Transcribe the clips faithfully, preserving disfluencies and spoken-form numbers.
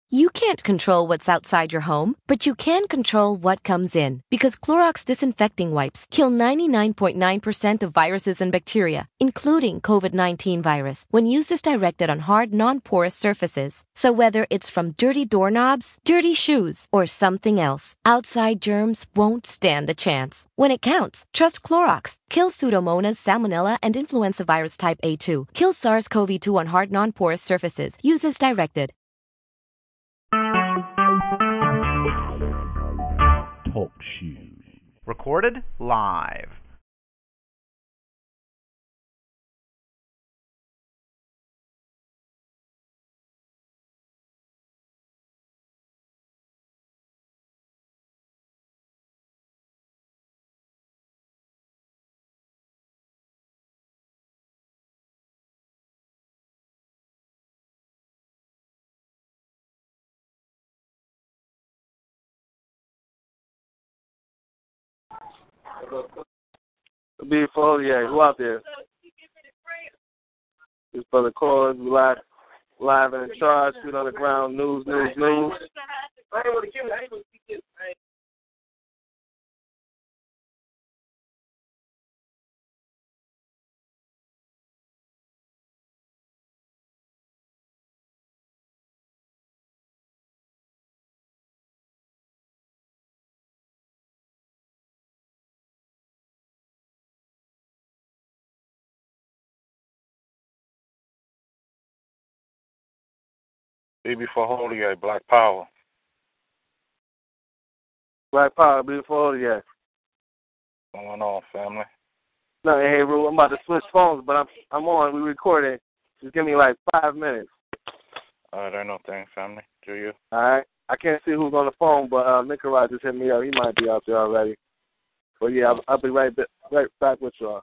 You can't control what's outside your home, but you can control what comes in. Because Clorox disinfecting wipes kill ninety-nine point nine percent of viruses and bacteria, including COVID nineteen virus, when used as directed on hard, non-porous surfaces. So whether it's from dirty doorknobs, dirty shoes, or something else, outside germs won't stand a chance. When it counts, trust Clorox. Kill Pseudomonas, Salmonella, and influenza virus type A two. Kill SARS-C o V two on hard, non-porous surfaces. Use as directed. Talk shoes. Recorded live. Beautiful, yeah. Who out there? This brother Cause, live, live and in charge, feet on the ground, news, news, news. Be before Holy Gate, Black Power. Black Power, beautiful, yeah. What's going on, family? No, hey, Rue, I'm about to switch phones, but I'm I'm on. We recording. Just give me like five minutes. All right, ain't no thing, family. Do you? All right. I can't see who's on the phone, but uh, Nicaraj just hit me up. He might be out there already. But yeah, I'll, I'll be right, ba- right back with y'all.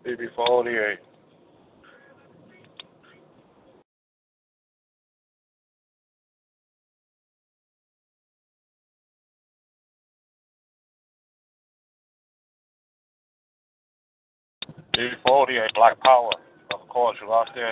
B B for forty-eight. B B for forty-eight, Black Power. Of course, you out there.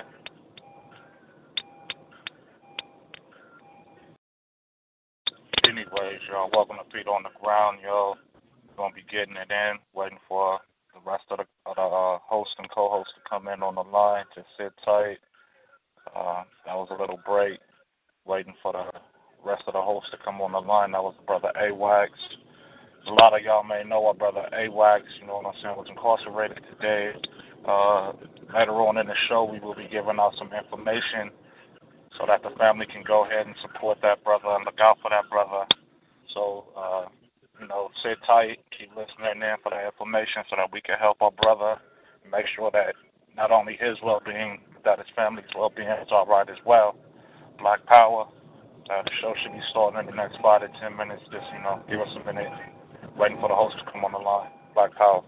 Anyways, y'all, welcome to Feet on the Ground, yo. We're going to be getting it in, waiting for the rest of the, of the uh, host and co-host to come in on the line. Just sit tight. Uh, that was a little break, waiting for the rest of the hosts to come on the line. That was Brother A-Wax. A lot of y'all may know our Brother A-Wax, you know what I'm saying, was incarcerated today. Uh, later on in the show, we will be giving out some information so that the family can go ahead and support that brother and look out for that brother. So, uh, you know, sit tight, keep listening in for the information so that we can help our brother and make sure that not only his well-being, that his family's well-being is all right as well. Black Power. Uh, the show should be starting in the next five to ten minutes. Just, you know, give us a minute, waiting for the host to come on the line. Black Power.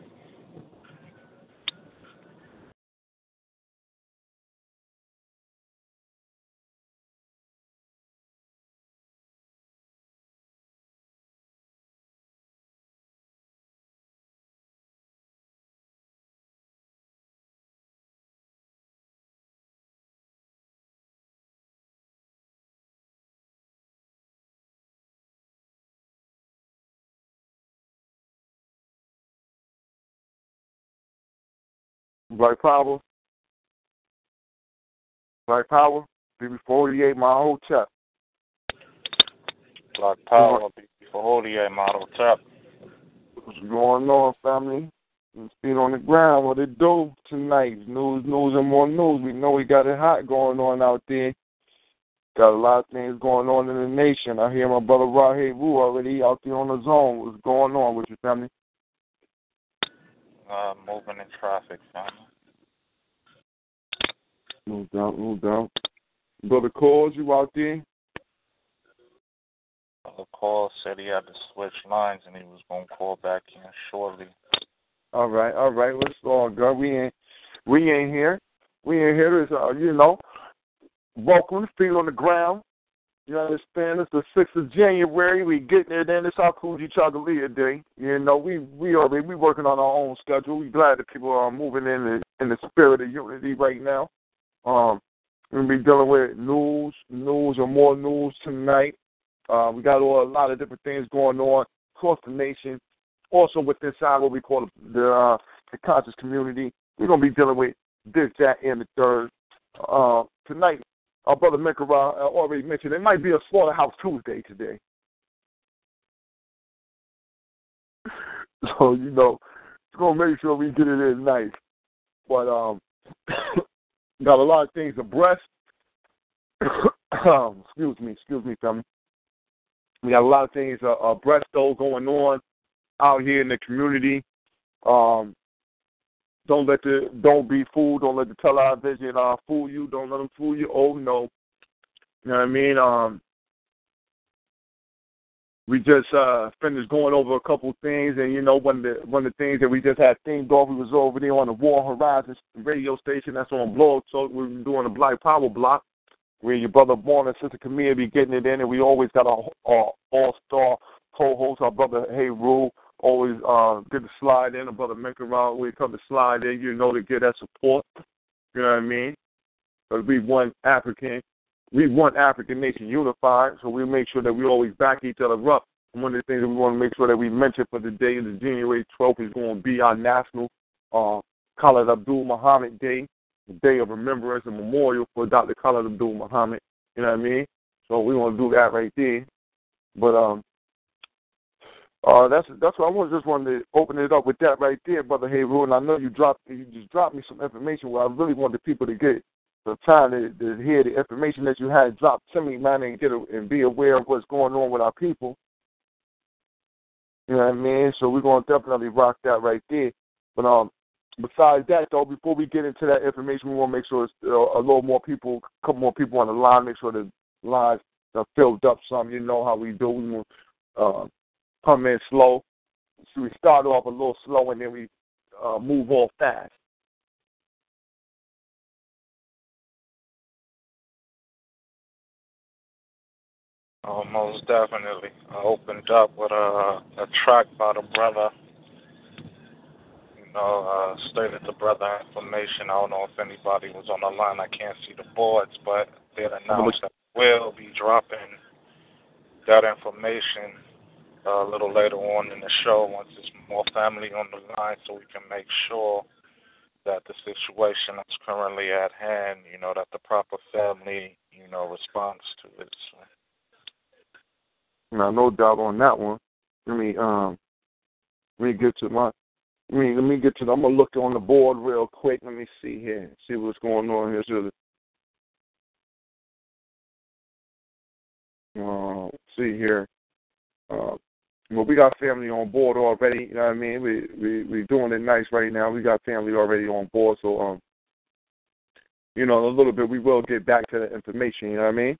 Black Power. Black Power. B B forty-eight, my whole chest. Black Power, B B for forty-eight, model tap. What's going on, family? Feet on the ground. What it do tonight? News, news, and more news. We know we got it hot going on out there. Got a lot of things going on in the nation. I hear my brother Rahid Wu already out there on the zone. What's going on with your family? Uh, moving in traffic, family. No doubt, no doubt. Brother Cause, you out there? The call said he had to switch lines and he was going to call back in shortly. All right, all right. Let's all go. We ain't, we ain't here. We ain't here. It's, uh, you know, welcome, Feet on the Ground. You understand? It's the sixth of January. We getting it in. It's our Coogee Chagalia Day. You know, we we already we working on our own schedule. We glad that people are moving in the in the spirit of unity right now. Um, we're gonna be dealing with news, news, and more news tonight. Uh, we got all, a lot of different things going on across the nation. Also, with inside what we call the uh, the conscious community, we're gonna be dealing with this, that, and the third. Uh, tonight, our brother Mikara already mentioned it might be a Slaughterhouse Tuesday today. So, you know, we're going to make sure we get it in nice. But um, got a lot of things abreast. um, excuse me, excuse me, family. We got a lot of things uh, abreast, though, going on out here in the community. Um, Don't let the don't be fooled. Don't let the television uh, fool you. Don't let them fool you. Oh no, you know what I mean. Um, we just uh, finished going over a couple things, and you know one of the one of the things that we just had themed off. We was over there on the War Horizon radio station. That's on Blog Talk. We were doing a Black Power block where your brother Born and Sister Camille be getting it in, and we always got our, our all-star co-host, our brother Hey Rule. Always uh, get to slide in. A brother make around when we come to slide in, you know, to get that support. You know what I mean? Because we want African, we want African nation unified, so we make sure that we always back each other up. And one of the things that we want to make sure that we mention for the day, the January twelfth, is going to be our national uh, Khalid Abdul Muhammad Day, the day of remembrance and memorial for Doctor Khalid Abdul Muhammad. You know what I mean? So we want to do that right there. But um. Uh, that's that's what I was just wanted to open it up with that right there, Brother Hayru. And I know you dropped you just dropped me some information where I really wanted people to get the time to, to hear the information that you had dropped to me, man, and get a, and be aware of what's going on with our people. You know what I mean? So we're gonna definitely rock that right there. But um, besides that though, before we get into that information, we want to make sure it's uh, a little more people, a couple more people on the line. Make sure the lines are filled up some. You know how we do. We want, uh, come in slow. So we start off a little slow and then we uh, move off fast. Oh, most definitely. I opened up with a, a track by the brother. You know, uh, stated the brother information. I don't know if anybody was on the line. I can't see the boards, but they announced that we'll be dropping that information uh, a little later on in the show once there's more family on the line, so we can make sure that the situation that's currently at hand, you know, that the proper family, you know, responds to it. So. Now, no doubt on that one. Let me um, let me get to my. Let me let me get to. The, I'm gonna look on the board real quick. Let me see here. See what's going on here. So, uh, see here. Uh, well, we got family on board already. You know what I mean? We we we doing it nice right now. We got family already on board. So um, you know, in a little bit we will get back to the information. You know what I mean?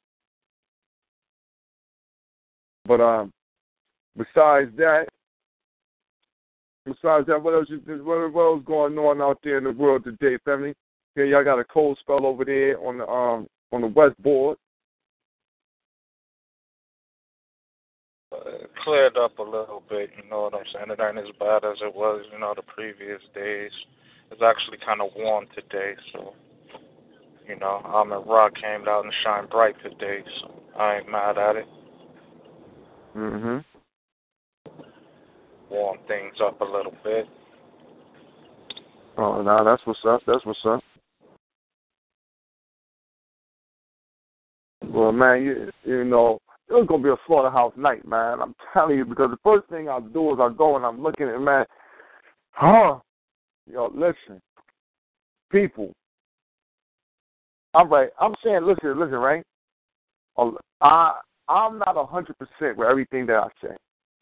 But um, besides that, besides that, what else? You, what, what else going on out there in the world today, family? Here, y'all got a cold spell over there on the um on the west board. Uh, cleared up a little bit, you know what I'm saying? It ain't as bad as it was, you know, the previous days. It's actually kind of warm today, so, you know, Almond Rock came out and shined bright today, so I ain't mad at it. Mm-hmm. Warm things up a little bit. Oh, no, that's what's up. That's what's up. Well, man, you, you know, it was going to be a slaughterhouse night, man. I'm telling you, because the first thing I do is I go and I'm looking at, man, huh? Yo, listen, people. I'm right. I'm saying, listen, listen, right? I, I'm not one hundred percent with everything that I say.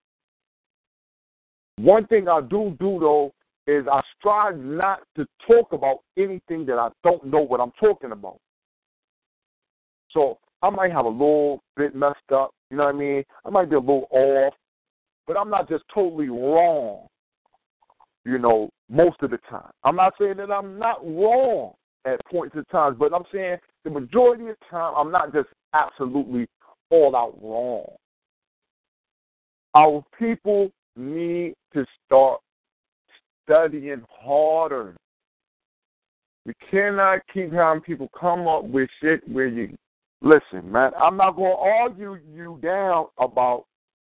One thing I do do, though, is I strive not to talk about anything that I don't know what I'm talking about. So I might have a little bit messed up, you know what I mean? I might be a little off, but I'm not just totally wrong, you know, most of the time. I'm not saying that I'm not wrong at points in times, but I'm saying the majority of the time I'm not just absolutely all out wrong. Our people need to start studying harder. We cannot keep having people come up with shit where you, listen, man, I'm not going to argue you down about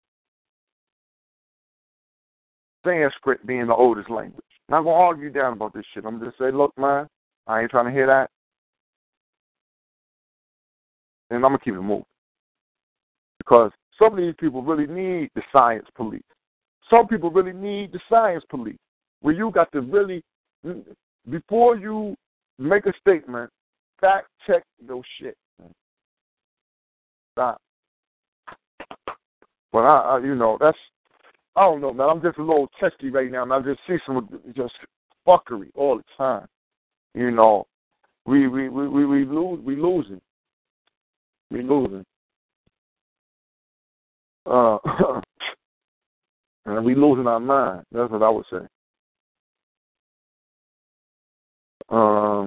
Sanskrit being the oldest language. I'm not going to argue down about this shit. I'm just say, look, man, I ain't trying to hear that. And I'm going to keep it moving. Because some of these people really need the science police. Some people really need the science police. Where you got to really, before you make a statement, fact check those shit. Stop. But I, I, you know, that's, I don't know, man. I'm just a little testy right now, and I just see some just fuckery all the time. You know, we we we we, we lose, we losing, we losing. Uh, and we losing our mind. That's what I would say. Um,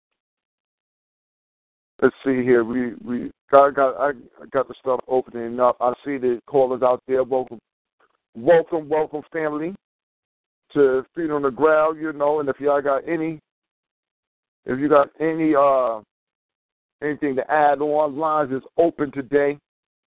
let's see here. We we got got I got the stuff opening up. I see the callers out there. Welcome, welcome, welcome, family, to Feet on the Ground. You know, and if y'all got any, if you got any uh anything to add on, lines is open today.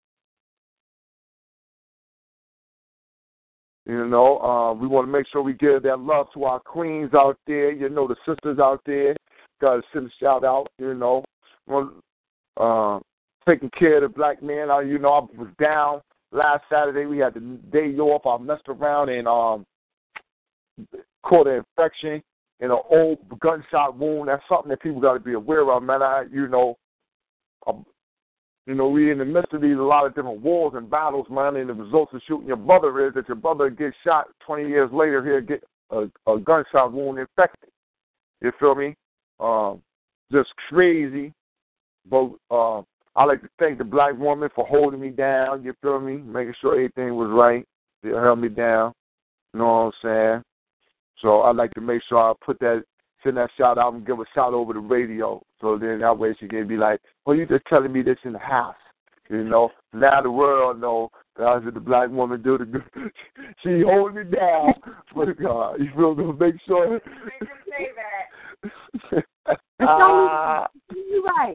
You know, uh, we want to make sure we give that love to our queens out there. You know, the sisters out there. Got to send a shout out. You know, uh, taking care of the black man. I, you know, I was down last Saturday. We had the day off. I messed around and um, caught an infection in an old gunshot wound. That's something that people got to be aware of, man. I, you know, um, You know, we in the midst of these a lot of different wars and battles, man, and the results of shooting your brother is that your brother gets shot twenty years later, he'll get a, a gunshot wound infected. You feel me? Um, just crazy. But uh, I like to thank the black woman for holding me down, you feel me? Making sure everything was right. They held me down. You know what I'm saying? So I'd like to make sure I put that, send that shout out and give a shout over the radio. So then that way she can be like, well, you just telling me this in the house. You know, now the world know that I said the black woman do the good. She holding me down for God. You feel me? Make sure. Make him say that. uh, You're right.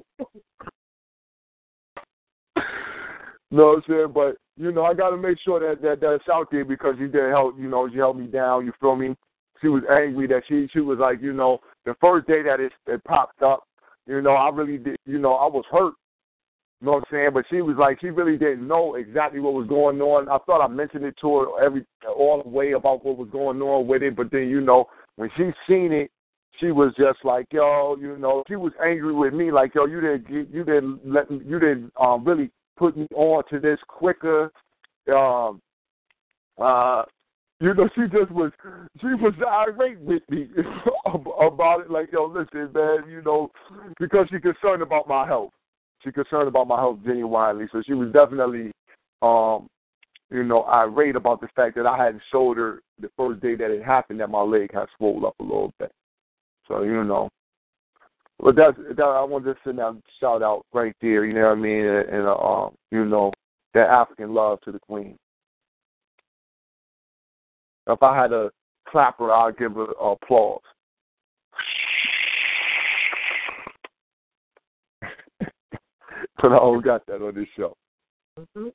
know what I'm saying? But, you know, I got to make sure that, that that's out there because she did help, you know, she held me down, you feel me? She was angry that she she was like, you know, the first day that it, it popped up, you know, I really did, you know, I was hurt. You know what I'm saying? But she was like, she really didn't know exactly what was going on. I thought I mentioned it to her every all the way about what was going on with it. But then, you know, when she seen it, she was just like, yo, you know, she was angry with me, like, yo, you didn't, you didn't let me, you didn't um, really put me on to this quicker. Um, uh, you know, she just was, she was irate with me about it. Like, yo, listen, man, you know, because she's concerned about my health. She's concerned about my health genuinely. So she was definitely, um, you know, irate about the fact that I hadn't showed her the first day that it happened that my leg had swollen up a little bit. So, you know, but that's, that, I wanted to send out shout out right there, you know what I mean, and, and uh, um, you know, that African love to the Queen. If I had to clap her, I'd give her applause. But I don't got that on this show. Mm-hmm.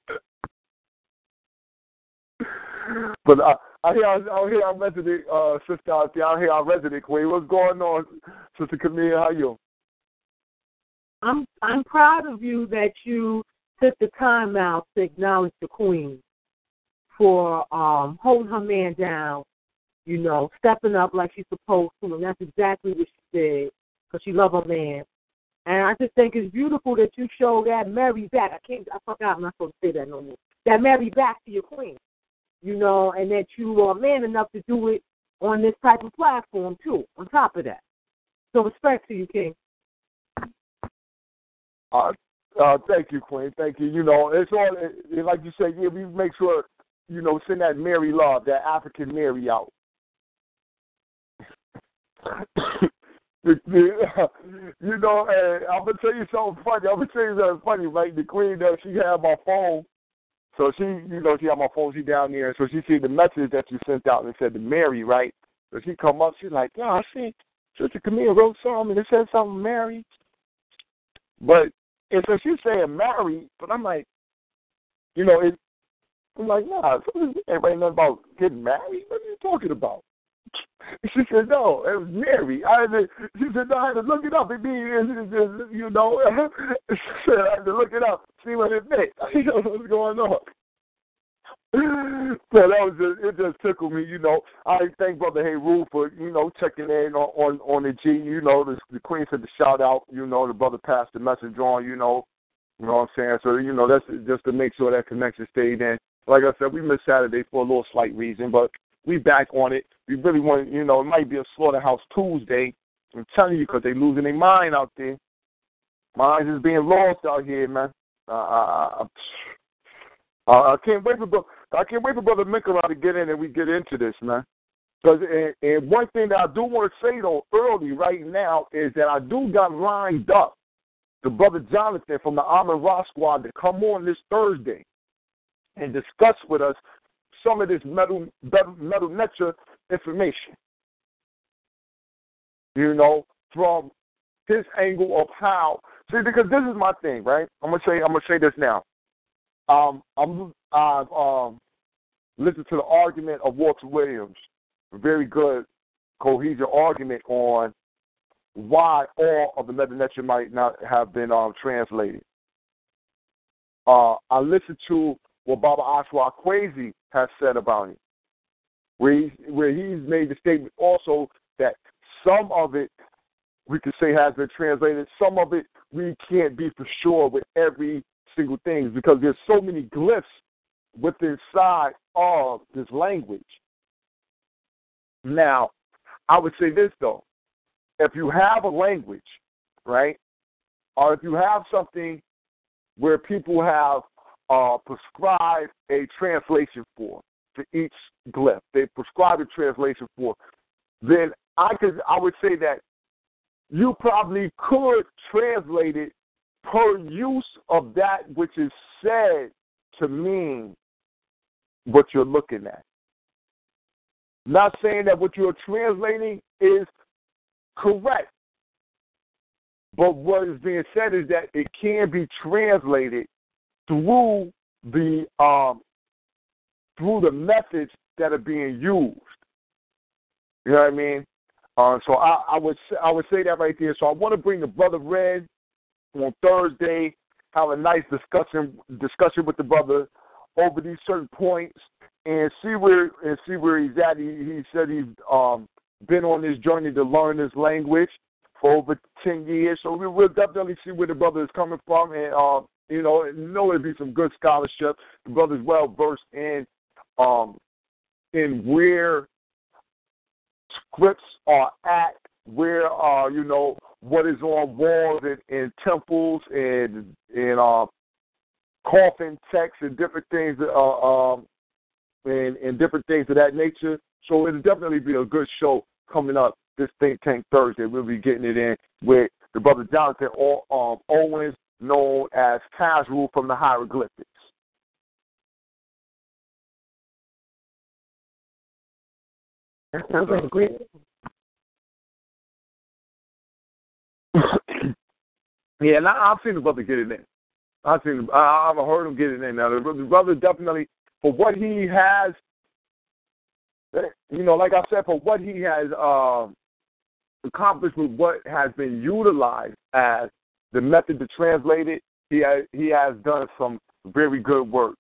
But I, I hear, I hear our resident uh, sister out there. I hear our resident Queen. What's going on, Sister Camille? How you? I'm I'm proud of you that you took the time out to acknowledge the Queen for um, holding her man down, you know, stepping up like she's supposed to, and that's exactly what she did because she loved her man. And I just think it's beautiful that you show that Mary back. I can't, I forgot, I'm not supposed to say that no more. That Mary back to your Queen, you know, and that you are man enough to do it on this type of platform too. On top of that, so respect to you, King. Uh, uh, thank you, Queen. Thank you. You know, it's all like you said. Yeah, we make sure, you know, send that Mary love, that African Mary out. You know, and I'm gonna tell you something funny. I'm gonna tell you something funny, right? The Queen, that she had my phone, so she, you know, she had my phone. She down there, so she see the message that you sent out and it said to Mary, right? So she come up, she's like, yeah, I see Sister Camille wrote something and it said something Mary, but and so she's saying Mary, but I'm like, you know, it. I'm like, nah, ain't writing nothing about getting married. What are you talking about? She said, no, it was Mary. I had to, she said, no, I had to look it up. It means, you know, she said, I had to look it up, see what it meant. You know what's going on. So that was just, it just tickled me, you know. I thank Brother Heru for, you know, checking in on, on, on the G, you know, the, the Queen said the shout out, you know, the brother passed the message on, you know, you know what I'm saying? So, you know, that's just to make sure that connection stayed in. Like I said, we missed Saturday for a little slight reason, but we back on it. We really want, you know, it might be a Slaughterhouse Tuesday. I'm telling you, because they losing their mind out there. Minds is being lost out here, man. Uh, I, I, I can't wait for I can't wait for Brother Mikara to get in and we get into this, man. Because and, and one thing that I do want to say though early right now is that I do got lined up the Brother Jonathan from the Amin Ra Squad to come on this Thursday and discuss with us some of this metal, metal, metal nature information. You know, from his angle of how. See, because this is my thing, right? I'm gonna say, I'm gonna say this now. Um, I'm, I've um, listened to the argument of Walter Williams, a very good, cohesive argument on why all of the metal nature might not have been um, translated. Uh, I listened to what Baba Ashwa Kwesi has said about it, where he's, where he's made the statement also that some of it we could say has been translated, some of it we can't be for sure with every single thing because there's so many glyphs within inside of this language. Now, I would say this though, if you have a language, right, or if you have something where people have Uh, prescribe a translation for for each glyph. They prescribe a translation for. Then I could I would say that you probably could translate it per use of that which is said to mean what you're looking at. Not saying that what you're translating is correct, but what is being said is that it can be translated through the um, through the methods that are being used. You know what I mean? Uh, so I, I would I would say that right there. So I want to bring the brother Red on Thursday, have a nice discussion discussion with the brother over these certain points, and see where and see where he's at. He, he said he's um, been on this journey to learn this language for over ten years. So we will definitely see where the brother is coming from, and uh, you know, know it'll be some good scholarship. The brother's well versed in um, in where scripts are at, where uh, you know, what is on walls and, and temples and and uh, coffin texts and different things, uh, um, and, and different things of that nature. So it'll definitely be a good show coming up this Think Tank Thursday. We'll be getting it in with the brother Jonathan um, Owens, known as Casual from the Hieroglyphics. That sounds like a great. Yeah, and I, I've seen the brother get it in. I've seen, I, I've heard him get it in. Now the brother definitely, for what he has, you know, like I said, for what he has uh, accomplished with what has been utilized as the method to translate it, he has, he has done some very good work.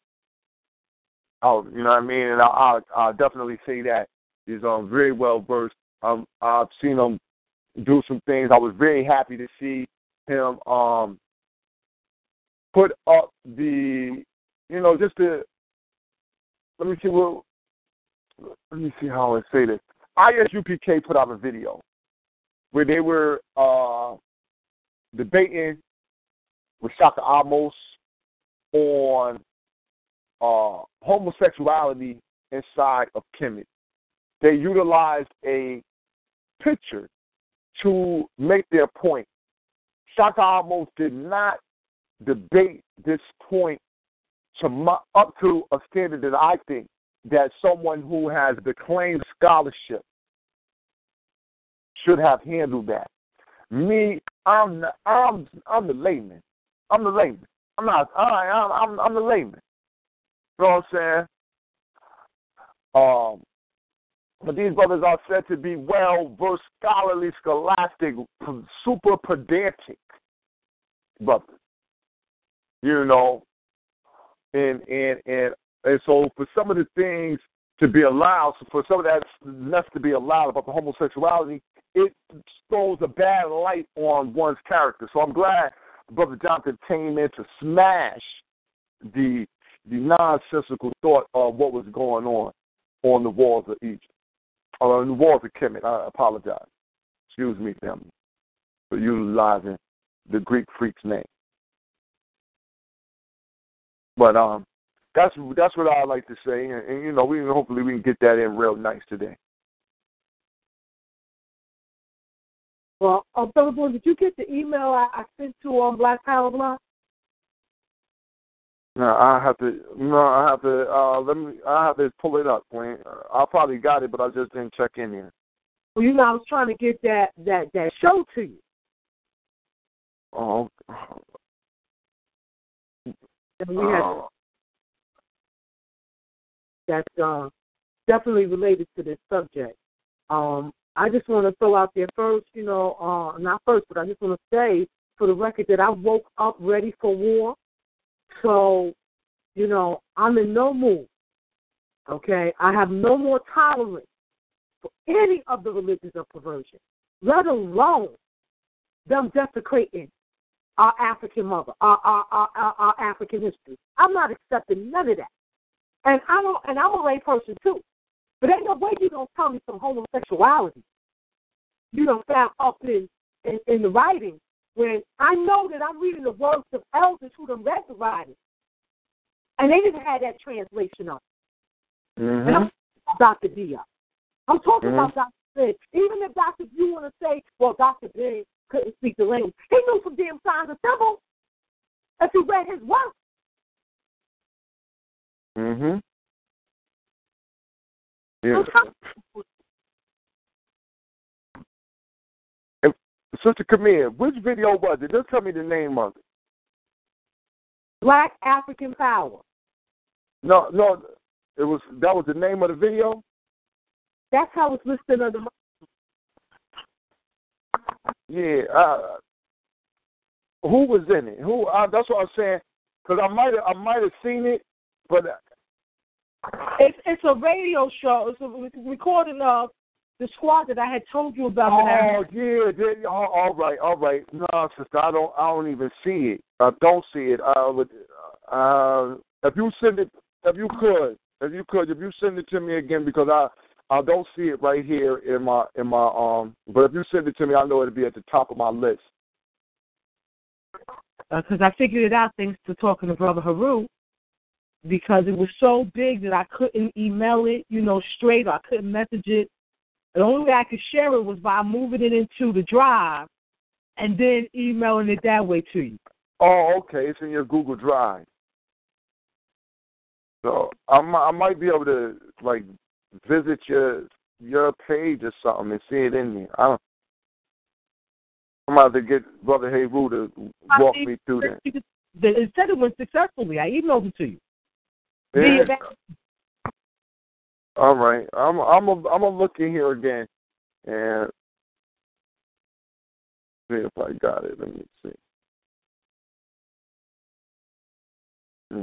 Oh, you know what I mean? And I, I, I definitely say that he's um, very well versed. Um, I've seen him do some things. I was very happy to see him um, put up the, you know, just to, let me see what, let me see how I say this. I S U P K put out a video where they were uh, debating with Shaka Amos on uh, homosexuality inside of Kemet. They utilized a picture to make their point. Shaka Amos did not debate this point to up to a standard that I think that someone who has the claimed scholarship should have handled that. Me, I'm the, I'm I'm the layman. I'm the layman. I'm not. I, I'm I'm I'm the layman. You know what I'm saying? Um, but these brothers are said to be well versed, scholarly, scholastic, super pedantic brothers. You know, and and and and so for some of the things to be allowed, for some of that mess to be allowed about the homosexuality, it throws a bad light on one's character. So I'm glad Brother Jonathan came in to smash the the nonsensical thought of what was going on on the walls of Egypt, or on the walls of Kemet. I apologize. Excuse me, family, for utilizing the Greek freak's name. But um, that's that's what I like to say, and, and you know, we hopefully we can get that in real nice today. Well, uh, Brother Boy, did you get the email I, I sent to on Black Power Block? No, I have to. No, I have to. Uh, let me. I have to pull it up, Glenn. I probably got it, but I just didn't check in here. Well, you know, I was trying to get that that that show to you. Oh. And we had, uh, that's uh, definitely related to this subject. Um, I just want to throw out there first, you know, uh, not first, but I just want to say for the record that I woke up ready for war. So, you know, I'm in no mood, okay? I have no more tolerance for any of the religions of perversion, let alone them desecrating our African mother, our, our, our, our, our African history. I'm not accepting none of that. And, I don't, and I'm a lay person, too. But ain't no way you're going to tell me some homosexuality, you know, found up in, in, in the writing when I know that I'm reading the works of elders who done read the writing. And they didn't have that translation up. Mm-hmm. And I'm talking about Doctor Diop. I'm talking mm-hmm. about Doctor Ben. Even if Doctor you want to say, well, Doctor Ben couldn't speak the language, he knew some damn signs of symbols. if he read his work. Mm-hmm. Yeah. If, Sister Camille, which video was it? Just tell me the name of it. Black African Power. No, no, it was that was the name of the video. That's how it's listed under. Yeah. Uh, who was in it? Who? Uh, that's what I'm saying. Because I might have, I might have seen it, but it's it's a radio show. It's a recording of the squad that I had told you about. Oh yeah, yeah. Oh, all right, all right. No, sister, I don't, I don't even see it. I don't see it. Uh, with, uh, if you send it, if you could, if you could, if you send it to me again, because I, I don't see it right here in my, in my, um. But if you send it to me, I know it'll be at the top of my list. Because uh, I figured it out thanks to talking to Brother Haru, because it was so big that I couldn't email it, you know, straight, or I couldn't message it. The only way I could share it was by moving it into the drive and then emailing it that way to you. Oh, okay. It's in your Google Drive. So I might, I might be able to, like, visit your your page or something and see it in there. I don't. I'm about to get Brother Heru to walk me through that. It said it went successfully. I emailed it to you. Yeah. All right. I'm I'm a, I'm gonna look in here again and see if I got it. Let me see. Yeah.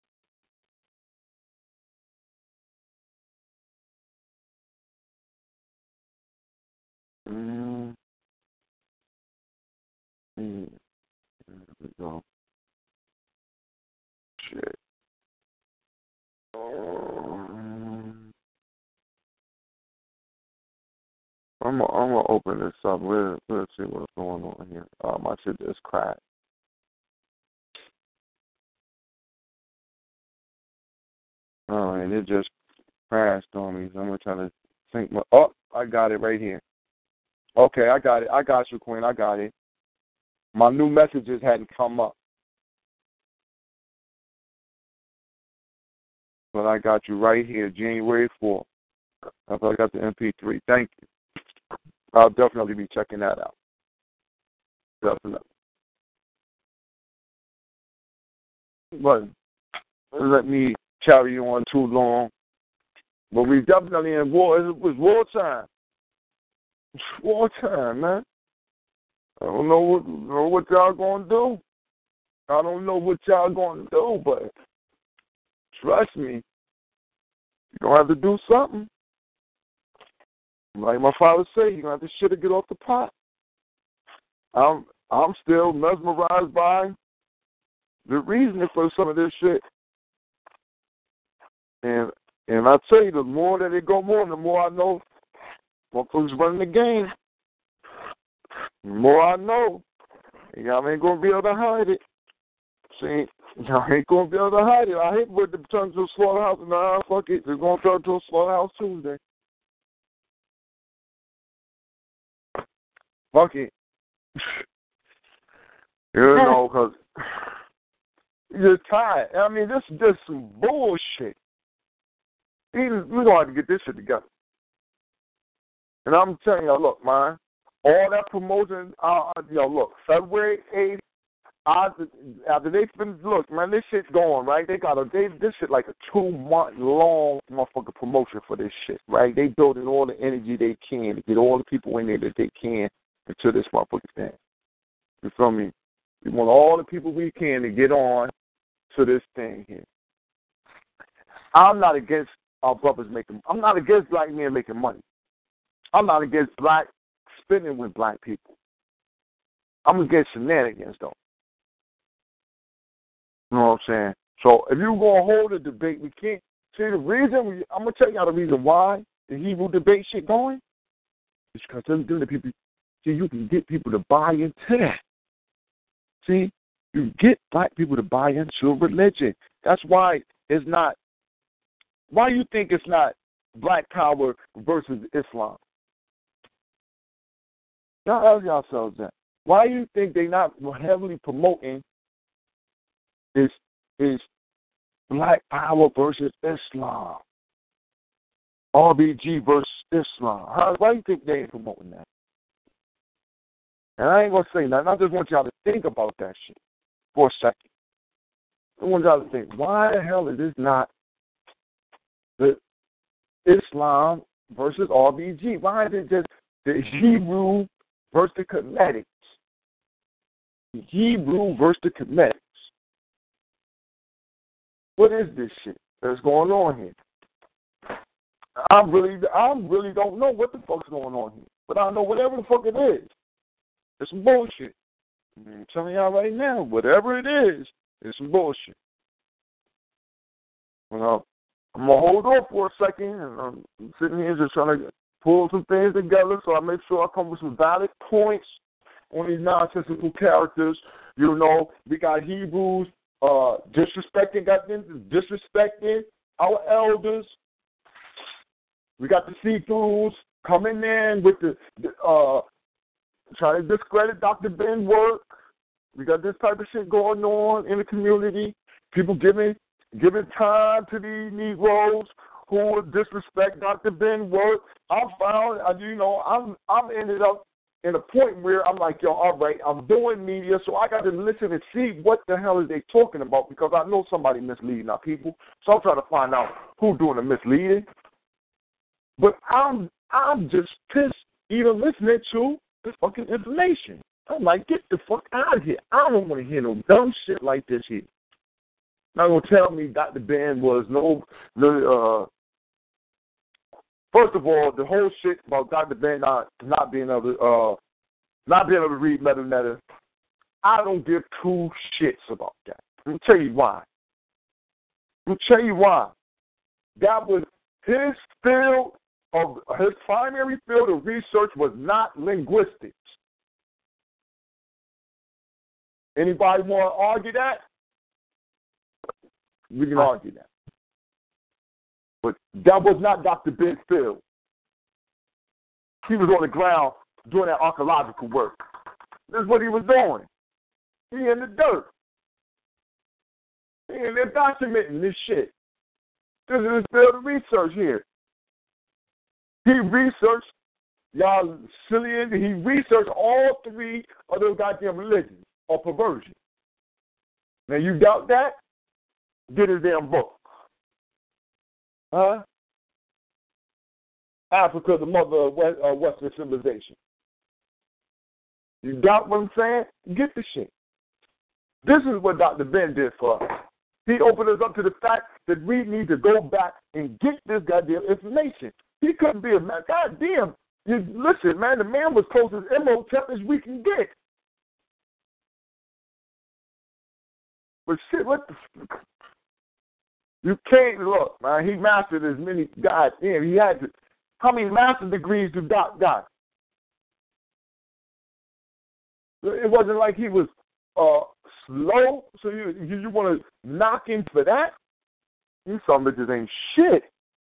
Mm. Mm. There we go. Shit. Um, I'm gonna, I'm gonna open this up. Let's, let's see what's going on here. Oh, my shit just cracked. Oh, and it just crashed on me. So I'm gonna try to think. My, oh, I got it right here. Okay, I got it. I got you, Queen. I got it. My new messages hadn't come up, but I got you right here, January fourth. I got the M P three. Thank you. I'll definitely be checking that out. Definitely. But let me carry you on too long. But we definitely in war. It was war time. It's war time, man. I don't know what, know what y'all going to do. I don't know what y'all going to do, but trust me, you're going to have to do something. Like my father said, you're going to have to shit or get off the pot. I'm I'm still mesmerized by the reasoning for some of this shit. And and I tell you, the more that it go on, the more I know what folks running the game. The more I know, y'all ain't going to be able to hide it. See, y'all ain't going to be able to hide it. I hate when it turns to a slaughterhouse. Nah, fuck it. It's going to turn to a slaughterhouse Tuesday. Fuck it. You know, because you're tired. I mean, this is just some bullshit. We're going to have to get this shit together. And I'm telling you, look, man, all that promotion, uh, you know, look, February eighth, I, after they finish, look, man, this shit's going, right? They got a, they, this shit like a two-month long motherfucking promotion for this shit, right? They building all the energy they can to get all the people in there that they can into this motherfucking thing. You feel me? We want all the people we can to get on to this thing here. I'm not against our brothers making, I'm not against black men making money. I'm not against black spending with black people. I'm against shenanigans, though. You know what I'm saying? So if you're going to hold a debate, we can't. See, the reason, we, I'm going to tell y'all the reason why the Hebrew debate shit going is because the people, see, you can get people to buy into that. See, you get black people to buy into religion. That's why it's not, why you think it's not black power versus Islam? Y'all ask yourselves that. Why do you think they're not heavily promoting is is Black Power versus Islam. R B G versus Islam. How, why do you think they ain't promoting that? And I ain't going to say nothing. I just want y'all to think about that shit for a second. I want y'all to think, why the hell is this not the Islam versus R B G? Why is it just the Hebrew versus the Comedics? The Hebrew versus the Comedics. What is this shit that's going on here? I really, I really don't know what the fuck's going on here. But I know whatever the fuck it is, it's some bullshit. I'm telling y'all right now, whatever it is, it's some bullshit. Well, I'm going to hold off for a second, and I'm sitting here just trying to pull some things together so I make sure I come with some valid points on these nonsensical characters. You know, we got Hebrews uh, disrespecting, got them disrespecting our elders. We got the see-throughs coming in with the, uh, trying to discredit Doctor Ben's work. We got this type of shit going on in the community. People giving giving time to these Negroes who disrespect Doctor Ben's work. I found, you know, I'm I'm ended up in a point where I'm like, yo, all right, I'm doing media, so I got to listen and see what the hell is they talking about, because I know somebody misleading our people. So I'm trying to find out who's doing the misleading. But I'm I'm just pissed even listening to this fucking information. I'm like, get the fuck out of here. I don't want to hear no dumb shit like this here. Not gonna tell me Doctor Ben was no, no. Uh, first of all, the whole shit about Doctor Ben not not being able to uh, not being able to read letter letter. I don't give two shits about that. Let me tell you why. Let me tell you why. That was his field of his primary field of research was not linguistics. Anybody want to argue that? We can argue that. But that was not Doctor Ben's field. He was on the ground doing that archaeological work. This is what he was doing. He in the dirt. He in there documenting this shit. This is his field of research here. He researched, y'all silly, he researched all three of those goddamn religions or perversion. Now you doubt that? Get his damn book. Huh? Africa, the mother of West, uh, Western civilization. You doubt what I'm saying? Get the shit. This is what Doctor Ben did for us. He opened us up to the fact that we need to go back and get this goddamn information. He couldn't be a man. God damn. You, listen, man, the man was close as Imhotep as we can get. But shit, what the fuck? You can't look, man. He mastered as many gods. Damn, he had to. How many master degrees did Doc got? It wasn't like he was uh, slow, so you you, you want to knock him for that? You some bitches ain't shit.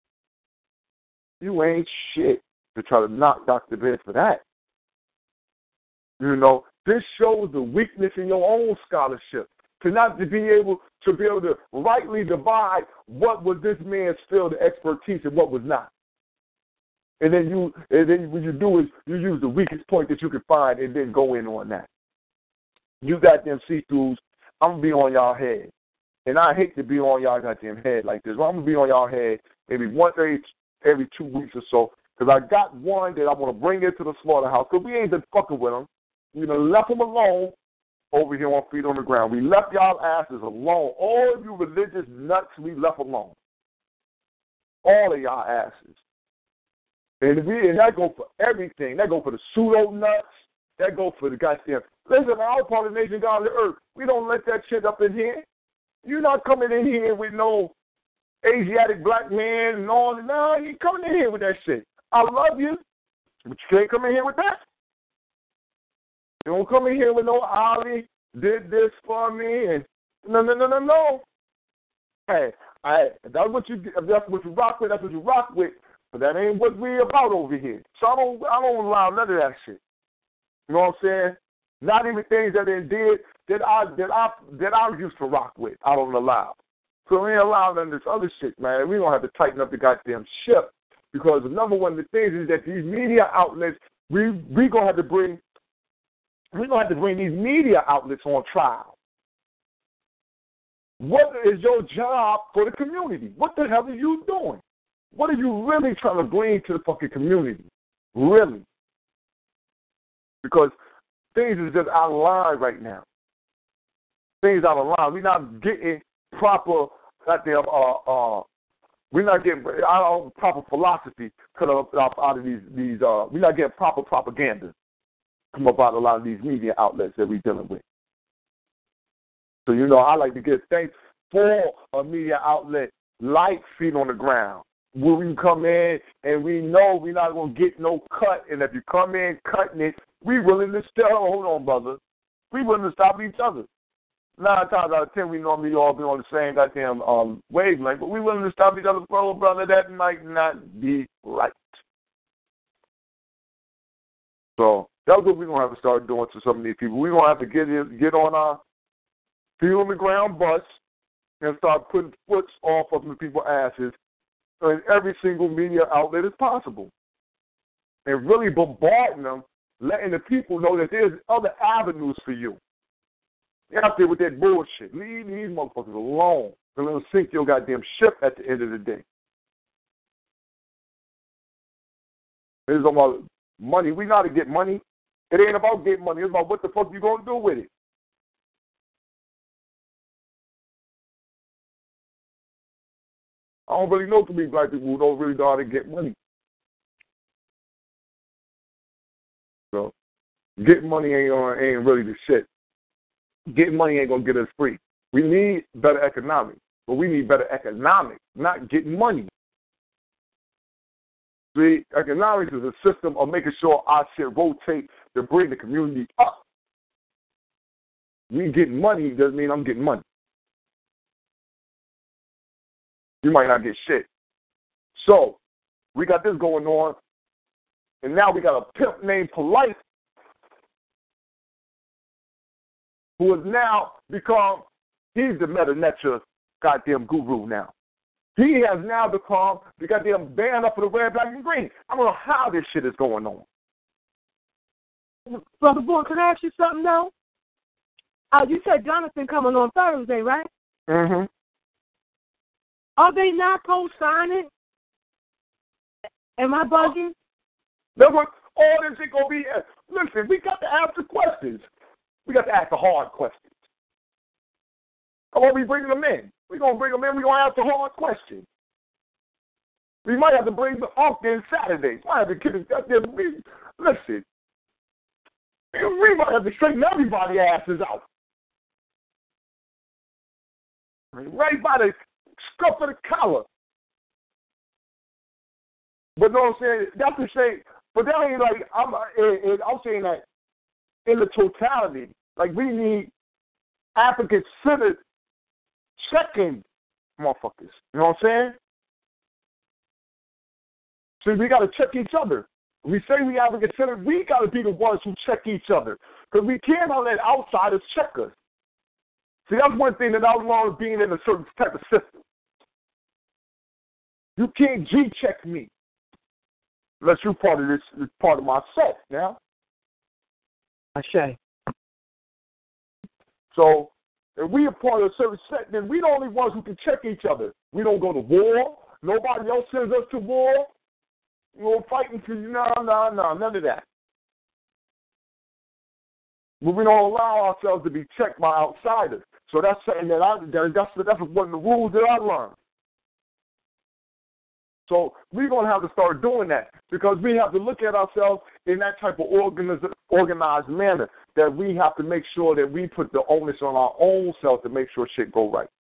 You ain't shit to try to knock Doctor Ben for that. You know, this shows the weakness in your own scholarship. To not to be able to be able to rightly divide what was this man's field of expertise and what was not. And then you and then what you do is you use the weakest point that you can find and then go in on that. You got them see-throughs, I'm gonna be on y'all head. And I hate to be on y'all goddamn head like this. Well, I'm gonna be on y'all head maybe once every every two weeks or so. Because I got one that I want to bring into the slaughterhouse. Because we ain't been fucking with them. We done left them alone over here on Feet on the Ground. We left y'all asses alone. All of you religious nuts, we left alone. All of y'all asses. And, we, and that go for everything. That go for the pseudo nuts. That go for the goddamn. Listen, our part of the nation, God of the earth, we don't let that shit up in here. You're not coming in here with no Asiatic black man and all. No, you coming in here with that shit. I love you, but you can't come in here with that. You don't come in here with no Ali did this for me and no, no, no, no, no. Hey, I, that's what you that's what you rock with. That's what you rock with. But that ain't what we about over here. So I don't I don't allow none of that shit. You know what I'm saying? Not even things that they did that I that I that I used to rock with. I don't allow. So we ain't allowing none of this other shit, man. We gonna have to tighten up the goddamn ship because the number one of the things is that these media outlets we we gonna have to bring we gonna have to bring these media outlets on trial. What is your job for the community? What the hell are you doing? What are you really trying to bring to the fucking community? Really? Because things is just out of line right now. Things out of line. We're not getting proper goddamn uh uh we're not getting our proper philosophy cut up out of these these uh we're not getting proper propaganda come up out of a lot of these media outlets that we're dealing with. So you know I like to give thanks for a media outlet like Feet on the Ground, where we can come in and we know we're not gonna get no cut, and if you come in cutting it, we willing to still hold on, brother. We willing to stop each other. Nine times out of ten, we normally all be on the same goddamn um, wavelength, but we willing to stop each other, bro, brother. That might not be right. So that's what we're gonna have to start doing to some of these people. We're gonna have to get in, get on our feet on the ground bus and start putting foots off of the people's asses in every single media outlet as possible, and really bombarding them, letting the people know that there's other avenues for you. You're out there with that bullshit. Leave these motherfuckers alone. And let them sink your goddamn ship at the end of the day. It's about money. We know how to get money. It ain't about getting money. It's about what the fuck you gonna do with it. I don't really know too many black people who don't really know how to get money. So, getting money ain't uh, ain't really the shit. Getting money ain't gonna get us free. We need better economics, but we need better economics, not getting money. See, economics is a system of making sure our shit rotate to bring the community up. Me getting money doesn't mean I'm getting money. You might not get shit. So, we got this going on, and now we got a pimp named Polite who has now become, he's the Meta Nature goddamn guru now. He has now become the goddamn band up for the red, black, and green. I don't know how this shit is going on. Brother Boy, can I ask you something, though? Uh, you said Jonathan coming on Thursday, right? Mm-hmm. Are they not co-signing? Am I bugging? That's what all this shit gonna be. Listen, we got to ask the questions. We got to ask the hard questions. Come on, we bringing them in. We're going to bring them in. We're going to ask the hard questions. We might have to bring the Unk in Saturday. We might have to get it. Listen, we might have to straighten everybody's asses out. Right by the scuff of the collar. But no, I'm saying, that's to say, but that ain't like, I'm, I'm saying that in the totality, like we need African-centered checking motherfuckers. You know what I'm saying? So we got to check each other. We say we African-centered, we got to be the ones who check each other. Because we cannot let outsiders check us. See, that's one thing that I learned being in a certain type of system. You can't G-check me unless you're part of this, this part of my set now. Ashay. So, if we are part of a certain set, then we the only ones who can check each other. We don't go to war. Nobody else sends us to war. We're fighting for you. No, no, no, none of that. But we don't allow ourselves to be checked by outsiders. So that's something that I, that's, that's one of the rules that I learned. So we're going to have to start doing that because we have to look at ourselves in that type of organiz- organized manner that we have to make sure that we put the onus on our own self to make sure shit go right.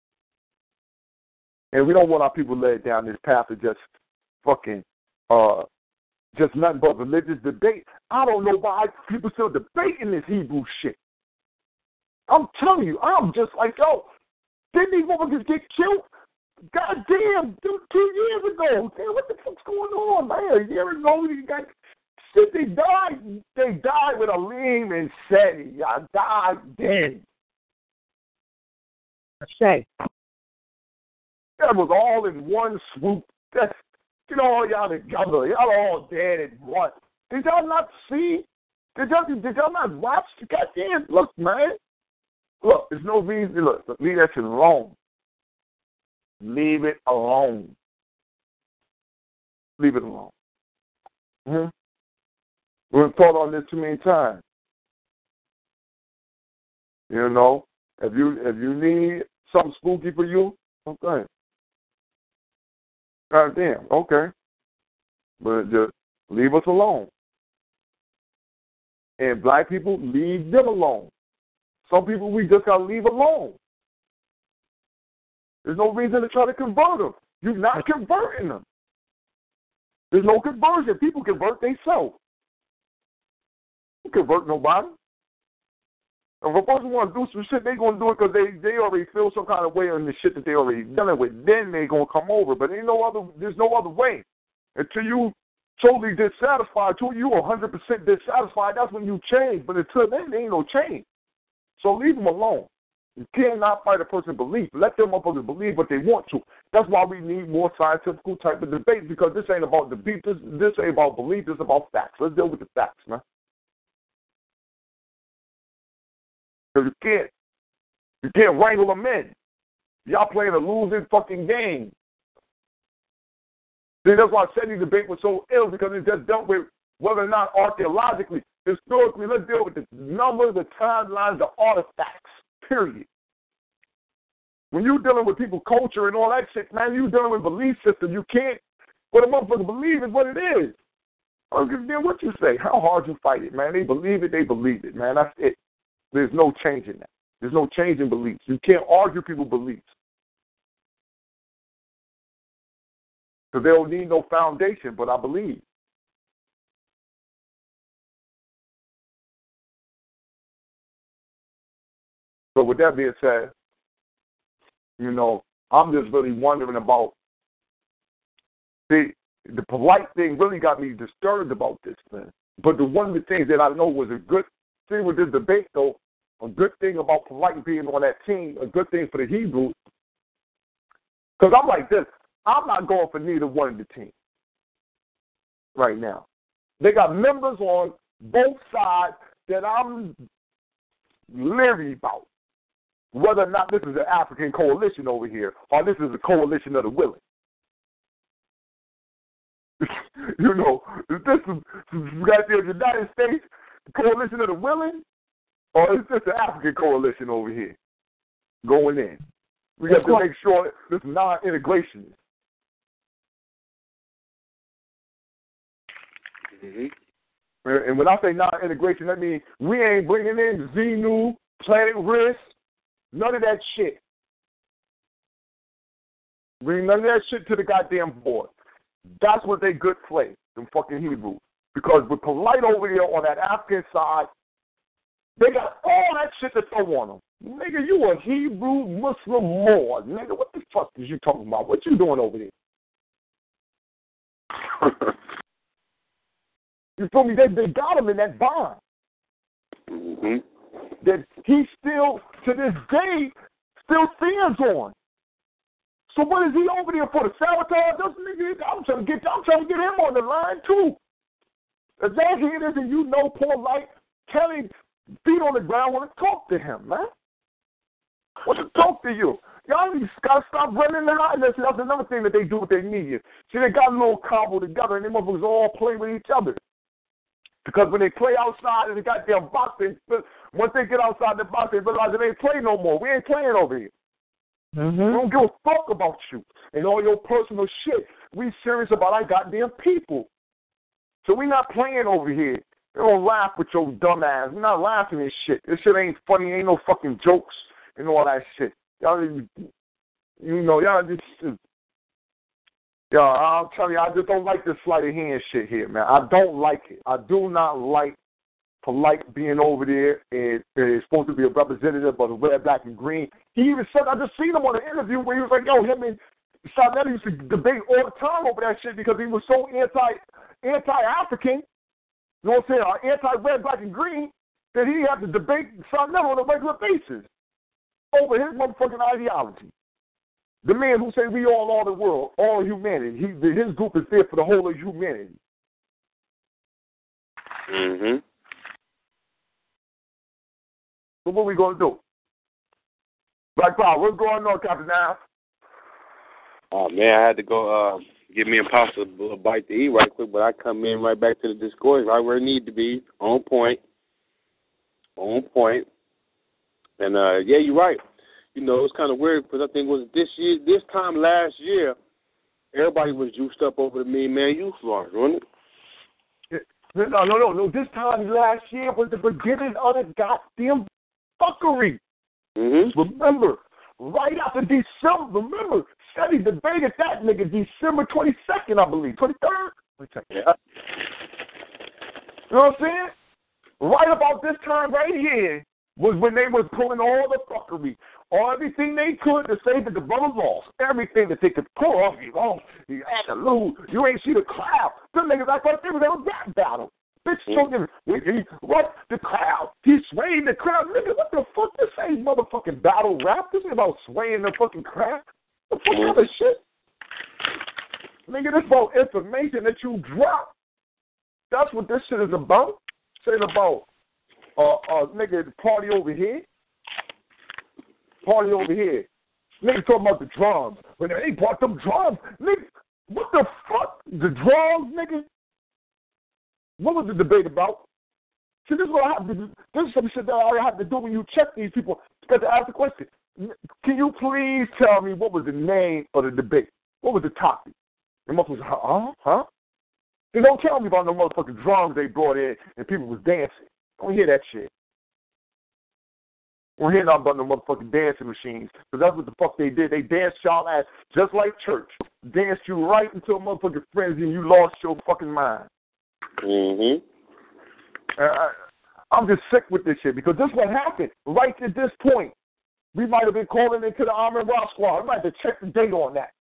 And we don't want our people led down this path of just fucking, uh, just nothing but religious debate. I don't know why people still debating this Hebrew shit. I'm telling you, I'm just like, yo, didn't these motherfuckers get killed? God damn, two, two years ago. Damn, what the fuck's going on, man? A year ago, you got Shit, they died. They died with Aleem and Seti. Y'all died then. Say. That was all in one swoop. That's, you know, all y'all together. Y'all all dead at once. Did y'all not see? Did y'all, did y'all not watch? Goddamn, look, man. Look, there's no reason. Look, leave that shit alone. Leave it alone. Leave it alone. Hmm? We've thought on this too many times. You know, if you if you need something spooky for you, okay. God damn, okay. But just leave us alone. And black people, leave them alone. Some people we just gotta leave alone. There's no reason to try to convert them. You're not converting them. There's no conversion. People convert themselves. You convert nobody. If a person wants to do some shit, they're going to do it because they, they already feel some kind of way on the shit that they already dealing with. Then they're going to come over. But ain't no other, there's no other way. Until you totally dissatisfied, until you one hundred percent dissatisfied, that's when you change. But until then, there ain't no change. So leave them alone. You cannot fight a person's belief. Let them up to believe what they want to. That's why we need more scientific type of debate, because this ain't about debate. This, this ain't about belief. This is about facts. Let's deal with the facts, man. Because you can't, you can't wrangle them in. Y'all playing a losing fucking game. See, that's why I said the debate was so ill, because it just dealt with whether or not archaeologically, historically, let's deal with the numbers, the timelines, the artifacts, period. When you're dealing with people culture and all that shit, man, you're dealing with belief system. You can't, what a motherfucker believe is what it is. I don't give a damn what you say, how hard you fight it, man. They believe it, they believe it, man. That's it. There's no change in that. There's no change in beliefs. You can't argue people's beliefs. Because they don't need no foundation, but I believe. So with that being said, you know, I'm just really wondering about, see, the polite thing really got me disturbed about this thing. But the one of the things that I know was a good thing with this debate, though, a good thing about polite being on that team, a good thing for the Hebrews, because I'm like this, I'm not going for neither one of the teams right now. They got members on both sides that I'm leery about, whether or not this is an African coalition over here or this is a coalition of the willing. You know, is this got the United States coalition of the willing, or is this an African coalition over here going in? We got to make sure this non-integration. Mm-hmm. And when I say non-integration, that means we ain't bringing in Xenu, Planet Risk, none of that shit. Bring none of that shit to the goddamn board. That's what they good play, them fucking Hebrews. Because with polite over here on that African side, they got all that shit to throw on them. Nigga, you a Hebrew Muslim Moor. Nigga, what the fuck is you talking about? What you doing over there? You feel me? They, they got him in that bond. Mm-hmm. That he still, to this day, still stands on. So what is he over there for? The sabotage? This nigga, I'm trying to get, I'm trying to get him on the line too. As long as it is, and you know, poor light, Kelly, feet on the ground, want to talk to him, man. Want to talk to you. Y'all need to stop running the high. That's another thing that they do with their media. See, they got a little combo together, and they motherfuckers all play with each other. Because when they play outside in the goddamn box, they, once they get outside the box, they realize they ain't play no more. We ain't playing over here. Mm-hmm. We don't give a fuck about you and all your personal shit. We serious about our goddamn people. So we not playing over here. We don't laugh with your dumb ass. We're not laughing at shit. This shit ain't funny. Ain't no fucking jokes and all that shit. Y'all, you know, y'all just, y'all, I'll tell you, I just don't like this sleight of hand shit here, man. I don't like it. I do not like polite being over there and is supposed to be a representative of the red, black, and green. He even said, I just seen him on an interview where he was like, yo, him and Sarnelli used to debate all the time over that shit because he was so anti, anti-African you know what I'm saying, are anti-red, black, and green, then he have to debate Son Neville on a regular basis over his motherfucking ideology. The man who says we all are the world, all humanity. He, his group is there for the whole of humanity. Mm-hmm. So what are we going to do? Black Power, what's going on, Captain Now? Oh, man, I had to go uh, give me a pasta a bite to eat right quick, but I come in right back to the discourse, right where it need to be, on point. On point. And, uh, yeah, you're right. You know, it's kind of weird because I think it was this year, this time last year, everybody was juiced up over the Mean Man Youth Launch, wasn't it? No, no, no, no. This time last year was the beginning of the goddamn fuckery. Mm-hmm. Remember, right after December, remember, Shetty debated that nigga December twenty-second, I believe, twenty-third? Let me check that. Yeah. You know what I'm saying? Right about this time right here was when they was pulling all the fuckery, all everything they could to say that the brother lost. Everything that they could pull off. You know, you had to lose. You ain't see the crowd. Them niggas act like they was in a rap battle. Bitch, mm-hmm. he, what? The crowd. He swayed the crowd. Nigga, what the fuck? This ain't motherfucking battle rap. This ain't about swaying the fucking crowd. The fuck mm-hmm. other shit? Nigga, this about information that you drop. That's what this shit is about. Saying about, uh, uh, nigga, the party over here. Party over here. Nigga talking about the drums. When they brought them drums, nigga, what the fuck? The drums, nigga? What was the debate about? See, this is what I have to do. This is some shit that I have to do when you check these people. You got to ask the question. Can you please tell me what was the name of the debate? What was the topic? The motherfuckers, huh? Huh? They don't tell me about no motherfucking drums they brought in and people was dancing. Don't hear that shit. Don't hear nothing about no motherfucking dancing machines. Because that's what the fuck they did. They danced y'all ass just like church. Danced you right into a motherfucking frenzy and you lost your fucking mind. Mm-hmm. Uh, I, I'm just sick with this shit because this is what happened. Right at this point, we might have been calling into the Arm and Rock Squad. We might have to check the date on that.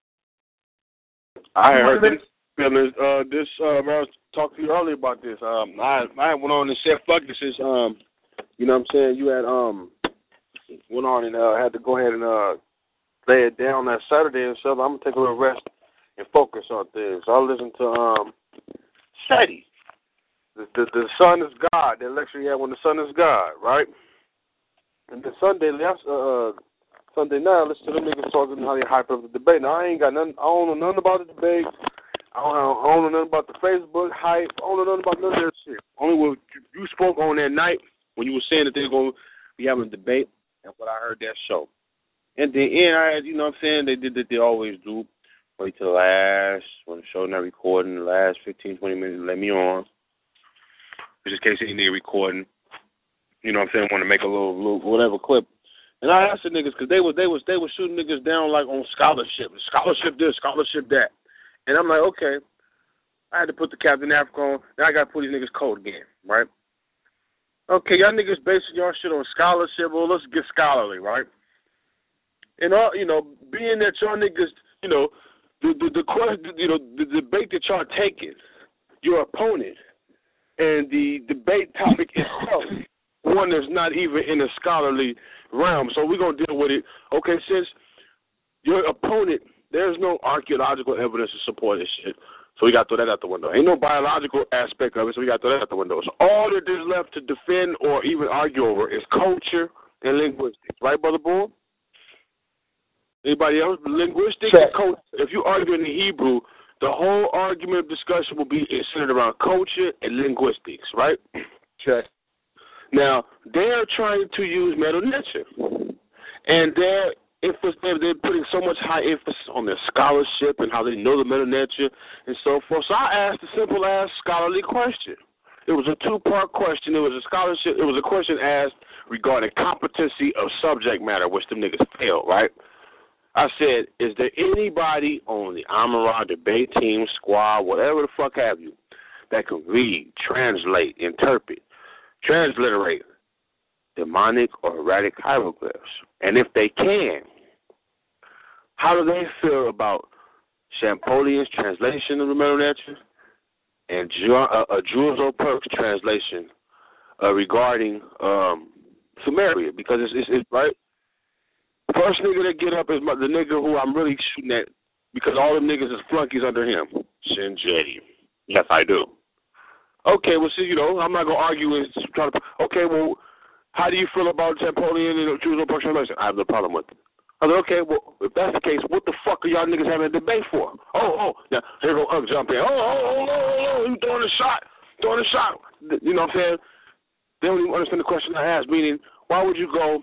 I heard this. Uh, this uh, I was talking to you earlier about this. Um, I I went on and said fuck this is um, you know what I'm saying. You had um went on and uh, had to go ahead and uh lay it down that Saturday and stuff. I'm gonna take a little rest and focus on things. So I listened to um Shetty. The, the the Son is God. The lecture he had when the Son is God, right? And then Sunday last uh Sunday night, I listened to them niggas talking how they hype up the debate. Now I ain't got nothing. I don't know nothing about the debate. I don't, I don't know nothing about the Facebook hype. I don't know nothing about none of that shit. Only what you spoke on that night when you were saying that they're going to be having a debate, and what I heard that show. And then, and I had, you know what I'm saying, they did that they always do. Wait till the last, when the show not recording, the last fifteen, twenty minutes, let me on. Just in case they need recording. You know what I'm saying, want to make a little, little whatever clip. And I asked the niggas, because they was, they, was, they was shooting niggas down like on scholarship. Scholarship this, scholarship that. And I'm like, okay, I had to put the Captain Africa on. Now I got to put these niggas code again, right? Okay, y'all niggas basing y'all shit on scholarship. Well, let's get scholarly, right? And all, you know, being that y'all niggas, you know, the the, the question, you know, the debate that y'all taking, your opponent, and the debate topic itself, one that's not even in a scholarly realm. So we're gonna deal with it. Okay, since your opponent. There's no archaeological evidence to support this shit. So we got to throw that out the window. Ain't no biological aspect of it, so we got to throw that out the window. So all that is left to defend or even argue over is culture and linguistics. Right, Brother Bull? Anybody else? Linguistics Check. and culture. If you argue in the Hebrew, the whole argument discussion will be centered around culture and linguistics, right? Check. Now, they're trying to use Medu Neter. And they're They're putting so much high emphasis on their scholarship and how they know the Medu Neter and so forth. So I asked a simple ass scholarly question. It was a two-part question. It was a scholarship. It was a question asked regarding competency of subject matter, which them niggas failed, right? I said, is there anybody on the Amara debate team, squad, whatever the fuck have you, that can read, translate, interpret, transliterate demonic or erratic hieroglyphs? And if they can, how do they feel about Champollion's translation of the Medu Neter and uh, a Jules O'Perk's translation uh, regarding um, Samaria, because it's, it's, it's right. First nigga that get up is my, the nigga who I'm really shooting at, because all them niggas is flunkies under him. Shinji. Yes, I do. Okay, well, see, you know, I'm not gonna argue with trying to. Okay, well, how do you feel about Napoleon and Jules O'Perk's translation? I have no problem with it. I said, okay, well, if that's the case, what the fuck are y'all niggas having a debate for? Oh, oh, now here go Ugg jump in. Oh, oh, oh, oh, oh, you throwing a shot, throwing a shot. You know what I'm saying? They don't even understand the question I asked, meaning, why would you go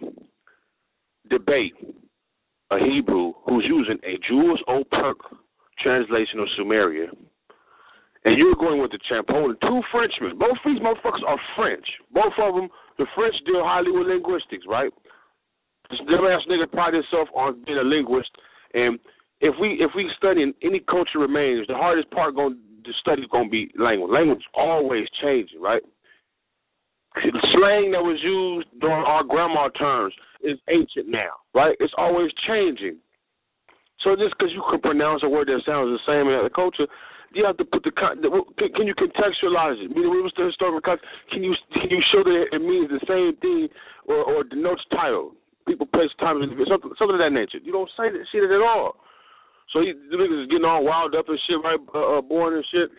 debate a Hebrew who's using a Jules O'Perk translation of Sumeria, and you're going with the Champollion, two Frenchmen. Both these motherfuckers are French. Both of them, the French deal highly with linguistics, right? This dumbass nigga pride himself on being a linguist, and if we if we study in any culture remains, the hardest part going to study is going to be language. Language is always changing, right? The slang that was used during our grandma terms is ancient now, right? It's always changing. So just because you can pronounce a word that sounds the same in other culture, you have to put the – can you contextualize it? Meaning, what's the historical context? Can you can you show that it means the same thing or, or denotes title? People, place, time, something, something of that nature. You don't say that shit at all. So he, the niggas is getting all wild up and shit, right, uh, uh, born and shit.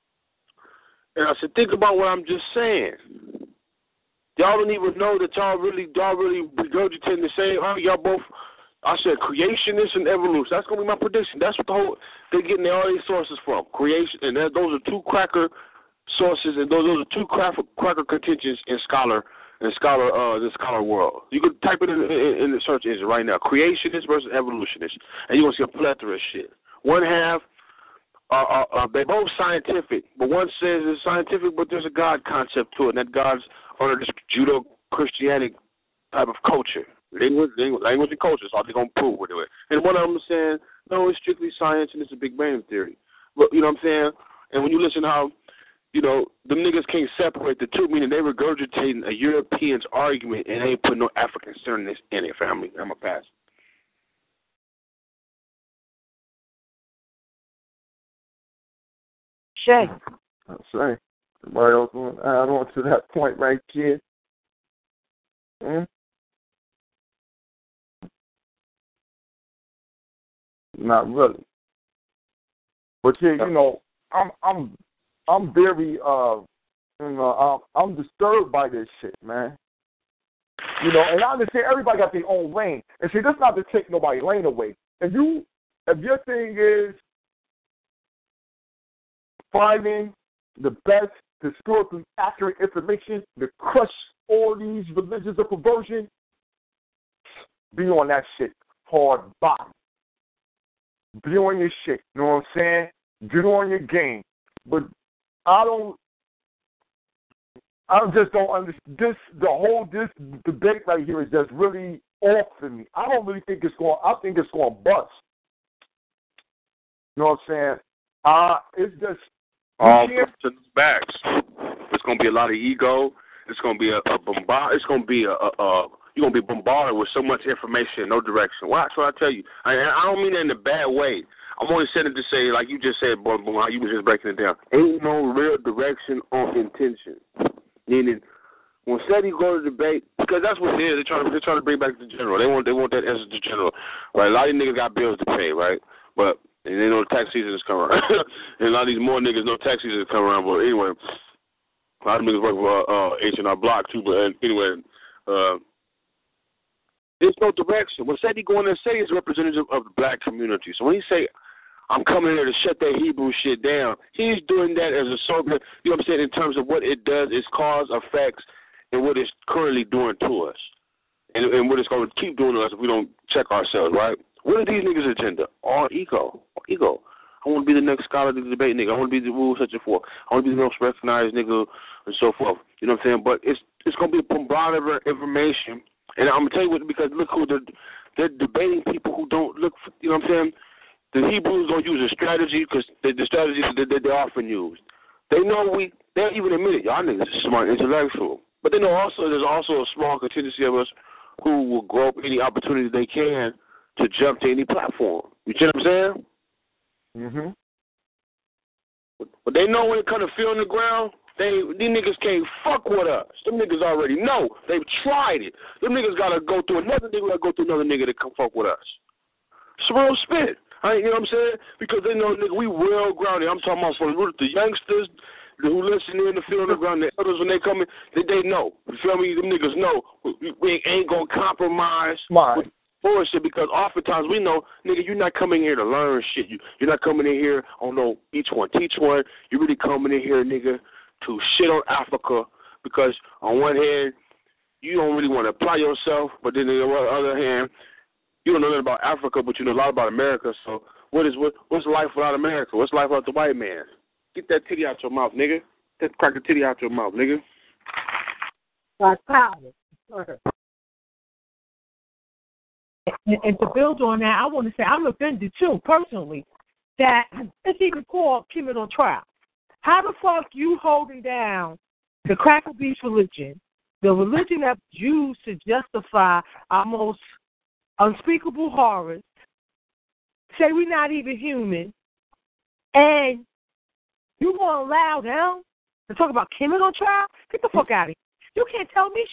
And I said, think about what I'm just saying. Y'all don't even know that y'all really, y'all really regurgitating the same. Oh, y'all both, I said creationist and evolution. That's going to be my prediction. That's what the whole, they're getting all these sources from. Creation, and that, those are two cracker sources, and those, those are two cracker, cracker contentions in scholar in scholar uh, the scholar world. You can type it in, in, in the search engine right now, creationist versus evolutionist, and you're going to see a plethora of shit. One half, uh, uh, uh, they're both scientific, but one says it's scientific, but there's a God concept to it, and that God's under this Judo-Christianic type of culture. Language, language, language and culture is all they're going to prove with it. And one of them is saying, no, it's strictly science and it's a Big Bang Theory. But, you know what I'm saying? And when you listen to how, you know, them niggas can't separate the two, meaning they regurgitating a European's argument and they ain't putting no African sternness in it, family. I'm a pass. Shay. I'll say. Somebody else want to add on to that point right here? Hmm? Not really. But yeah, you know, I'm I'm I'm very uh you know, I'm, I'm disturbed by this shit, man. You know, and I understand everybody got their own lane. And see, that's not to take nobody's lane away. If you if your thing is finding the best historically accurate information to crush all these religions of perversion, be on that shit hard body. Be on your shit, you know what I'm saying? Get on your game. But I don't, I just don't understand. This, the whole, this debate right here is just really off for me. I don't really think it's going, I think it's going to bust. You know what I'm saying? Uh, it's just, all to backs. It's going to be a lot of ego. It's going to be a, a bombard. It's going to be a, a, a you're going to be bombarded with so much information in no direction. Watch what I tell you. I, I don't mean that in a bad way. I'm only saying it to say, like you just said, boy, boy, how you was just breaking it down. Ain't no real direction or intention. Meaning, when SETI go to debate, because that's what it is. They're trying to, they're trying to bring back the general. They want, they want that as the general. Right? A lot of these niggas got bills to pay, right? But and they know tax season is coming around. And a lot of these more niggas know tax season is coming around. But anyway, a lot of niggas work for uh, H and R Block, too. But anyway, uh, there's no direction. When SETI go in there, SETI is a representative of the black community. So when he say, I'm coming here to shut that Hebrew shit down, he's doing that as a social, you know what I'm saying, in terms of what it does, its cause, effects, and what it's currently doing to us. And, and what it's going to keep doing to us if we don't check ourselves, right? What are these niggas' agenda? All ego. All ego. I want to be the next scholar to the debate nigga. I want to be the rule such and forth. I want to be the most recognized nigga and so forth. You know what I'm saying? But it's it's going to be a bombardment of information. And I'm going to tell you what, because look who they're, they're debating people who don't look, for, you know what I'm saying? The Hebrews don't use a strategy because the, the strategy that, that they often use. They know we, they don't even admit it. Y'all niggas are smart intellectual. But they know also there's also a small contingency of us who will grow up any opportunity they can to jump to any platform. You see what I'm saying? Mm-hmm. But they know when it comes to feeling the ground, they these niggas can't fuck with us. Them niggas already know. They've tried it. Them niggas gotta go through another nigga, gotta go through another nigga to come fuck with us. It's real spit. I, you know what I'm saying? Because they know, nigga, we well grounded. I'm talking about from the youngsters who listen in the field on the ground, the elders when they come in, they, they know. You feel me? Them niggas know we, we ain't gonna compromise Smart. with bullshit because oftentimes we know, nigga, you're not coming here to learn shit. You, you're not coming in here on no each one teach one. You're really coming in here, nigga, to shit on Africa because on one hand, you don't really want to apply yourself, but then on the other hand, you don't know nothing about Africa, but you know a lot about America. So what is what? What's life without America? What's life without the white man? Get that titty out your mouth, nigga. Get crack the titty out your mouth, nigga. Like power. And, and to build on that, I want to say I'm offended too, personally, that it's even called Kemet on trial. How the fuck you holding down the Cracker Beast religion, the religion that's used to justify our most unspeakable horrors, say we're not even human, and you going to allow them to talk about Kemet on trial? Get the fuck out of here. You can't tell me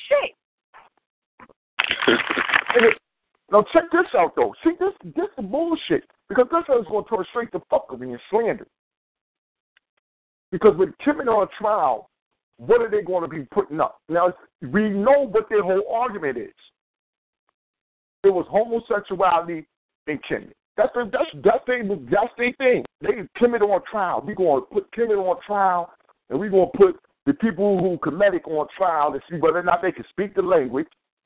shit. Now check this out though. See this this is bullshit. Because this is going to turn straight to fuckery and slander. Because with Kemet on trial, what are they going to be putting up? Now we know what their whole argument is. It was homosexuality and Kemet. That's their, that's that's their that's their thing. They Kemet on trial. We're going to put Kemet on trial, and we're going to put the people who Kemetic on trial to see whether or not they can speak the language,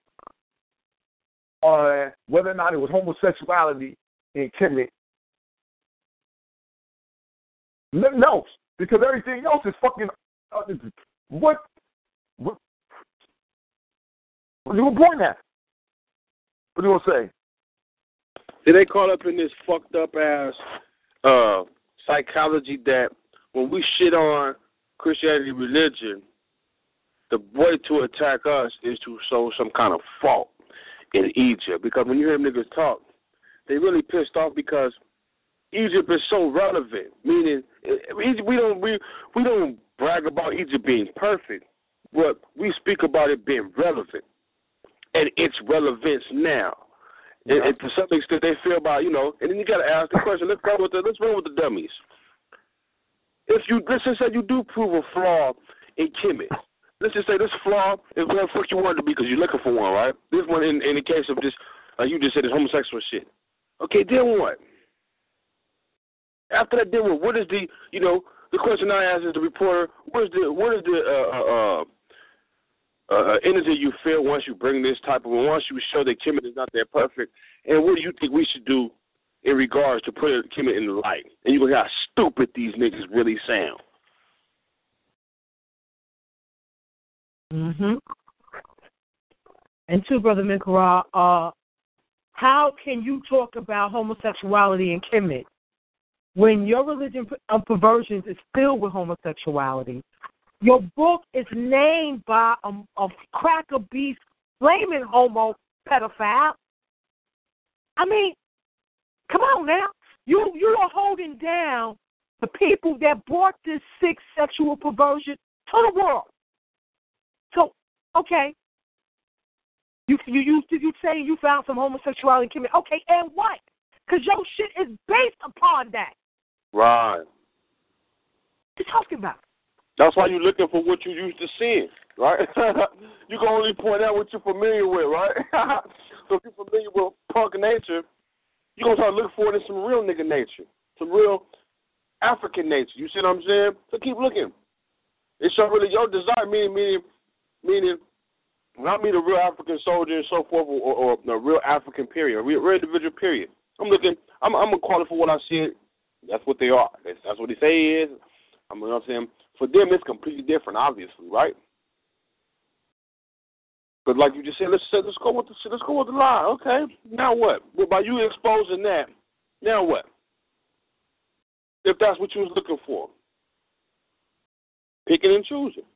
or whether or not it was homosexuality in Kemet. Nothing else, because everything else is fucking. Uh, what? What? What are you going at? What are you gonna say? Did they caught up in this fucked up ass uh, psychology that when we shit on Christianity religion, the way to attack us is to show some kind of fault in Egypt? Because when you hear them niggas talk, they really pissed off because Egypt is so relevant. Meaning, we don't we we don't brag about Egypt being perfect, but we speak about it being relevant and its relevance now. Yeah. And, and to some extent, they feel about, you know, and then you got to ask the question. Let's go with the let's run with the dummies. If you let's just say you do prove a flaw in Kemet, let's just say this flaw is what the fuck you want it to be because you're looking for one, right? This one, in, in the case of this, like you just said, is homosexual shit. Okay, then what? After that, then what? What is the, you know, the question I asked is the reporter, what is the, what is the uh, uh, uh, energy you feel once you bring this type of, once you show that Kemet is not that perfect, and what do you think we should do in regards to putting Kemet in the light? And you look how stupid these niggas really sound. Mm-hmm. And two, Brother Minkara, uh, how can you talk about homosexuality in Kemet when your religion of perversions is filled with homosexuality? Your book is named by a, a Cracker Beast flaming homo pedophile. I mean, come on now. You you are holding down the people that brought this sick sexual perversion to the world. So, okay. You you you you say you found some homosexuality in Kemet. Okay, and what? Because your shit is based upon that. Right. What you talking about? That's why you're looking for what you used to seeing, right? You can only point out what you're familiar with, right? So if you're familiar with punk nature, you're going to start looking for it in some real nigga nature, some real African nature. You see what I'm saying? So keep looking. It's your, really your desire, meaning, meaning, meaning, not me, the real African soldier and so forth, or, or, or a real African period, a real, real individual period. I'm looking, I'm, I'm going to call it for what I see. That's what they are. That's, that's what they say is. I'm you know what I'm saying. For them, it's completely different, obviously, right? But like you just said, let's say, let's go with the let's go with the lie. Okay, now what? Well, by you exposing that, now what? If that's what you was looking for, picking and choosing.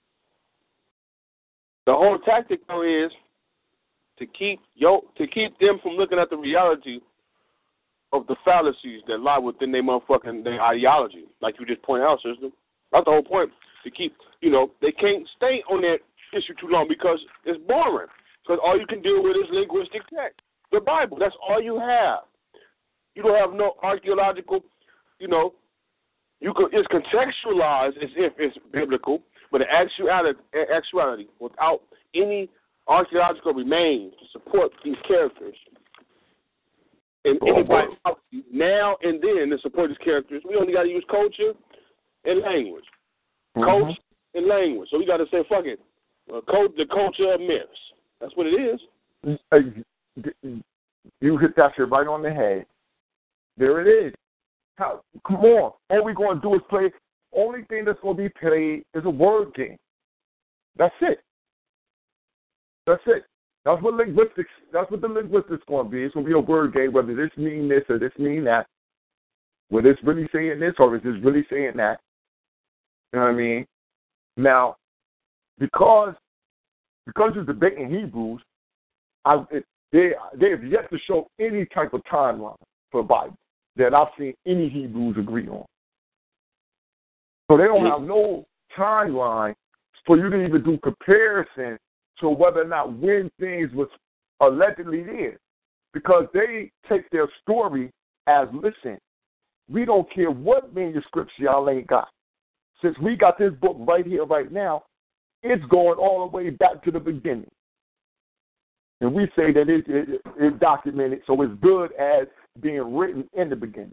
The whole tactic though is to keep yo to keep them from looking at the reality of the fallacies that lie within their motherfucking their ideology, like you just pointed out, sister. That's the whole point. To keep, you know, they can't stay on that issue too long because it's boring. Because all you can deal with is linguistic text, the Bible. That's all you have. You don't have no archaeological, you know. You could, it's contextualized as if it's biblical, but in actuality, actuality, without any archaeological remains to support these characters, and oh, anybody now and then to support these characters, we only got to use culture and language. Mm-hmm. Culture and language. So we got to say, fuck it, uh, cult, the culture of myths. That's what it is. You hit that shit right on the head. There it is. How, come on. All we're going to do is play. Only thing that's going to be played is a word game. That's it. That's it. That's what linguistics, that's what the linguistics going to be. It's going to be a word game, whether this mean this or this mean that. Whether it's really saying this or is this really saying that. You know what I mean? Now, because because you're debating Hebrews, I, it, they they have yet to show any type of timeline for the Bible that I've seen any Hebrews agree on. So they don't have no timeline for you to even do comparison to whether or not when things was allegedly there. Because they take their story as, listen, we don't care what manuscripts y'all ain't got. Since we got this book right here, right now, it's going all the way back to the beginning. And we say that it, it, it's documented, so it's good as being written in the beginning.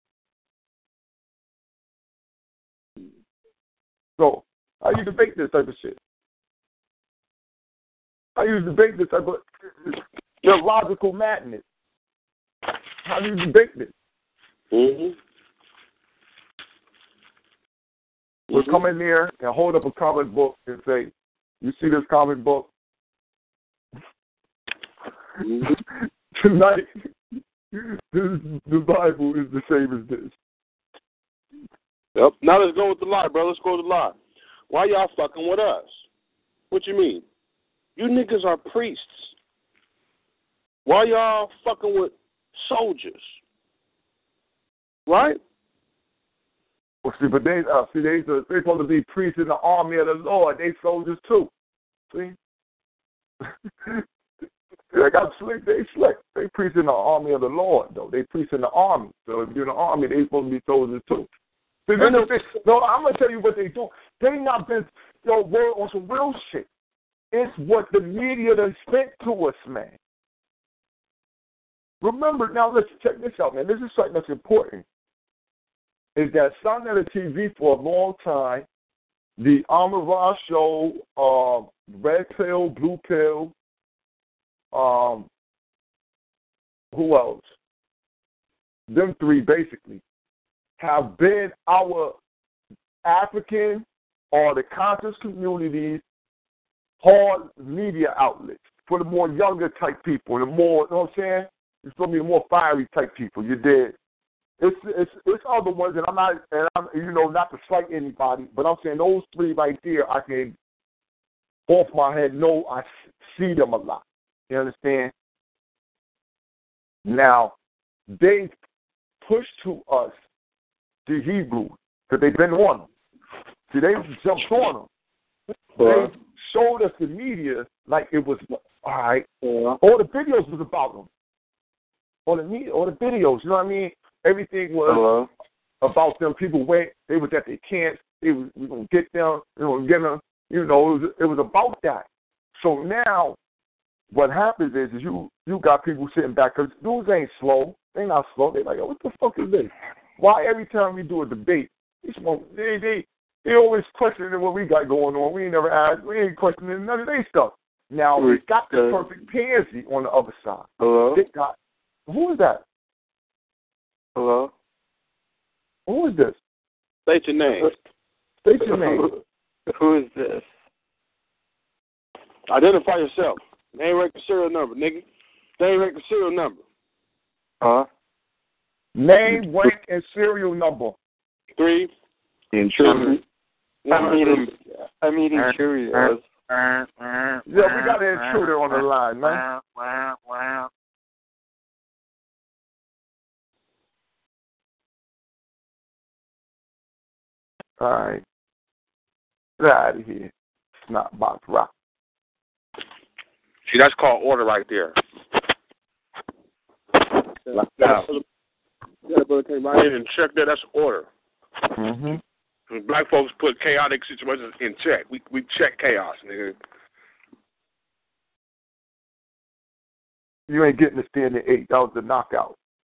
So, how you debate this type of shit? How you debate this type of illogical madness? How do you debate this? Mm-hmm. We'll come in there and hold up a comic book and say, you see this comic book? Mm-hmm. Tonight, this, the Bible is the same as this. Yep. Now let's go with the lie, bro. Let's go with the lie. Why y'all fucking with us? What you mean? You niggas are priests. Why y'all fucking with soldiers? Right? Well, see, but they, uh, see, they, they're supposed to be priests in the army of the Lord. They soldiers too. See? They got slick. They slick. They priests in the army of the Lord, though. They priests in the army. So if you're in the army, they supposed to be soldiers too. See, they, they, no, I'm gonna tell you what they do. They not been yo word on some real shit. It's what the media done spent to us, man. Remember, now let's check this out, man. This is something that's important. Is that something on the T V for a long time, the Amara show, uh, Red Pill, Blue Pill, um, who else? Them three basically have been our African or the conscious community's hard media outlets for the more younger type people, the more, you know what I'm saying? It's going to be the more fiery type people. You did. It's it's it's other ones, and I'm not, and I'm you know not to slight anybody, but I'm saying those three right there, I can off my head know I see them a lot. You understand? Now they push to us the Hebrews because they've been on them. See, they jumped on them. They showed us the media like it was all right. Yeah. All the videos was about them. All the media, all the videos. You know what I mean? Everything was Hello. about them. People went. They was at their camps. They was we gonna get them. We gonna get them. You know, it was, it was about that. So now, what happens is, is you you got people sitting back because dudes ain't slow. They not slow. They like, oh, what the fuck is this? Why every time we do a debate, they they they, they always questioning what we got going on. We ain't never asked. We ain't questioning none of their stuff. Now we got the perfect pansy on the other side. Hello. They got, who is that? Hello? Who is this? State your name. State your name. Who is this? Identify yourself. Name, rank, and serial number, nigga. Name, rank, and serial number. Huh? Name, rank, and serial number. Three. Intruder. I'm eating, I'm eating Cheerios. Yeah, we got an intruder on the line, man. All right. Get out of here. Snot box rock. See, that's called order right there. Yeah. Now, Yeah, brother came right in and check that. That's order. Mm-hmm. Black folks put chaotic situations in check. We we check chaos, nigga. You ain't getting the standing eight. That was the knockout.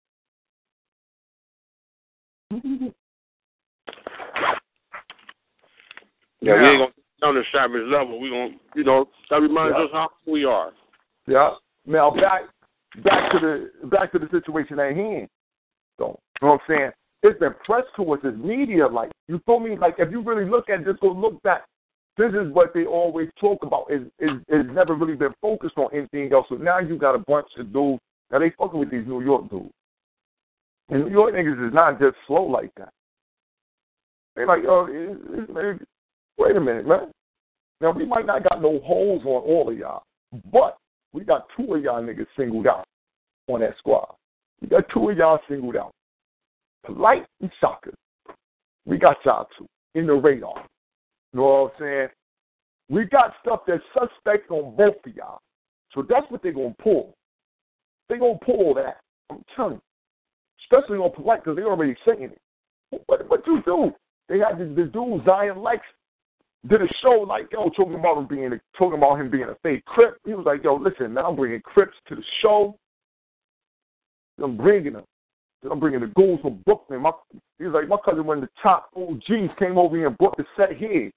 Yeah, now, we ain't gonna on the savage level. We gonna, you know, that reminds yeah. us how we are. Yeah. Now back back to the back to the situation at hand. So, you know what I'm saying? It's been pressed towards this media. Like, you feel me? Like, if you really look at this, go look back. This is what they always talk about. It's, it's, it's never really been focused on anything else. So now you got a bunch of dudes. Now they fucking with these New York dudes. And New York niggas is not just slow like that. They like, yo, it's, it's, wait a minute, man. Now, we might not got no holes on all of y'all, but we got two of y'all niggas singled out on that squad. We got two of y'all singled out. Polite and Shaka. We got y'all two in the radar. You know what I'm saying? We got stuff that's suspect on both of y'all. So that's what they're going to pull. They're going to pull that. I'm telling you. Especially on Polite because they're already saying it. What, what you do? They had this, this dude, Zion Lex, did a show like, yo, talking about him being a, talking about him being a fake Crip. He was like, yo, listen, now I'm bringing Crips to the show. I'm bringing them. I'm bringing the ghouls from Brooklyn. My, he was like, my cousin, one of the top O Gs, came over here and brought the set here.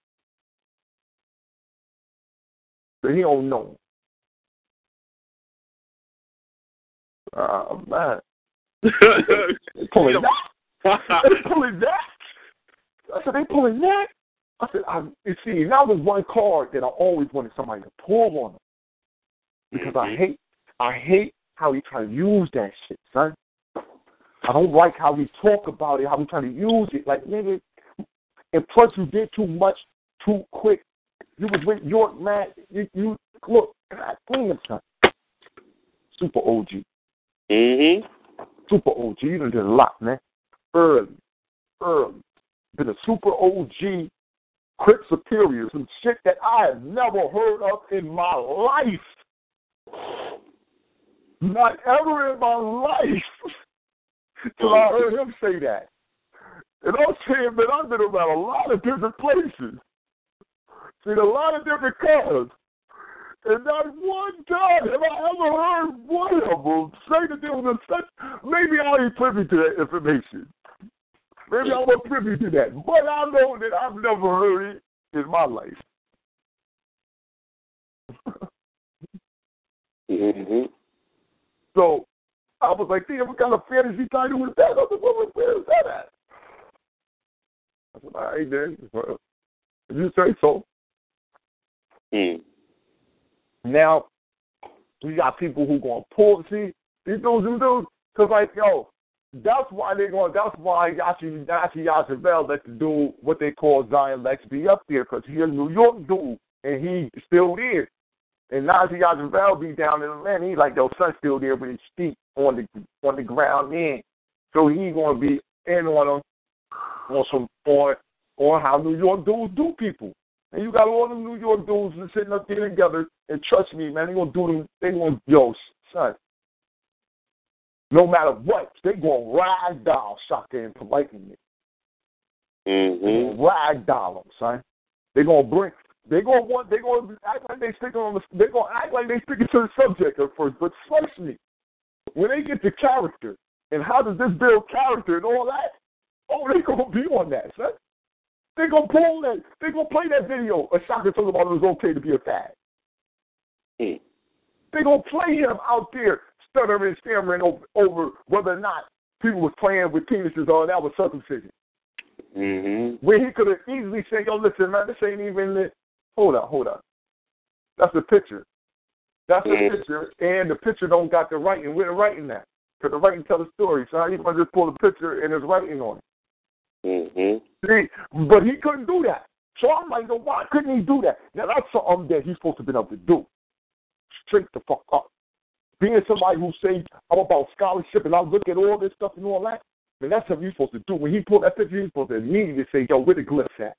But he don't know. Oh, man. They pulling that. They pulling that. I said, they pulling that? I said, I, you see, now there's one card that I always wanted somebody to pull on them. Because I hate, I hate how he try to use that shit, son. I don't like how we talk about it, how we try to use it. Like, nigga, and plus you did too much too quick. You was with York, man. You, you look, God damn, son. Super O G. Mm-hmm. Super O G. You done did a lot, man. Early. Early. Been a super O G, Crip Superior, some shit that I have never heard of in my life. Not ever in my life. Till I heard him say that. And I'm saying, man, I've been around a lot of different places. Seen a lot of different colors. And not one time have I ever heard one of them say that there was a such. Maybe I ain't privy to that information. Maybe I'm not privy to that. But I know that I've never heard it in my life. Mm-hmm. So, I was like, damn, what kind of fantasy title was that? I was like, well, where is that at? I said, all right, then. Well, if you say so. Mm. Now, we got people who going to pull, see, these dudes, these dudes, because, like, yo, that's why they're going, that's why Yachi, Yachi Yachavel let the dude, what they call Zion Lex, be up there, because he's a New York dude, and he's still there. And Najee Yachavel be down in Atlanta. He's like, yo, son's still there with his feet on the on the ground in. So he's going to be in on them on some on, on how New York dudes do people. And you got all them New York dudes sitting up there together, and trust me, man, they gonna do them. They gonna, yo, son. No matter what, they gonna ragdoll Shaka and Polite in it. Mm-hmm. They gonna ragdoll them, son. They gonna bring. They gonna want. They gonna act like they sticking on the. They gonna act like they sticking to the subject at first. But trust me, when they get to character and how does this build character and all that, oh, they gonna be on that, son. They gonna pull that. They gonna play that video of Shaka talking about it was okay to be a fag. Mm. They gonna play him out there stuttering, stammering over, over whether or not people was playing with penises or that was circumcision. Mm-hmm. Where he could have easily said, "Yo, listen, man, this ain't even the." Hold up, hold up. That's the picture. That's the mm-hmm. picture, and the picture don't got the writing. Where the writing at? Because the writing tell the story. So how you gonna just pull the picture and there's writing on it? Mm-hmm. See, but he couldn't do that. So I'm like, why couldn't he do that? Now that's something that he's supposed to be able to do. Straight the fuck up. Being somebody who says I'm about scholarship and I look at all this stuff and all that, mean, that's what you're supposed to do. When he pulled that picture, you're supposed to immediately say, yo, where the glyphs at?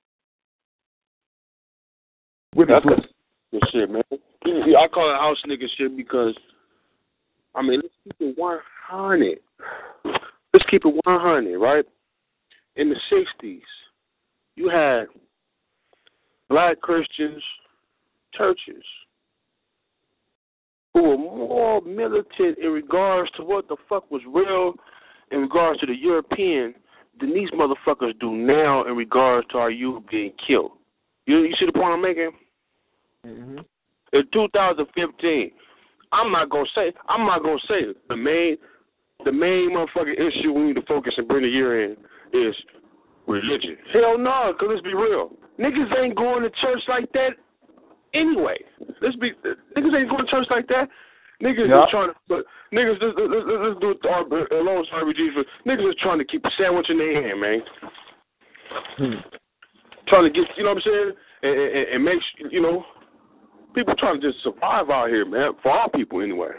Where the glyphs? Good shit, man. I call it house nigga shit because, I mean, let's keep it one hundred. Let's keep it one hundred, right? In the sixties, you had black Christians churches who were more militant in regards to what the fuck was real in regards to the European than these motherfuckers do now in regards to our youth being killed. You, you see the point I'm making? Mm-hmm. In two thousand fifteen, I'm not gonna say I'm not gonna say it. the main the main motherfucking issue we need to focus and bring the year in is religion. Hell no, cause let's be real. Niggas ain't going to church like that anyway. Let's be niggas ain't going to church like that. Niggas yeah. just trying to but niggas let's, let's, let's do it our alone R B G for niggas just trying to keep a sandwich in their hand, man. Hmm. Trying to get you know what I'm saying? And, and, and make you know people trying to just survive out here, man. For our people, anyway.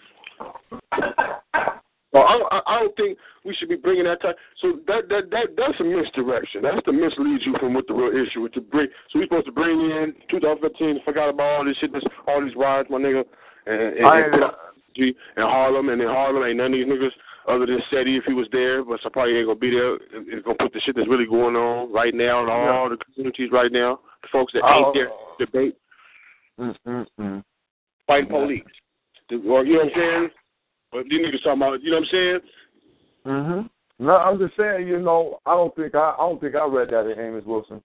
Well, I, I don't think we should be bringing that type. So that that that that's a misdirection. That's to mislead you from what the real issue is to bring. So we're supposed to bring in twenty fifteen. Forgot about all this shit. This all these riots, my nigga, and and, I, and, and Harlem, and in Harlem ain't none of these niggas other than Seti if he was there, but so probably ain't gonna be there. It's gonna put the shit that's really going on right now in all yeah. the communities right now. The folks that ain't oh. there debate. Mm-mm-mm. Fighting police. Or, you know what I'm saying? But these niggas talking about, you know what I'm saying? Mm-hmm. No, I'm just saying, you know, I don't think I, I don't think I read that in Amos Wilson.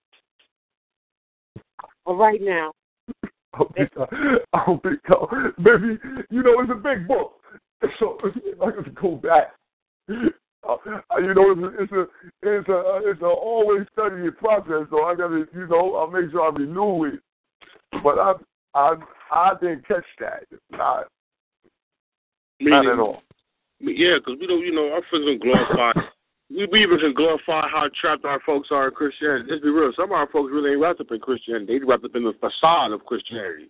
Well, right now. I don't think I, I don't think so. Maybe, you know, it's a big book. So I got to go back. Uh, you know, it's a, it's a, it's a, it's a always studying process. So I got to, you know, I'll make sure I renew it. But I, I, I didn't catch that. Not, not at all. Yeah, because we don't, you know, our folks don't glorify. we, we even can glorify how trapped our folks are in Christianity. Let's be real. Some of our folks really ain't wrapped up in Christianity. They wrapped up in the facade of Christianity.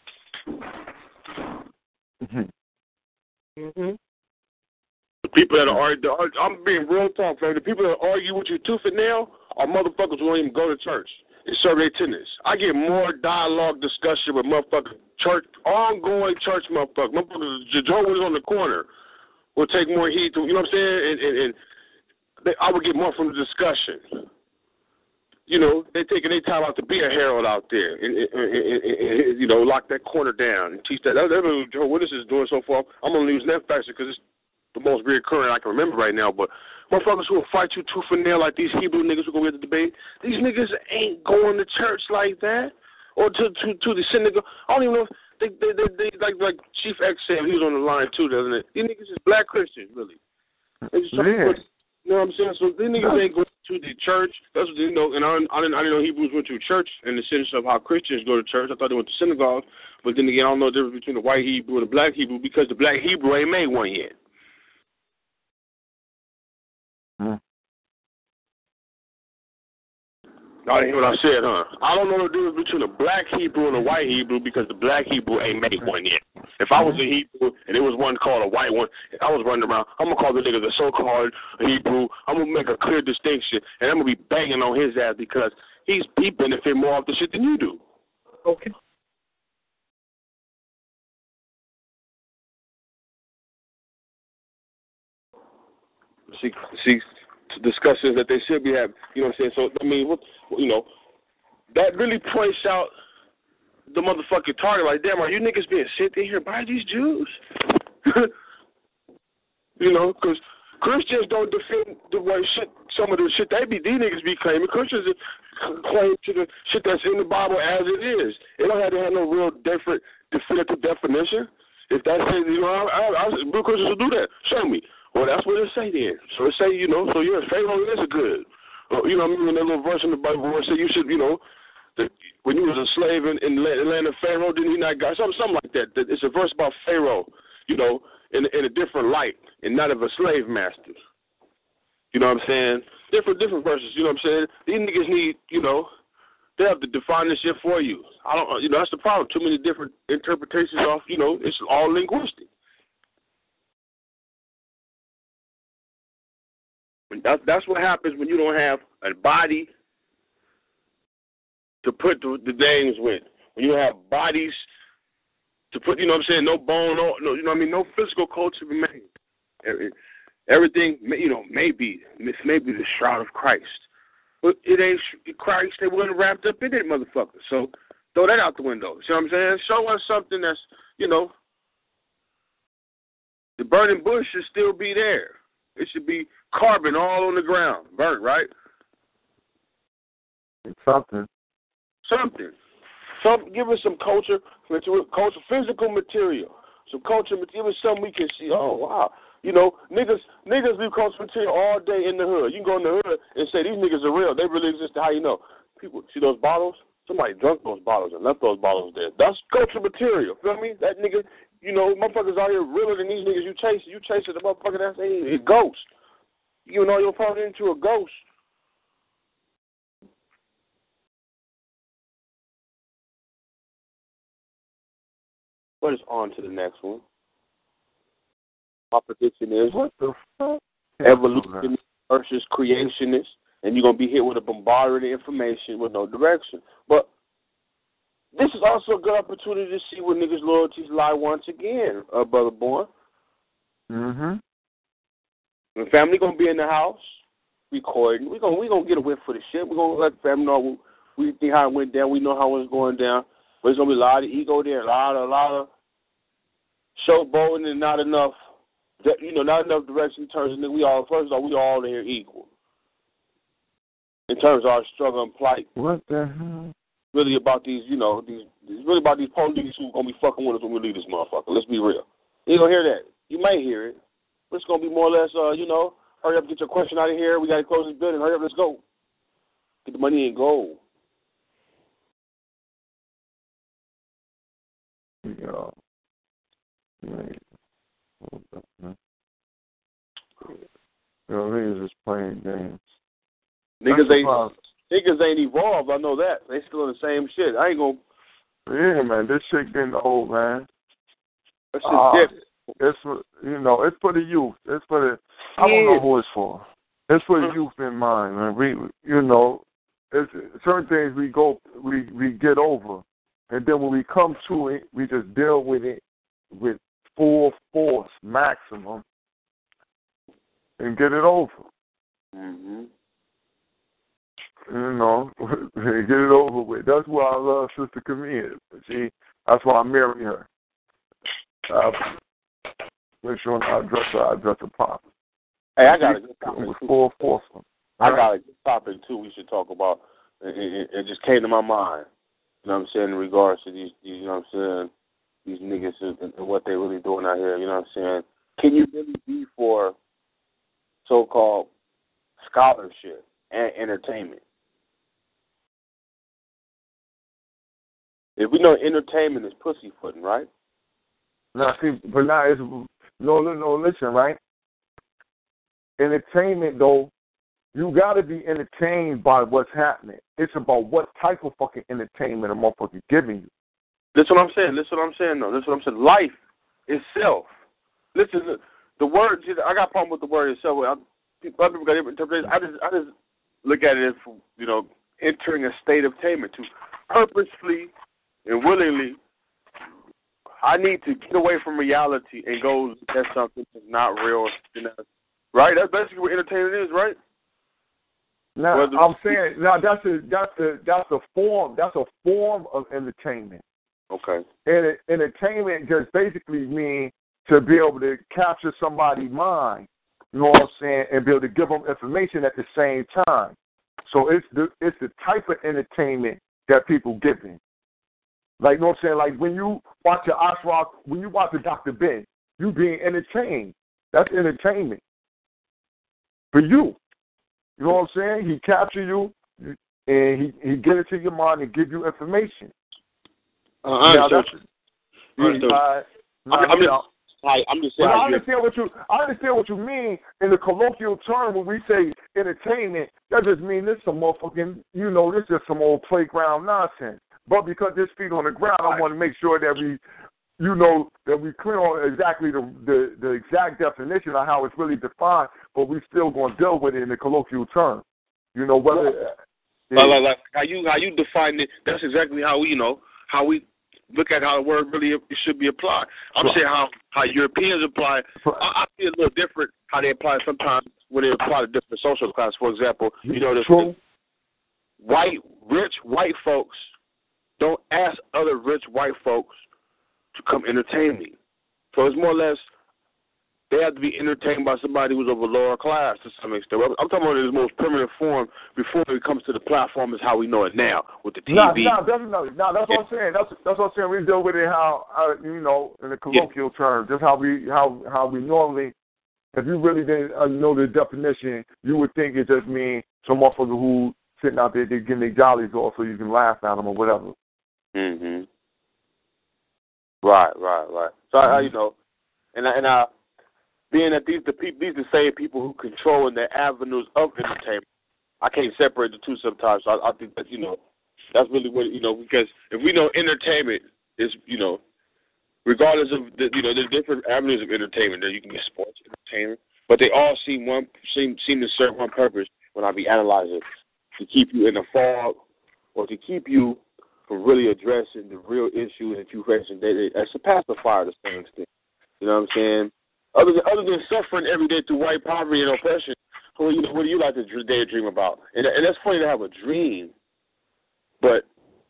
Mm-hmm. Mm-hmm. The people that are, I'm being real talk, man. The people that argue with you tooth and nail are motherfuckers who don't even go to church. They serve their attendance. I get more dialogue discussion with motherfuckers, church, ongoing church motherfuckers. Motherfuckers, Jehovah's on the corner will take more heed to, you know what I'm saying? And, and, and they, I would get more from the discussion. You know, they taking their time out to be a herald out there and, and, and, and, and you know, lock that corner down and teach that. That's what Jehovah's Witnesses is doing so far. I'm going to use that factor because it's the most reoccurring I can remember right now. But motherfuckers who will fight you tooth and nail like these Hebrew niggas who go get the debate, these niggas ain't going to church like that or to to, to the synagogue. I don't even know if they, they, they, they like like Chief X said, he was on the line too, doesn't it? These niggas is black Christians, really. They just yeah. put, you know what I'm saying? So these niggas ain't going to the church. That's what they know. And I, I, didn't, I didn't know Hebrews went to church in the sense of how Christians go to church. I thought they went to synagogue. But then again, I don't know the difference between the white Hebrew and the black Hebrew because the black Hebrew ain't made one yet. Hmm. I didn't hear what I said, huh? I don't know the difference between a black Hebrew and a white Hebrew because the black Hebrew ain't made one yet. If I was a Hebrew and there was one called a white one, and I was running around, I'm going to call the nigga the so-called Hebrew. I'm going to make a clear distinction, and I'm going to be banging on his ass because he's he benefit more off the shit than you do. Okay. See, see, discussions that they should be having. You know what I'm saying? So, I mean, what, you know, that really points out the motherfucking target. Like, damn, are you niggas being sent in here by these Jews? You know, because Christians don't defend the way shit, some of the shit they be, these niggas be claiming. Christians claim to the shit that's in the Bible as it is. It don't have to have no real different, definitive definition. If that's it, you know, I, I, I, real Christians will do that. Show me. Well, that's what it say then. So it say, you know, so yes, Pharaoh is a good. Uh, you know, I mean, that little verse in the Bible where it say you should, you know, that when you was a slave in, in the land of Pharaoh, didn't he not got something, something like that. That it's a verse about Pharaoh, you know, in in a different light and not of a slave master. You know what I'm saying? Different different verses. You know what I'm saying? These niggas need, you know, they have to define this shit for you. I don't, you know, that's the problem. Too many different interpretations of, you know, it's all linguistic. That, that's what happens when you don't have a body to put the, the names with. When you have bodies to put, you know what I'm saying, no bone, no, no you know what I mean, no physical culture remains. Everything, you know, maybe, maybe the shroud of Christ. But it ain't Christ. They weren't wrapped up in it, motherfucker. So throw that out the window. See what I'm saying? Show us something that's, you know, the burning bush should still be there. It should be carbon all on the ground, burnt, right? Something. Something. Some, give us some culture, culture, physical material. Some culture material. Give us something we can see. Oh, wow. You know, niggas niggas leave culture material all day in the hood. You can go in the hood and say, these niggas are real. They really exist. How you know? People, see those bottles? Somebody drunk those bottles and left those bottles there. That's culture material. Feel me? That nigga, you know, motherfuckers out here realer than these niggas you chasing. You chasing the motherfucker that's a, a ghost. You know you're falling into a ghost. What is on to the next one? My prediction is what the fuck? Evolution versus creationist, and you're gonna be hit with a bombardment of information with no direction. But this is also a good opportunity to see where niggas' loyalties lie once again, uh, brother Born. Mm-hmm. The family gonna be in the house recording. We gonna we gonna get a whip for the shit. We gonna let the family know we think how it went down. We know how it's going down. But there's gonna be a lot of ego there, a lot of a lot of showboating and not enough. You know, not enough direction in terms of we all. First of all, we all here equal in terms of our struggle and plight. What the hell? Really about these, you know, these. It's really about these police who gonna be fucking with us when we leave this motherfucker. Let's be real. You gonna hear that? You may hear it, but it's gonna be more or less, uh, you know, hurry up, get your question out of here. We gotta close this building. Hurry up, let's go. Get the money and go. Yo, man. Hold up, man. Yo, niggas is playing games. Niggas ain't, niggas ain't evolved. I know that. They still in the same shit. I ain't gonna. Yeah, man. This shit getting old, man. That shit's uh, different. It's for, you know, it's for the youth. It's for the. I don't know who it's for. It's for the youth in mind, man. We, you know, it's certain things we go, we we get over, and then when we come to it, we just deal with it with full force, maximum, and get it over. Mm-hmm. You know, get it over with. That's why I love Sister Camille. See, that's why I marry her. I make sure I address her, I address her properly. Hey, I got a good topic. With full force. I got a good topic too. We should talk about. It, it, it just came to my mind. You know what I'm saying in regards to these, these you know what I'm saying, these niggas and, and what they're really doing out here. You know what I'm saying? Can you really be for so-called scholarship and entertainment? If we know entertainment is pussyfooting, right? Now, see, but now it's no, no, no. Listen, right? Entertainment, though, you got to be entertained by what's happening. It's about what type of fucking entertainment a motherfucker giving you. That's what I'm saying. That's what I'm saying, though. That's what I'm saying. Life itself. Listen, the, the word. I got a problem with the word itself. I, people, people got different interpretations. I just, I just look at it as, you know, entering a state of attainment to purposefully and willingly. I need to get away from reality and go at something that's not real. You know, right? That's basically what entertainment is, right? Now, Whether I'm saying now that's a that's a that's a form that's a form of entertainment. Okay. And entertainment just basically means to be able to capture somebody's mind. You know what I'm saying, and be able to give them information at the same time. So it's the it's the type of entertainment that people give in. Like, you know what I'm saying? Like, when you watch your Ashraf, when you watch the Doctor Ben, you being entertained. That's entertainment for you. You know what I'm saying? He capture you, and he, he get it to your mind and give you information. Uh, I now, understand. That's, I understand. Uh, now, I'm, I'm, just, I, I'm just saying. I understand what you. I understand what you mean in the colloquial term when we say entertainment. That just means this some motherfucking. You know, this is some old playground nonsense. But because there's feet on the ground, I want to make sure that we, you know, that we clear on exactly the, the, the exact definition of how it's really defined but we still going to deal with it in the colloquial term. You know, whether like, like, like how you how you define it, that's exactly how we, you know, how we look at how the word really should be applied. I'm right. saying how, how Europeans apply. Right. I, I see it a little different how they apply sometimes when they apply to different social classes. For example, you know, the white, rich white folks don't ask other rich white folks to come entertain me. So it's more or less they have to be entertained by somebody who's of a lower class to some extent. I'm talking about in its most primitive form before it comes to the platform is how we know it now with the T V. No, no, definitely. No, that's what I'm saying. That's that's what I'm saying. We deal with it how, uh, you know, in the colloquial yeah. terms, just how we how how we normally. If you really didn't uh, know the definition, you would think it just means some motherfucker who sitting out there they getting their jollies off so you can laugh at them or whatever. Mhm. Right, right, right. So mm-hmm. I, you know, and I, and I. Being that these the people, these the same people who control their avenues of entertainment, I can't separate the two sometimes. So I, I think that you know that's really what you know because if we know entertainment is you know regardless of the, you know there's different avenues of entertainment. There you can get sports entertainment, but they all seem one seem seem to serve one purpose when I be analyzing to keep you in a fog or to keep you from really addressing the real issue that you facing. They, they, as a pacifier to some extent. You know what I'm saying? Other than, other than suffering every day through white poverty and oppression, what do you, what do you like to daydream about? And, and that's funny to have a dream, but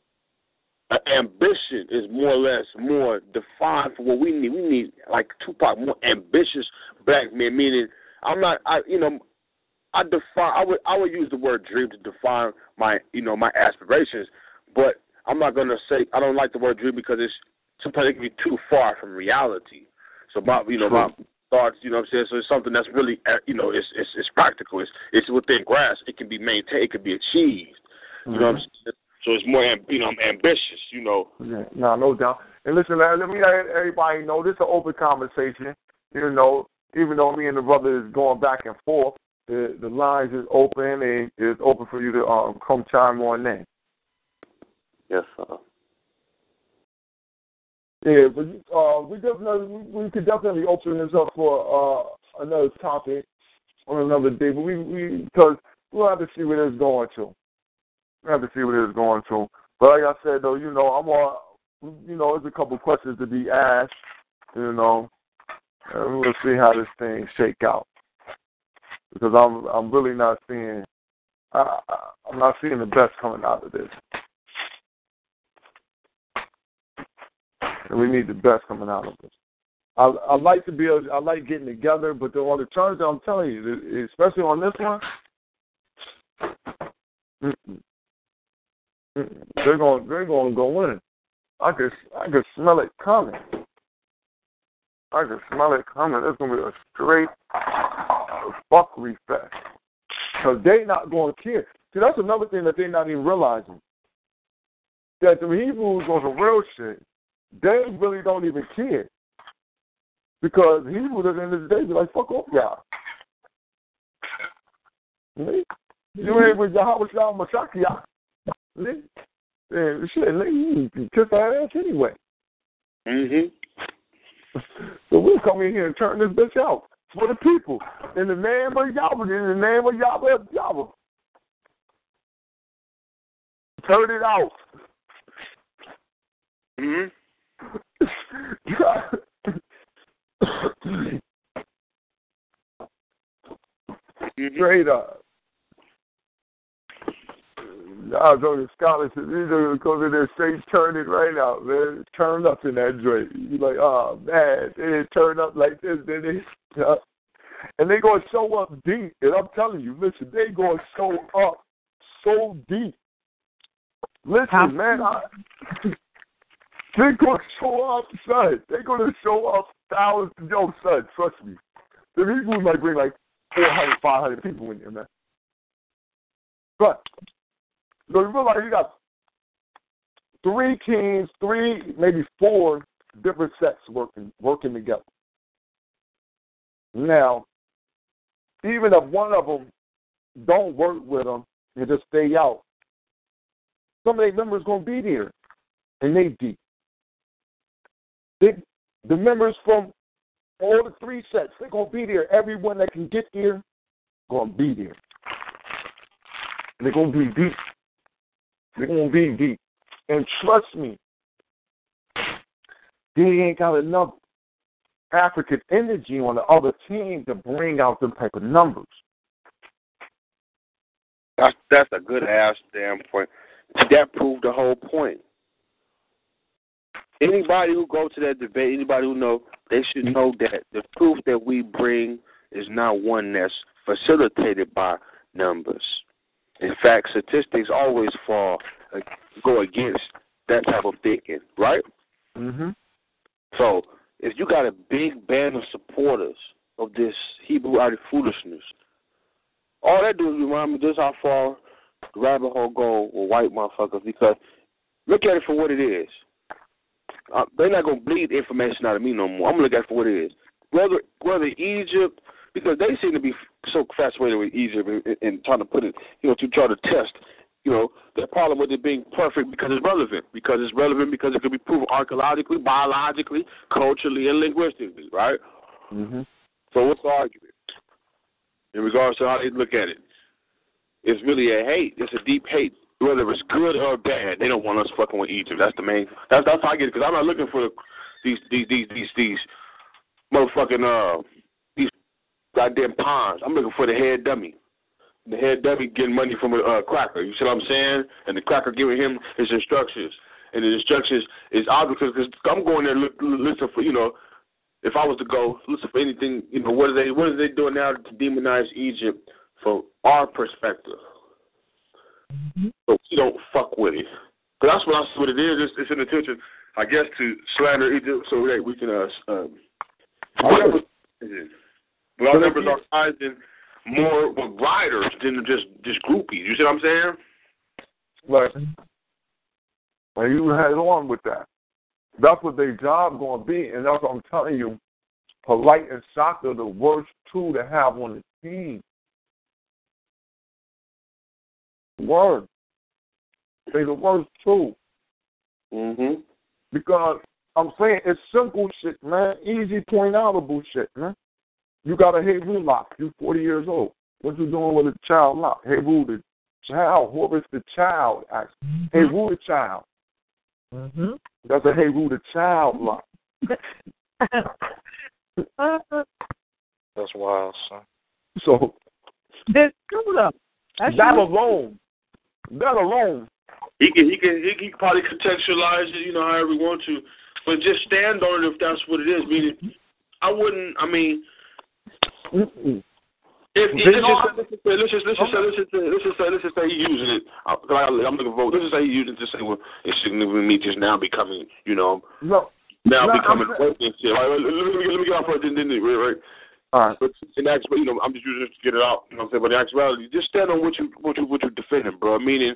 ambition is more or less more defined for what we need. We need, like Tupac, more ambitious black men. Meaning, I'm not, I you know, I define. I would I would use the word dream to define my you know my aspirations, but I'm not gonna say I don't like the word dream because it's sometimes it can be too far from reality. So my you know my thoughts, you know what I'm saying? So it's something that's really, you know, it's it's, it's practical. It's it's within grasp. It can be maintained. It can be achieved. You mm-hmm. know what I'm saying? So it's more, you know, ambitious, you know. Yeah, no, no doubt. And listen, let me let everybody know this is an open conversation. You know, even though me and the brother is going back and forth, the, the lines is open and it's open for you to um, come chime on in. Yes, sir. Yeah, but uh, we definitely we could definitely open this up for uh, another topic on another day. But we we because we'll have to see where it's going to. We will have to see where it's going to. But like I said though, you know, I'm all, you know, there's a couple questions to be asked. You know, and we'll see how this thing shake out because I'm I'm really not seeing I, I'm not seeing the best coming out of this. And we need the best coming out of this. I, I like to be able, I like getting together, but the, on the terms that I'm telling you, especially on this one, mm-mm, mm-mm, they're going they're going to go in. I could I could smell it coming. I could smell it coming. It's going to be a straight fuckery fest because they not going to care. See, that's another thing that they're not even realizing. That the Hebrews on some real shit. They really don't even care. Because Hebrews at the end of the day be like, fuck off y'all. You ain't with Yahweh Shah Mashiach. And shit, you can kiss our ass anyway. Mm-hmm. So we'll come in here and turn this bitch out for the people. In the name of Yahweh, in the name of Yahweh, Yahweh. Turn it out. Mm-hmm. Straight up. I was on the scholarship. These are going to there straight turn it right out, man. Turn up in that joint. You're like, oh, man. They didn't turn up like this, did they? Uh, and they going to show up deep. And I'm telling you, listen, they going to show up so deep. Listen, man. I, They're going to show up, son. They're going to show up thousands. Yo, son, trust me. The Hebrews might bring like four hundred, five hundred people in there, man. But, so you realize you got three teams, three, maybe four different sets working working together. Now, even if one of them don't work with them and just stay out, some of their members going to be there, and they deep. They, the members from all the three sets, they're going to be there. Everyone that can get there, gonna be there. They're gonna be deep. They're gonna be deep. And trust me, they ain't got enough African energy on the other team to bring out them type of numbers. That's that's a good ass damn point. That proved the whole point. Anybody who goes to that debate, anybody who know, they should know that the proof that we bring is not one that's facilitated by numbers. In fact, statistics always fall, uh, go against that type of thinking, right? Mm-hmm. So, if you got a big band of supporters of this Hebrew-eyed foolishness, all that do is remind me just how far the rabbit hole go with white motherfuckers, because look at it for what it is. Uh, they're not going to bleed information out of me no more. I'm going to look at it for what it is. Whether whether Egypt, because they seem to be so fascinated with Egypt and, and trying to put it, you know, to try to test, you know, the problem with it being perfect because it's relevant. Because it's relevant because it could be proven archaeologically, biologically, culturally, and linguistically, right? Mm-hmm. So what's the argument in regards to how they look at it? It's really a hate. It's a deep hate. Whether it's good or bad, they don't want us fucking with Egypt. That's the main. That's that's how I get it. Because I'm not looking for the, these these these these these motherfucking uh these goddamn pawns. I'm looking for the head dummy. The head dummy getting money from a uh, cracker. You see what I'm saying? And the cracker giving him his instructions. And the instructions is obvious because I'm going there look, listen for, you know, if I was to go listen for anything, you know, what are they what are they doing now to demonize Egypt from our perspective? Mm-hmm. So we don't fuck with it. Because that's what I see what it is. It's, it's an intention, I guess, to slander Egypt so that we can, uh, um, our numbers, but our numbers are rising more with riders than just, just groupies. You see what I'm saying? Right. And you head on with that. That's what their job going to be. And that's what I'm telling you. Polite and Shaka are the worst two to have on the team. Word. They the worst too. Mm-hmm. Because I'm saying it's simple shit, man. Easy point outable shit, man. You got a Hebrew lock. You forty years old. What you doing with a child lock? Hebrew the child. Who is the child? Actually, mm-hmm. Hebrew the child. Mm-hmm. That's a Hebrew the child lock. That's wild, son. So that's true though. That's that true. alone. That alone. He can, he can, he can probably contextualize it, you know, however he wants to, but just stand on it if that's what it is. Meaning, I wouldn't. I mean, Mm-mm. if, if let's just say, let's just let's just say, let's just say, let's just say, let's just say he's using it. I, I'm looking for. Let's just say he's using it to say, well, it's significant me just now becoming, you know, no, now no, becoming and shit. Right, let, let, me, let me get off right then, then, right, right. All right. But in actuality, you know, I'm just using this to get it out. You know what I'm saying? But in actuality, just stand on what you what you what you're defending, bro. Meaning,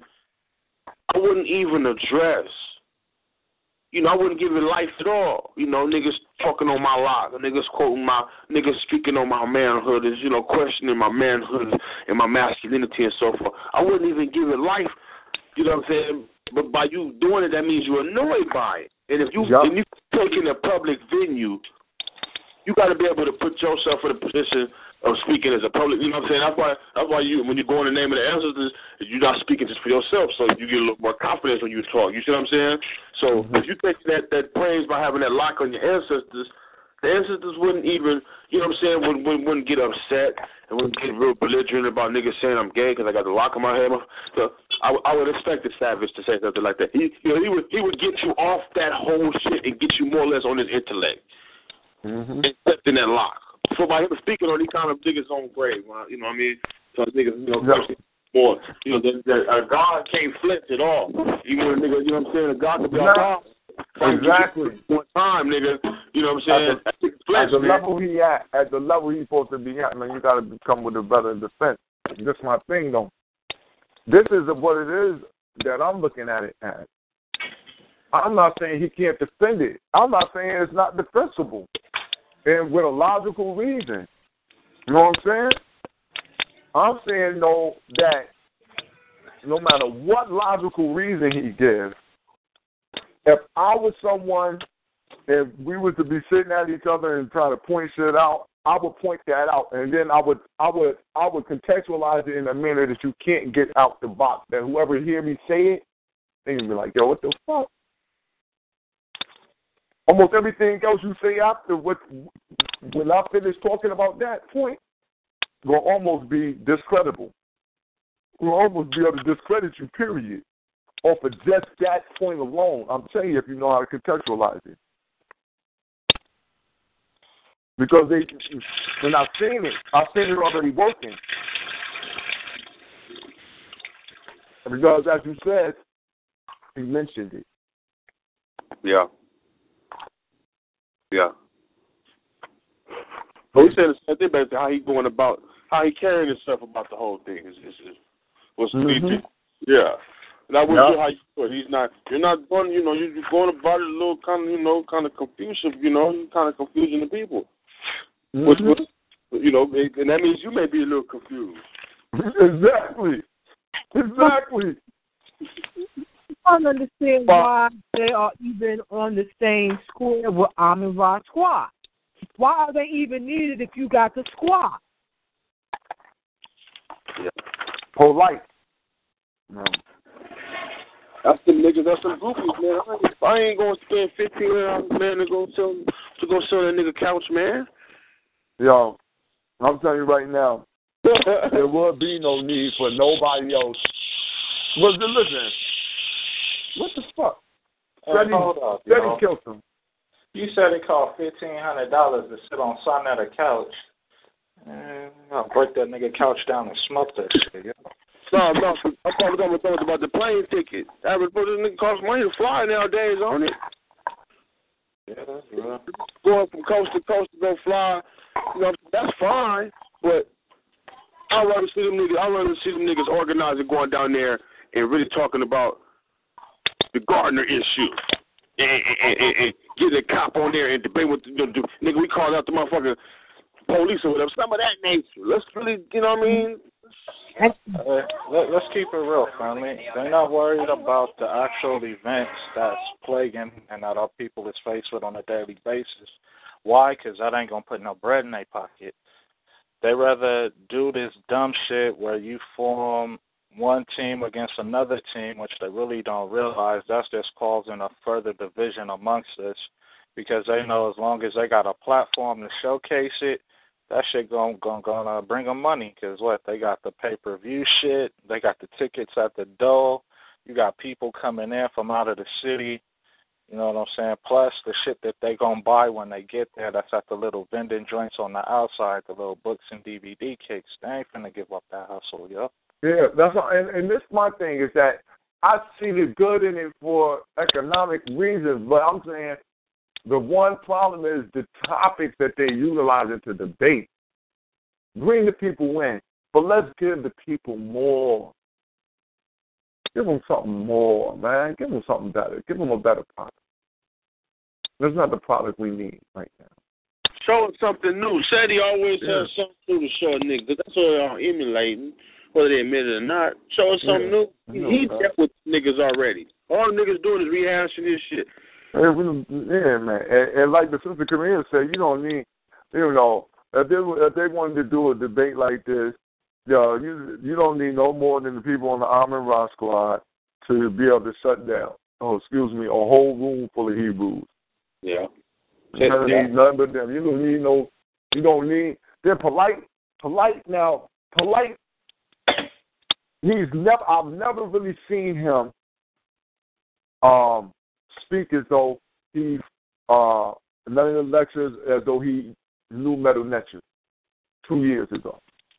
I wouldn't even address. You know, I wouldn't give it life at all. You know, niggas talking on my lock, niggas quoting my, niggas speaking on my manhood, is, you know, questioning my manhood and my masculinity and so forth. I wouldn't even give it life. You know what I'm saying? But by you doing it, that means you're annoyed by it. And if you yep. and you take in a public venue, you got to be able to put yourself in a position of speaking as a public. You know what I'm saying? That's why. That's why you, when you go in the name of the ancestors, you're not speaking just for yourself. So you get a little more confidence when you talk. You see what I'm saying? So mm-hmm. if you take that that praise by having that lock on your ancestors, the ancestors wouldn't even, you know what I'm saying? Wouldn't wouldn't, wouldn't get upset and wouldn't get real belligerent about niggas saying I'm gay because I got the lock on my head. So I, I would expect the savage to say something like that. He, you know, he would he would get you off that whole shit and get you more or less on his intellect. Mm-hmm. Except in that lock. So by him speaking on, he kind of dig his own grave. You know what I mean? So niggas, you know, yeah. more, you know, that, that uh, God can't flinch at all. Even when a nigga, you know what I'm saying? A God can be our God. Exactly. One time, nigga. You know what I'm saying? At the, flesh, at the level he at, at the level he's supposed to be at, man, you got to come with a better defense. That's my thing, though. This is what it is that I'm looking at it as. I'm not saying he can't defend it. I'm not saying it's not defensible. And with a logical reason. You know what I'm saying? I'm saying, though, that no matter what logical reason he gives, if I was someone, if we were to be sitting at each other and trying to point shit out, I would point that out, and then I would I would I would contextualize it in a manner that you can't get out the box. That whoever hear me say it, they can be like, "Yo, what the fuck?" Almost everything else you say after what when I finish talking about that point, will almost be discreditable. Will almost be able to discredit you. Period. Off of just that point alone. I'm telling you, if you know how to contextualize it. Because they, when I've seen it, I've seen it already working. Because, as you said, he mentioned it. Yeah. Yeah. But he said the same thing about how he going about, how he carrying himself about the whole thing. Is, is, is, what's mm-hmm. Yeah. That was yep. how you do it. He's not. You're not going. You know, you're going about it a little kind of, you know, kind of confusive. You know, you're kind of confusing the people. Mm-hmm. Which, which, you know, and that means you may be a little confused. Exactly. Exactly. I don't understand why they are even on the same square with Amin Ra Squad. Why are they even needed if you got the squad? Yeah. Polite. No. That's the niggas. That's some groupies, man. I ain't, I ain't gonna spend fifteen hundred dollars, man, to go sell to go sell that nigga couch, man. Yo, I'm telling you right now, there will be no need for nobody else. But listen, what the fuck? Hey, Said he, hold up, said yo. he killed him. You said it cost fifteen hundred dollars to sit on something at a couch. Eh, I'll break that nigga couch down and smoke that shit. Yo. No, no, I'm probably going to talk about the plane ticket. Average for this nigga costs money to fly nowadays, on it. Yeah, that's real. Going from coast to coast to go fly, you know, that's fine. But I'd rather see them niggas. I'd rather see them niggas organizing, going down there and really talking about the Gardner issue, and, and, and, and getting a cop on there and debate what to do. Nigga, we called out the motherfucking police or whatever. Some of that nature. Let's really, you know what I mean? Uh, let, let's keep it real, family. They're not worried about the actual events that's plaguing and that our people is faced with on a daily basis. Why? Because that ain't going to put no bread in their pocket. They rather do this dumb shit where you form one team against another team, which they really don't realize that's just causing a further division amongst us, because they know as long as they got a platform to showcase it, that shit gonna gonna, gonna bring them money. Because what, they got the pay per view shit, they got the tickets at the door, you got people coming in from out of the city. You know what I'm saying? Plus the shit that they gonna buy when they get there, that's at the little vending joints on the outside, the little books and D V D kicks. They ain't finna give up that hustle, yo. Yeah, that's all, and, and this my thing is that I see the good in it for economic reasons, but I'm saying the one problem is the topics that they utilize to debate. Bring the people in, but let's give the people more. Give them something more, man. Give them something better. Give them a better product. That's not the product we need right now. Show us something new. Said he always yeah. has something new to show a nigga, because that's what they're emulating, whether they admit it or not. Show us something yeah. new. No, he no. dealt with niggas already. All the niggas doing is rehashing this shit. Yeah, man. And, and like the sister Korean said, you don't need, you know, if they, if they wanted to do a debate like this, yo, you you don't need no more than the people on the Amin Ra squad to be able to shut down, oh, excuse me, a whole room full of Hebrews. Yeah. You don't need none but them. You don't need no, you don't need, they're polite, polite now, polite. He's never, I've never really seen him um, speak as though he, uh, none of the lectures as though he knew Medu Neter two years ago.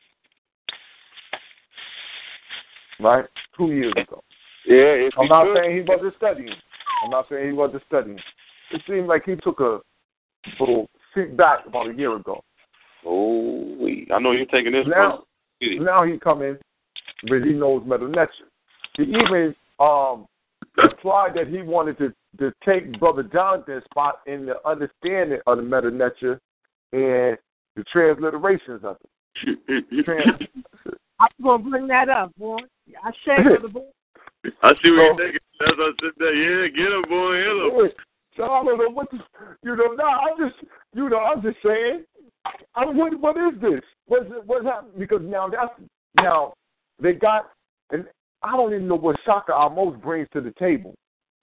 Right? Two years ago. Yeah, I'm not good. saying he wasn't studying. I'm not saying he wasn't studying. It seemed like he took a little seat back about a year ago. Oh, I know you're taking this. Now, now he come in, but he knows Medu Neter. He even um, implied that he wanted to, to take Brother Jonathan's spot in the understanding of the Medu Neter and the transliterations of it. Trans- I'm going to bring that up, boy. I shake with the boy. I see what you're thinking. As I sit there, yeah, get him, boy, hit him. So I don't know what the, you know, no, I'm just, you know, I'm just saying, I mean, what, what is this? What's it, what's happening? Because now that's now they got, and I don't even know what Shaka Amos brings to the table.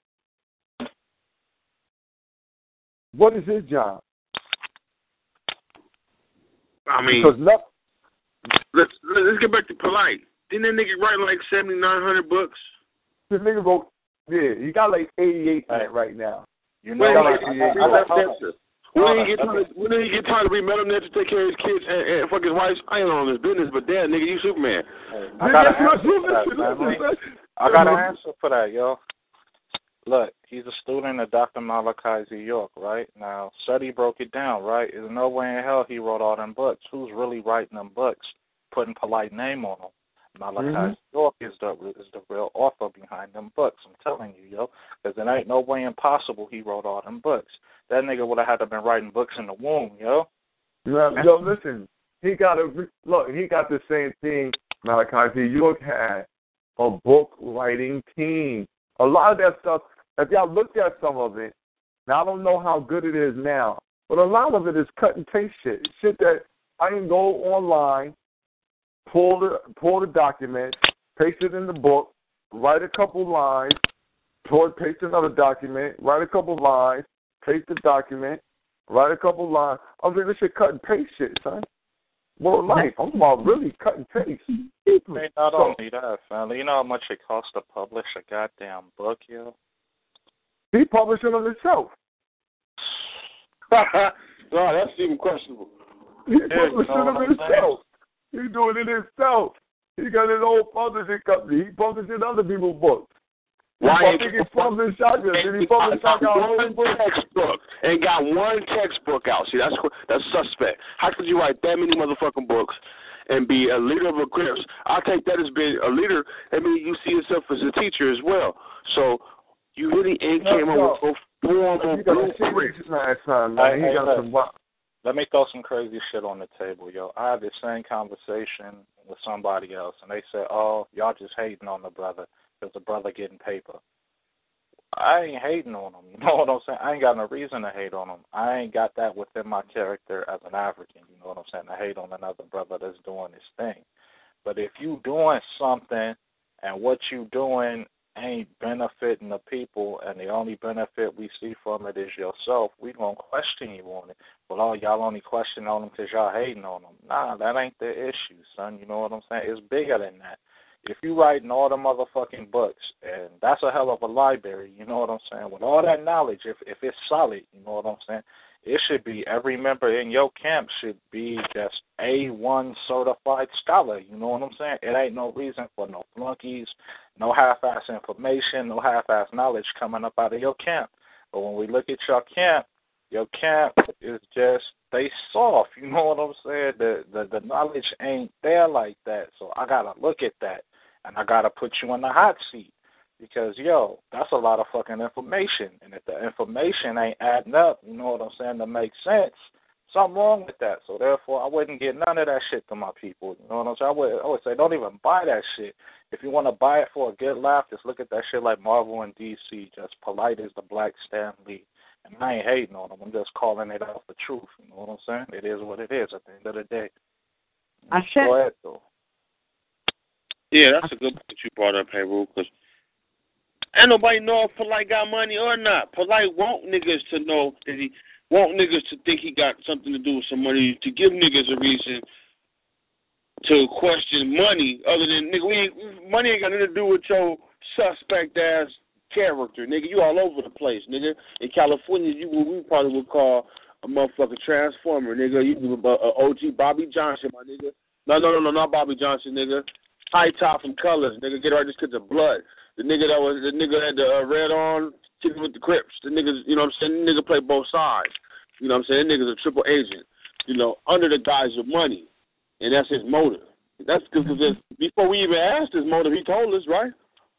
What is his job? I mean, because no, let's let's get back to Polite. Didn't that nigga write like seventy nine hundred books? The nigga wrote, yeah, he got like eighty eight in it right now. You know, Wait, I, like, I, I, I, I, I, when did he get tired? When did he get tired of being metal net to take care of his kids and, and fuck his wife? I ain't on his business, but damn, nigga, you Superman. I got an answer for that, family. I got an answer for that, yo. Look, he's a student of Doctor Malachi Z. York, right? Now, Seti broke it down, right? There's no way in hell he wrote all them books. Who's really writing them books? Putting Polite name on them. Malachi mm-hmm. York is the is the real author behind them books. I'm telling you, yo, because there ain't no way impossible he wrote all them books. That nigga would have had to been writing books in the womb, yo. Yeah, yo, listen, he got a look. He got the same thing. Malachi Z. York had a book writing team. A lot of that stuff. If y'all looked at some of it, now I don't know how good it is now, but a lot of it is cut and paste shit. Shit that I can go online, pull the pull the document, paste it in the book, write a couple lines, pull, paste another document, write a couple lines, paste the document, write a couple lines. I'm saying this shit cut and paste shit, son. More life. I'm about really cut and paste. Hey, not so, only that, family. You know how much it costs to publish a goddamn book, yo? He published it on himself. No, that's even questionable. He published it on himself. He's doing it himself. He got his own publishing company. He published in other people's books. Why think he published Shotgun? Did he publish Shotgun? One textbook and got one textbook out. See, that's that's suspect. How could you write that many motherfucking books and be a leader of a Crips? I take that as being a leader. I mean, you see yourself as a teacher as well. So you really ain't no, came no. up with a formal blueprint. Let me throw some crazy shit on the table, yo. I had the same conversation with somebody else, and they said, oh, y'all just hating on the brother because the brother getting paper. I ain't hating on him. You know what I'm saying? I ain't got no reason to hate on him. I ain't got that within my character as an African. You know what I'm saying? To hate on another brother that's doing his thing. But if you doing something and what you doing ain't benefiting the people, and the only benefit we see from it is yourself, we gonna question you on it. Well, all y'all only question on them because y'all hating on them. Nah, that ain't the issue, son. You know what I'm saying? It's bigger than that. If you writing all the motherfucking books, and that's a hell of a library, you know what I'm saying? With all that knowledge, if if it's solid, you know what I'm saying? It should be every member in your camp should be just A one certified scholar. You know what I'm saying? It ain't no reason for no flunkies, no half-ass information, no half-ass knowledge coming up out of your camp. But when we look at your camp, your camp is just, they soft. You know what I'm saying? The, the, the knowledge ain't there like that. So I got to look at that, and I got to put you in the hot seat. Because, yo, that's a lot of fucking information. And if the information ain't adding up, you know what I'm saying, to make sense, something wrong with that. So, therefore, I wouldn't get none of that shit to my people. You know what I'm saying? I would, I would say don't even buy that shit. If you want to buy it for a good laugh, just look at that shit like Marvel and D C. Just polite as the Black Stan Lee. And I ain't hating on them. I'm just calling it out for truth. You know what I'm saying? It is what it is at the end of the day. I said, Go ahead, though. Yeah, that's a good point you brought up, Harold, because ain't nobody know if Polite got money or not. Polite want niggas to know that he want niggas to think he got something to do with some money, to give niggas a reason to question money other than, nigga, we ain't, money ain't got nothing to do with your suspect-ass character, nigga. You all over the place, nigga. In California, you we probably would call a motherfucking transformer, nigga. You uh, uh, O G Bobby Johnson, my nigga. No, no, no, no, not Bobby Johnson, nigga. High top from Colors, nigga. Get right just because of blood. The nigga that was, the nigga had the uh, red on, kicking with the Crips. The niggas, you know what I'm saying? The nigga play both sides. You know what I'm saying? The nigga's a triple agent, you know, under the guise of money. And that's his motive. That's because before we even asked his motive, he told us, right?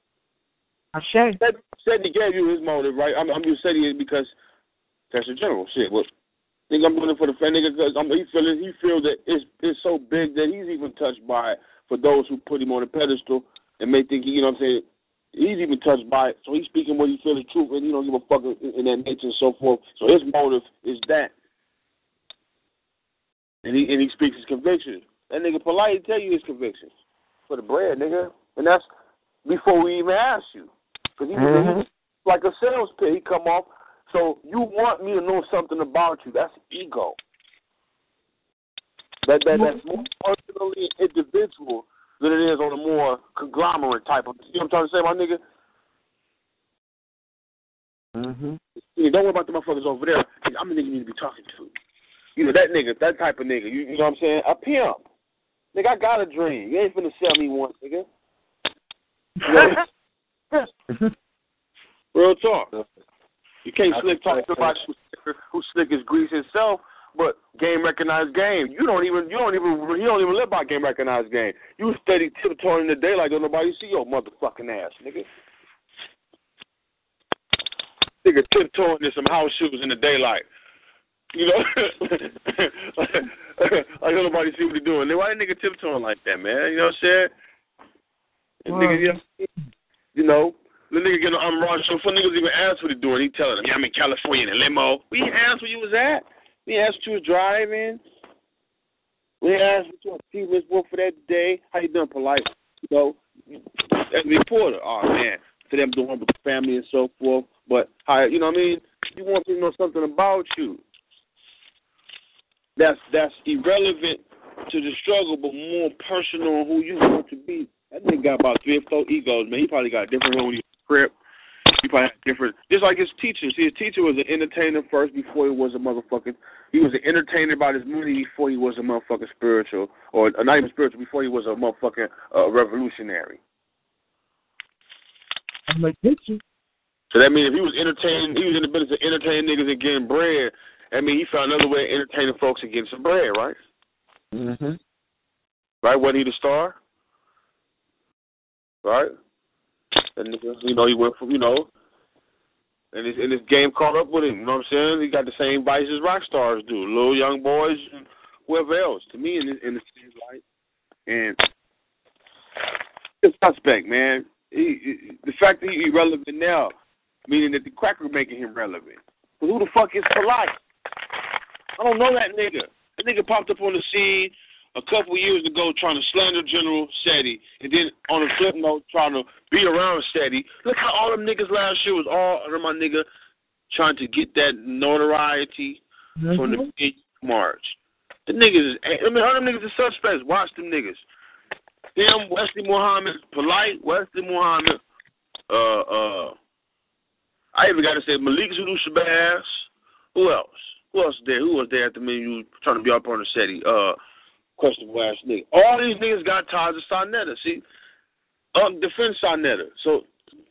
I said. Said, said he gave you his motive, right? I'm, I'm just saying it because that's the general shit. Well, I think I'm doing it for the fan nigga because he feel he feel that it's it's so big that he's even touched by it for those who put him on a pedestal and may think he, you know what I'm saying, he's even touched by it. So he's speaking what he feels is truth and he don't give a fuck in, in that nature and so forth. So his motive is that. And he and he speaks his convictions. That nigga polite tell you his convictions for the bread, nigga. And that's before we even ask you. Because he, mm-hmm. he's like a sales pitch. He come off. So you want me to know something about you. That's ego. That, that That's more personally individual than it is on a more conglomerate type of, you know what I'm trying to say, my nigga? Mm-hmm. Yeah, don't worry about the motherfuckers over there. I'm the nigga you need to be talking to. You know, that nigga, that type of nigga, you, you know what I'm saying? A pimp. Nigga, I got a dream. You ain't finna sell me one, nigga. You know? Real talk. You can't I slick talk to somebody who's, who's slick as grease himself, but game recognized game. You don't even you don't even you don't even live by game recognized game. You steady tiptoeing in the daylight, don't nobody see your motherfucking ass, nigga. Nigga tiptoeing in some house shoes in the daylight. You know, like, like don't nobody see what he doing. Why that nigga tiptoeing like that, man? You know what I'm saying? Wow. Nigga, you know, you know, the nigga getting on Ron show. For niggas even ask what he doing. He telling them, yeah, I'm in California in a limo. We didn't ask where you was at. We didn't ask what you was driving. We didn't ask what your achievements were for that day. How you doing, polite? You know, as a reporter, oh man, to them doing with the family and so forth. But how, you know what I mean? You want people to know something about you. That's that's irrelevant to the struggle, but more personal on who you want to be. That nigga got about three or four egos, man. He probably got a different one when he was crip. He probably had different, just like his teacher. See, his teacher was an entertainer first before he was a motherfucking, he was an entertainer about his money before he was a motherfucking spiritual, or not even spiritual, before he was a motherfucking uh, revolutionary. I'm like, teacher. So that means if he was entertaining, he was in the business of entertaining niggas and getting bread, I mean, he found another way of entertaining folks and getting some bread, right? Mm-hmm. Right? Wasn't he the star? Right? And, you know, he went from, you know, and his, and his game caught up with him. You know what I'm saying? He got the same vices rock stars do. Little young boys and whoever else. To me, in the, in the same light. And it's suspect, man. He, he, the fact that he's irrelevant now, meaning that the cracker making him relevant. But who the fuck is polite? I don't know that nigga. That nigga popped up on the scene a couple years ago trying to slander General Seti, and then on a flip note trying to be around Seti. Look how all them niggas last year was all under my nigga trying to get that notoriety mm-hmm. from the big march. The niggas is, I mean, all them niggas are suspects. Watch them niggas. Them, Wesley Muhammad, polite, Wesley Muhammad, uh, uh, I even got to say Malik Zulu Shabazz. Who else? Who else there? Who was there at the menu trying to be up on the SETI? Uh, questionable ass nigga. All these niggas got ties to Sarnetta. See, um, defend Sarnetta. So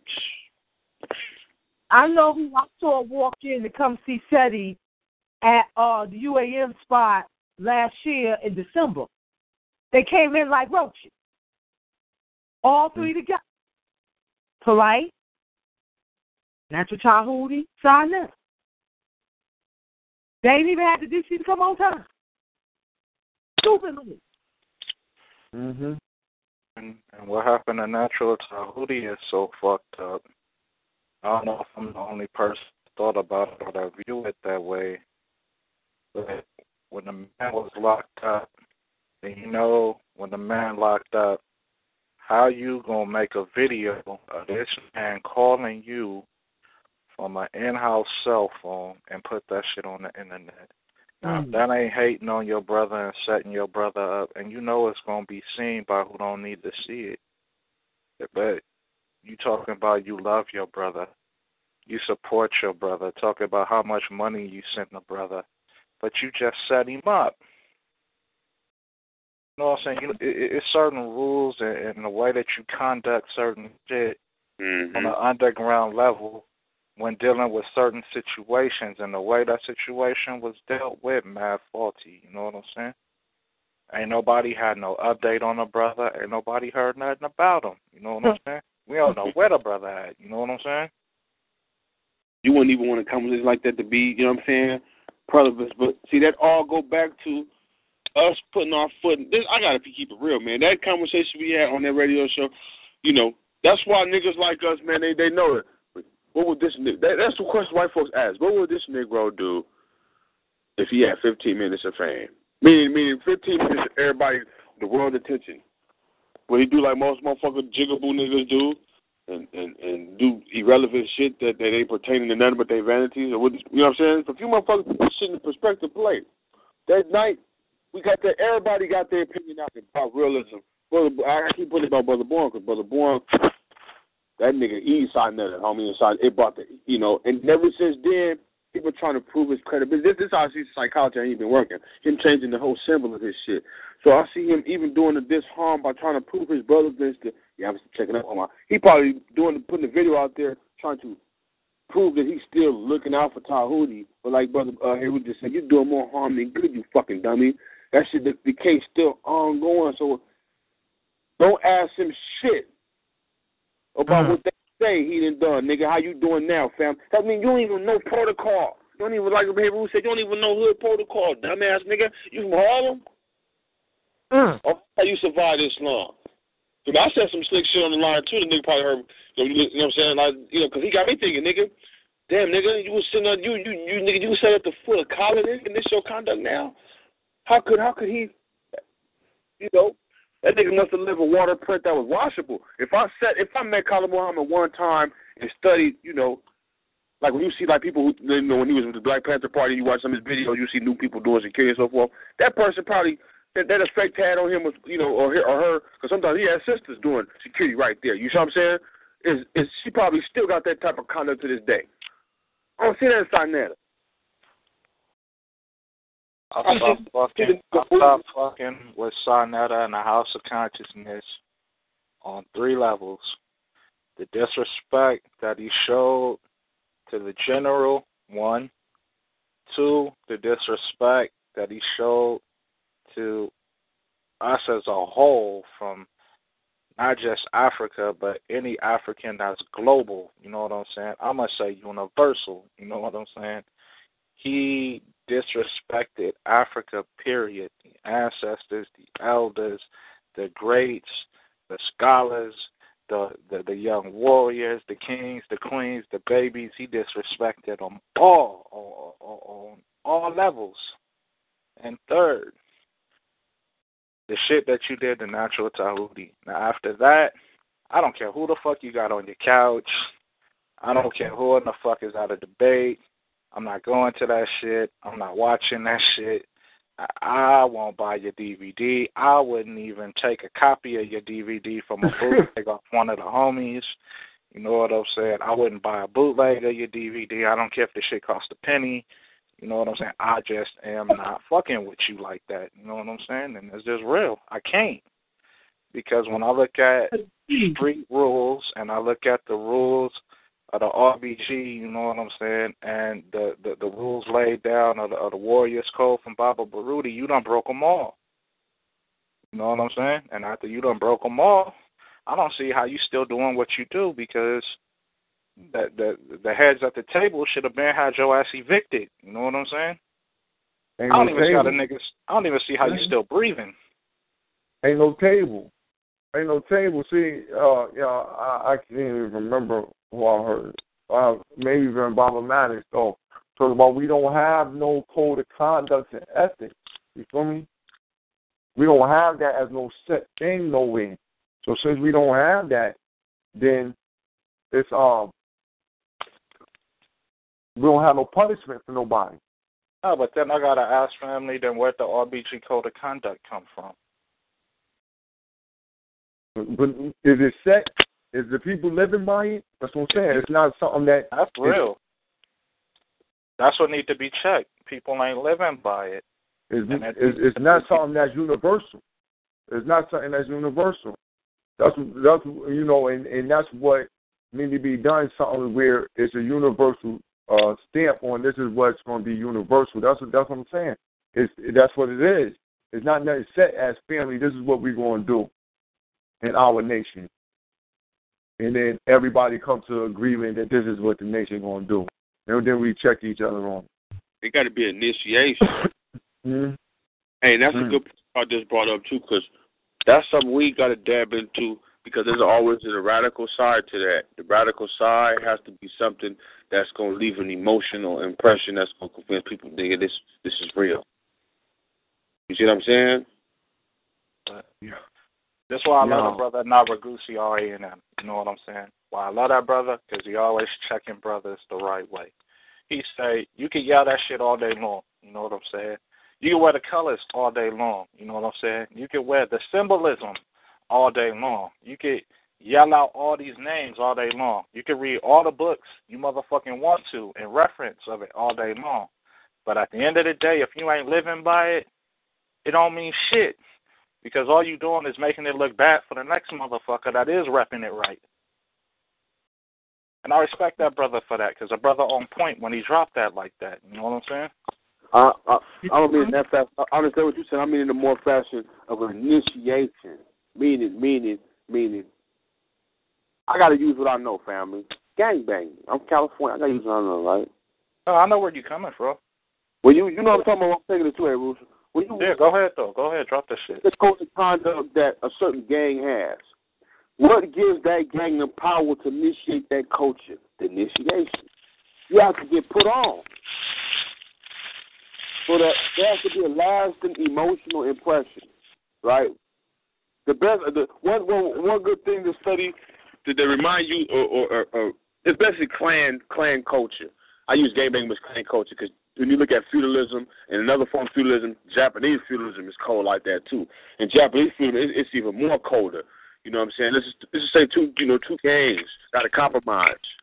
I know who I saw walk in to come see SETI at uh, the U A M spot last year in December. They came in like roaches. All three together. Polite. Natural Chahudi, Sarnetta. They ain't even had the D C to come on time. Stupidly. Mm-hmm. And, and what happened to Natural Chahudi is so fucked up. I don't know if I'm the only person who thought about it or that view it that way. But when the man was locked up, and you know, when the man locked up, how you gonna make a video of this man calling you from an in-house cell phone and put that shit on the internet? Now, mm. that ain't hating on your brother and setting your brother up, and you know it's going to be seen by who don't need to see it. But you talking about you love your brother, you support your brother, talking about how much money you sent the brother, but you just set him up. You know what I'm saying? You, it, it's certain rules and, and the way that you conduct certain shit mm-hmm. on an underground level when dealing with certain situations, and the way that situation was dealt with, mad faulty. You know what I'm saying? Ain't nobody had no update on the brother. Ain't nobody heard nothing about him. You know what I'm saying? We don't know where the brother at. You know what I'm saying? You wouldn't even want to come with like that to be, you know what I'm saying, relevant. But see, that all go back to us putting our foot in this. I got to keep it real, man. That conversation we had on that radio show, you know, that's why niggas like us, man, they, they know it. What would this nigga, that, that's the question white folks ask. What would this Negro do if he had fifteen minutes of fame? Meaning, meaning fifteen minutes, everybody, the world attention. What he do like most motherfucking jigaboo niggas do, and, and, and do irrelevant shit that, that ain't pertaining to nothing but their vanities. Or what, you know what I'm saying? For a few motherfuckers put shit in perspective play. That night, we got that, everybody got their opinion out about realism. Brother, I keep putting it about Brother Bourne, because Brother Bourne, that nigga, he signed that, homie, inside. It brought the, you know, and ever since then, people trying to prove his credibility. This, this is how I see psychology ain't been working. Him changing the whole symbol of his shit. So I see him even doing the this harm by trying to prove his brother this. To, yeah, I'm checking up on my. He probably doing putting the video out there trying to prove that he's still looking out for Tahuti. But like Brother uh, Haywood just said, you're doing more harm than good, you fucking dummy. That shit, the, the case still ongoing. So don't ask him shit about mm. what they say he done done, nigga. How you doing now, fam? That mean you don't even know protocol. You don't even, like Haywood said, you don't even know hood protocol, dumbass nigga. You from Harlem? Mm. Oh, how you survive this long? Cause I said some slick shit on the line too. The nigga probably heard. You know, you know what I'm saying? Like, you know, cause he got me thinking, nigga. Damn, nigga, you was sitting on you, you, you, nigga, you sat at the foot of collar, nigga, and this your conduct now. How could, how could he? You know, that nigga must have lived a water print that was washable. If I said, if I met Khalid Muhammad one time and studied, you know, like when you see like people who, you know, when he was with the Black Panther Party, you watch some of his videos, you see new people doing security and so forth. That person probably. That, that effect had on him was, you know, or, or her, because sometimes he had sisters doing security right there. You see what I'm saying? Is is she probably still got that type of conduct to this day? I don't see that inside Nana. I stopped fucking, I stopped fucking with Sarnetta and the House of Consciousness on three levels. The disrespect that he showed to the general, one. Two, the disrespect that he showed to us as a whole, from not just Africa, but any African that's global, you know what I'm saying? I'm going to say universal, you know what I'm saying? He disrespected Africa, period. The ancestors, the elders, the greats, the scholars, the, the, the young warriors, the kings, the queens, the babies. He disrespected them all, on, on, on all levels. And third, the shit that you did to Natural Tahuti. Now, after that, I don't care who the fuck you got on your couch. I don't care who in the fuck is out of debate. I'm not going to that shit. I'm not watching that shit. I, I won't buy your D V D. I wouldn't even take a copy of your D V D from a bootleg off one of the homies. You know what I'm saying? I wouldn't buy a bootleg of your D V D. I don't care if the shit costs a penny. You know what I'm saying? I just am not fucking with you like that. You know what I'm saying? And it's just real. I can't. Because when I look at street rules and I look at the rules of the R B G, you know what I'm saying, and the, the, the rules laid down of the, of the Warriors Code from Baba Baruti, you done broke them all. You know what I'm saying? And after you done broke them all, I don't see how you still doing what you do, because that the the heads at the table should have been had your ass evicted. You know what I'm saying? Ain't I don't no even see how the table. niggas. I don't even see how you still breathing. Ain't no table. Ain't no table. See, uh, yeah, I, I can't even remember who I heard. Uh, maybe even Baba Maddox. So, talking about we don't have no code of conduct and ethics. You feel me? We don't have that as no set thing nowhere. So since we don't have that, then it's um. we don't have no punishment for nobody. Oh, but then I gotta ask family, then where'd the R B G Code of Conduct come from? But is it set? Is the people living by it? That's what I'm saying. It's not something that... That's real. That's what needs to be checked. People ain't living by it. It's, it's, it's not something that's universal. It's not something that's universal. That's, that's you know, and, and that's what needs to be done, something where it's a universal uh, stamp on this is what's going to be universal. That's what, that's what I'm saying. It's, that's what it is. It's not nothing set as family. This is what we're going to do in our nation. And then everybody comes to an agreement that this is what the nation going to do. And then we check each other on it. It got to be initiation. mm-hmm. Hey, that's mm-hmm. a good point I just brought up, too, because that's something we got to dab into, because there's always a radical side to that. The radical side has to be something that's going to leave an emotional impression that's going to convince people, nigga, this, this is real. You see what I'm saying? But, yeah. That's why I yeah. love that brother Naragusi R A and M. You know what I'm saying? Why I love that brother? Because he always checking brothers the right way. He say, you can yell that shit all day long. You know what I'm saying? You can wear the colors all day long. You know what I'm saying? You can wear the symbolism all day long. You can yell out all these names all day long. You can read all the books you motherfucking want to in reference of it all day long. But at the end of the day, if you ain't living by it, it don't mean shit. Because all you doing is making it look bad for the next motherfucker that is repping it right. And I respect that brother for that, because a brother on point when he dropped that like that. You know what I'm saying? Uh, I, I don't mean in that fast. I understand what you said. I mean in the more fashion of an initiation. Meaning, meaning, meaning. I got to use what I know, family. Gangbang. I'm California. I got to use what I know, right? Oh, I know where you coming from. Well, you you know what I'm talking about. I'm taking it too, hey, Ruth. When you, yeah, go ahead, though. Go ahead. Drop that shit. The code of conduct that a certain gang has. What gives that gang the power to initiate that culture? The initiation. You have to get put on. So that there has to be a lasting emotional impression, right? The best, the one, one, one good thing to study that they remind you, or, or, or, or it's basically clan, clan culture. I use gangbang as clan culture because when you look at feudalism and another form of feudalism, Japanese feudalism is cold like that too. And Japanese feudalism, it's even more colder. You know what I'm saying? Let's just, let's just say two, you know, two gangs got to compromise.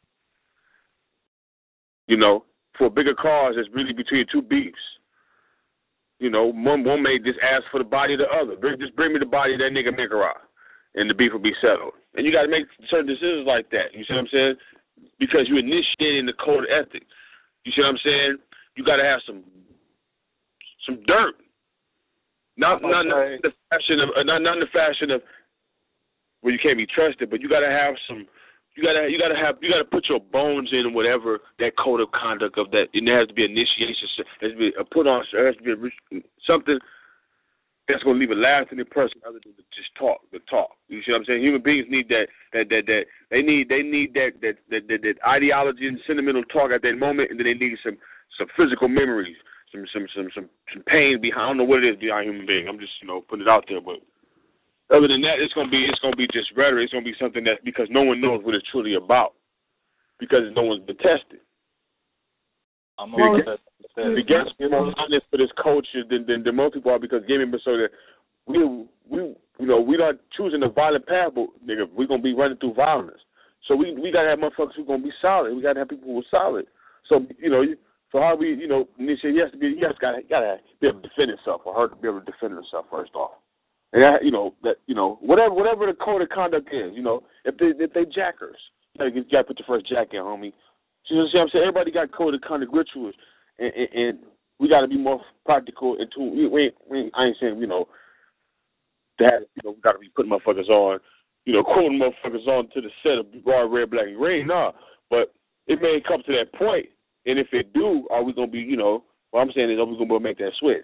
You know, for a bigger cause that's really between two beefs. You know, one one may just ask for the body of the other. Bring, just bring me the body of that nigga Mikara, and the beef will be settled. And you got to make certain decisions like that. You see what I'm saying? Because you're initiating the code of ethics. You see what I'm saying? You got to have some some dirt. Not not, not in the fashion of not not in the fashion of where you can't be trusted, but you got to have some. You gotta, you gotta have, you gotta put your bones in whatever that code of conduct of that. And there has to be initiation. There has to be a put on. There has to be a, something that's gonna leave a lasting impression other than just talk, the talk. You see what I'm saying? Human beings need that, that, that, that. They need, they need that, that, that, that, that ideology and sentimental talk at that moment, and then they need some, some physical memories, some, some, some, some, some pain behind. I don't know what it is behind human being. I'm just, you know, putting it out there, but. Other than that, it's gonna be it's gonna be just rhetoric. It's gonna be something that because no one knows what it's truly about, because no one's been tested. I'm we get, we get more honest for this culture than, than than most people are, because gaming been so that we we you know we not choosing the violent path, but nigga, we're gonna be running through violence. So we we gotta have motherfuckers who gonna be solid. We gotta have people who are solid. So you know, so how we you know initiate, you have to be you have to gotta, gotta be able to defend itself, or her to be able to defend herself first off. And that, you know that you know whatever whatever the code of conduct is, you know if they if they jackers, you gotta, you gotta put your first jack in, homie. You know what I'm saying? Everybody got code of conduct rituals, and, and, and we got to be more practical. And to we, we, we I ain't saying you know that you know we got to be putting motherfuckers on, you know quoting motherfuckers on to the set of broad red, black, and green. Nah, but it may come to that point, and if it do, are we gonna be you know what I'm saying is are we gonna make that switch?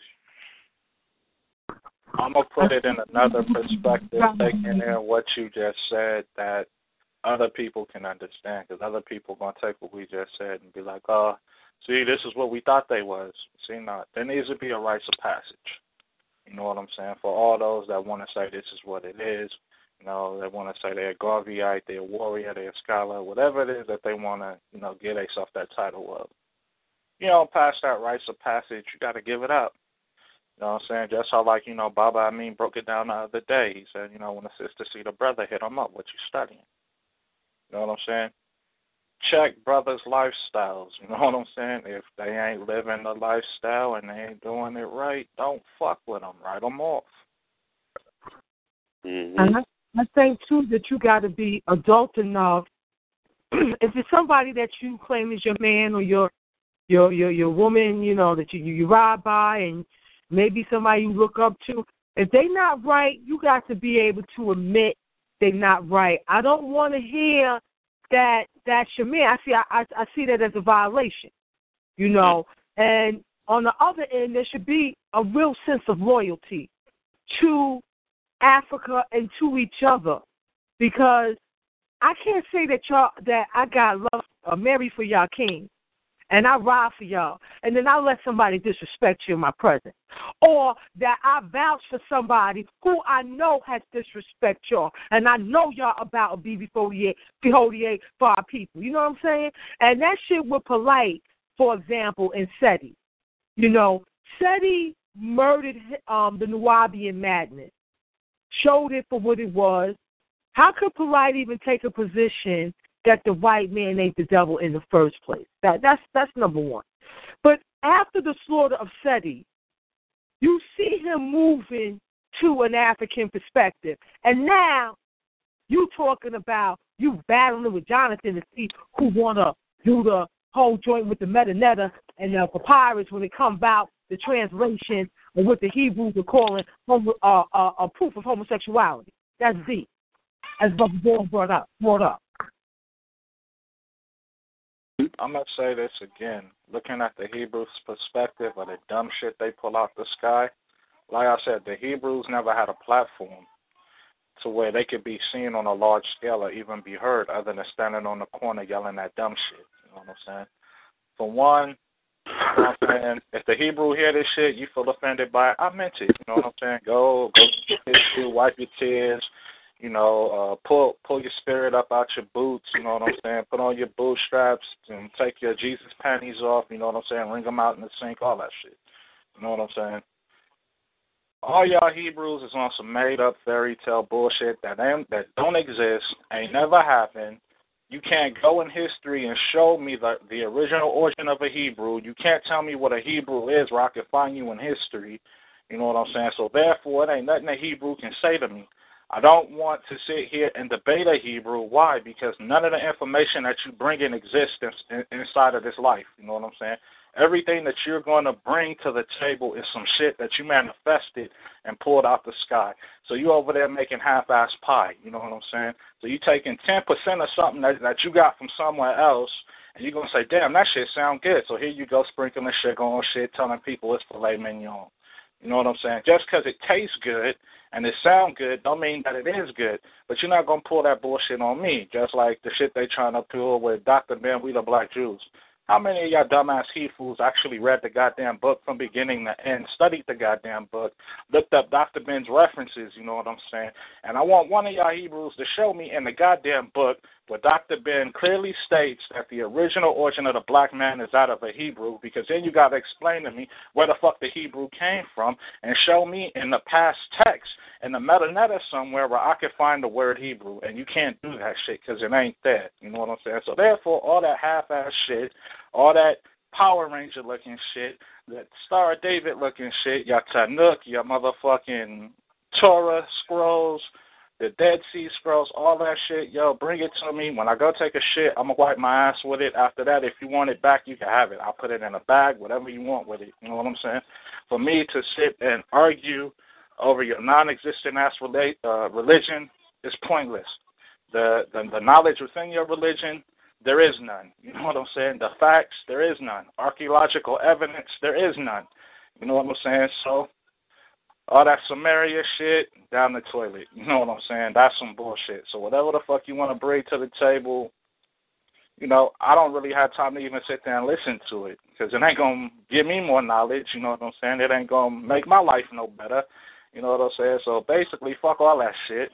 I'm going to put it in another perspective, taking in what you just said that other people can understand, because other people are going to take what we just said and be like, oh, see, this is what we thought they was. See, not. There needs to be a rites of passage. You know what I'm saying? For all those that want to say this is what it is, you know, they want to say they're a Garveyite, they're a warrior, they're a scholar, whatever it is that they want to, you know, get themselves that title of. You know, past that rites of passage, you got to give it up. You know what I'm saying? Just how, like, you know, Baba Amin broke it down the other day. He said, you know, when the sister see the brother, hit him up. What you studying? You know what I'm saying? Check brothers' lifestyles. You know what I'm saying? If they ain't living the lifestyle and they ain't doing it right, don't fuck with them. Write them off. Mm-hmm. And I, I think, too, that you got to be adult enough. If it's somebody that you claim is your man or your your your, your woman, you know, that you, you ride by, and maybe somebody you look up to, if they not right, you got to be able to admit they're not right. I don't want to hear that that's your man. I see I, I, I see that as a violation, you know. And on the other end, there should be a real sense of loyalty to Africa and to each other, because I can't say that y'all that I got love or married for y'all king, and I ride for y'all, and then I let somebody disrespect you in my presence, or that I vouch for somebody who I know has disrespect y'all, and I know y'all about a B B forty-eight, B forty-eight for our people. You know what I'm saying? And that shit with Polite, for example, in SETI. You know, SETI murdered um, the Nubian madness, showed it for what it was. How could Polite even take a position that the white man ain't the devil in the first place? That that's that's number one. But after the slaughter of SETI, you see him moving to an African perspective. And now you talking about you battling with Jonathan to see who wanna do the whole joint with the metanetta and the papyrus when it comes out the translation of what the Hebrews are calling homo, uh, uh, a proof of homosexuality. That's deep, as Brother Boyle brought up. Brought up. I'm going to say this again. Looking at the Hebrews' perspective of the dumb shit they pull out the sky, like I said, the Hebrews never had a platform to where they could be seen on a large scale or even be heard other than standing on the corner yelling that dumb shit. You know what I'm saying? For one, you know what I'm saying? If the Hebrew hear this shit, you feel offended by it, I meant it. You know what I'm saying? Go, go get this shit, wipe your tears. You know, uh, pull pull your spirit up out your boots, you know what I'm saying? Put on your bootstraps and take your Jesus panties off, you know what I'm saying? Wring them out in the sink, all that shit. You know what I'm saying? All y'all Hebrews is on some made-up fairy tale bullshit that ain't, that don't exist, ain't never happened. You can't go in history and show me the, the original origin of a Hebrew. You can't tell me what a Hebrew is where I can find you in history. You know what I'm saying? So therefore, it ain't nothing a Hebrew can say to me. I don't want to sit here and debate a Hebrew. Why? Because none of the information that you bring in exists in, inside of this life. You know what I'm saying? Everything that you're going to bring to the table is some shit that you manifested and pulled out the sky. So you over there making half-ass pie. You know what I'm saying? So you taking ten percent of something that, that you got from somewhere else, and you're going to say, damn, that shit sound good. So here you go sprinkling shit on shit, telling people it's filet mignon. You know what I'm saying? Just because it tastes good and it sound good don't mean that it is good. But you're not going to pull that bullshit on me, just like the shit they trying to pull with Doctor Ben, we the black Jews. How many of y'all dumbass he fools actually read the goddamn book from beginning to end, studied the goddamn book, looked up Doctor Ben's references, you know what I'm saying? And I want one of y'all Hebrews to show me in the goddamn book where Doctor Ben clearly states that the original origin of the black man is out of a Hebrew, because then you got to explain to me where the fuck the Hebrew came from and show me in the past text in the metanetta somewhere where I can find the word Hebrew, and you can't do that shit because it ain't there, you know what I'm saying? So therefore, all that half-ass shit, all that Power Ranger-looking shit, that Star of David-looking shit, your Tanukh, your motherfucking Torah scrolls, the Dead Sea Scrolls, all that shit, yo, bring it to me. When I go take a shit, I'm going to wipe my ass with it. After that, if you want it back, you can have it. I'll put it in a bag, whatever you want with it. You know what I'm saying? For me to sit and argue over your non-existent ass relate, uh, religion is pointless. The, the the knowledge within your religion, there is none. You know what I'm saying? The facts, there is none. Archaeological evidence, there is none. You know what I'm saying? So all that Samaria shit, down the toilet. You know what I'm saying? That's some bullshit. So whatever the fuck you want to bring to the table, you know, I don't really have time to even sit there and listen to it, because it ain't going to give me more knowledge. You know what I'm saying? It ain't going to make my life no better. You know what I'm saying? So basically, fuck all that shit.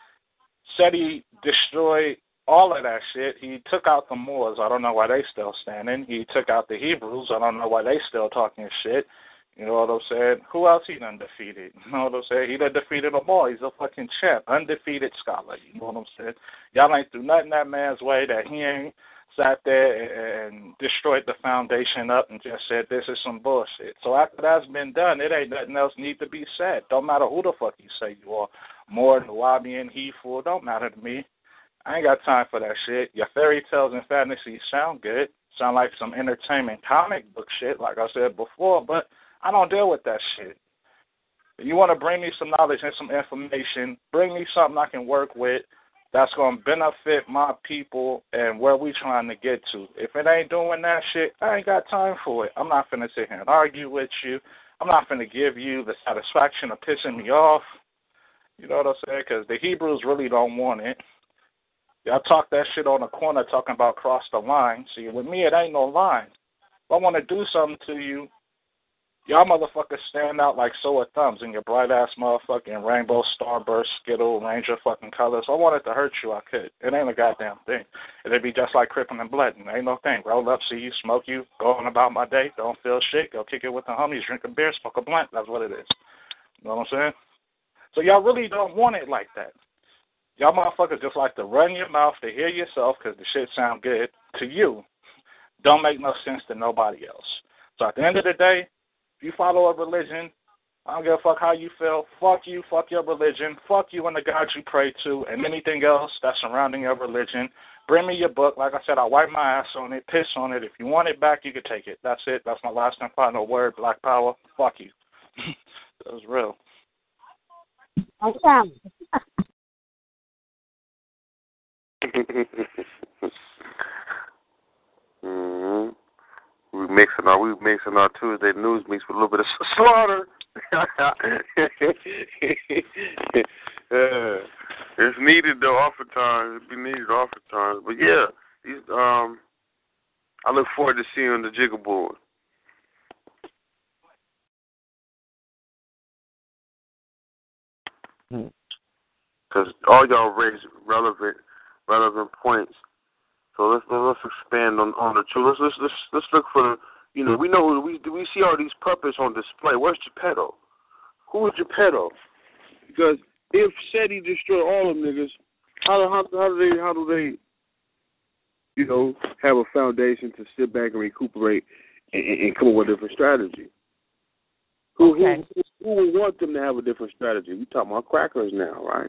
Said he destroyed all of that shit. He took out the Moors. I don't know why they still standing. He took out the Hebrews. I don't know why they still talking shit. You know what I'm saying? Who else he done defeated? You know what I'm saying? He done defeated them all. He's a fucking champ, undefeated scholar. You know what I'm saying? Y'all ain't threw nothing that man's way that he ain't sat there and destroyed the foundation up and just said this is some bullshit. So after that's been done, it ain't nothing else need to be said. Don't matter who the fuck you say you are. More Nubian, he fool, don't matter to me. I ain't got time for that shit. Your fairy tales and fantasies sound good. Sound like some entertainment comic book shit, like I said before, but I don't deal with that shit. If you want to bring me some knowledge and some information, bring me something I can work with that's going to benefit my people and where we trying to get to. If it ain't doing that shit, I ain't got time for it. I'm not finna sit here and argue with you. I'm not finna give you the satisfaction of pissing me off. You know what I'm saying? Because the Hebrews really don't want it. Y'all talk that shit on the corner talking about cross the line. See, with me, it ain't no line. I want to do something to you, y'all motherfuckers stand out like sore thumbs in your bright-ass motherfucking rainbow, starburst, skittle, ranger fucking colors. I wanted to hurt you, I could. It ain't a goddamn thing. It'd be just like Crippin' and Bloodin'. Ain't no thing. Roll up, see you, smoke you, go on about my day, don't feel shit, go kick it with the homies, drink a beer, smoke a blunt. That's what it is. You know what I'm saying? So y'all really don't want it like that. Y'all motherfuckers just like to run your mouth to hear yourself because the shit sound good to you. Don't make no sense to nobody else. So at the end of the day, if you follow a religion, I don't give a fuck how you feel. Fuck you, fuck your religion, fuck you and the God you pray to, and anything else that's surrounding your religion. Bring me your book. Like I said, I'll wipe my ass on it, piss on it. If you want it back, you can take it. That's it. That's my last and final word. Black power. Fuck you. That was real. Okay. mm-hmm. We mixing our we mixing our Tuesday news mix with a little bit of slaughter. uh, it's needed though, oftentimes. It be needed oftentimes. But yeah, these, um, I look forward to seeing you on the jigger board. Because all y'all raise relevant relevant points. So let's let's expand on, on the truth. Let's, let's let's let's look for the, you know, we know we we see all these puppets on display. Where's Geppetto? Who is Geppetto? Because if SETI destroy all them niggas, how how how do they how do they you know have a foundation to sit back and recuperate and, and come up with a different strategy? Who, okay. who who would want them to have a different strategy? We talking about crackers now, right?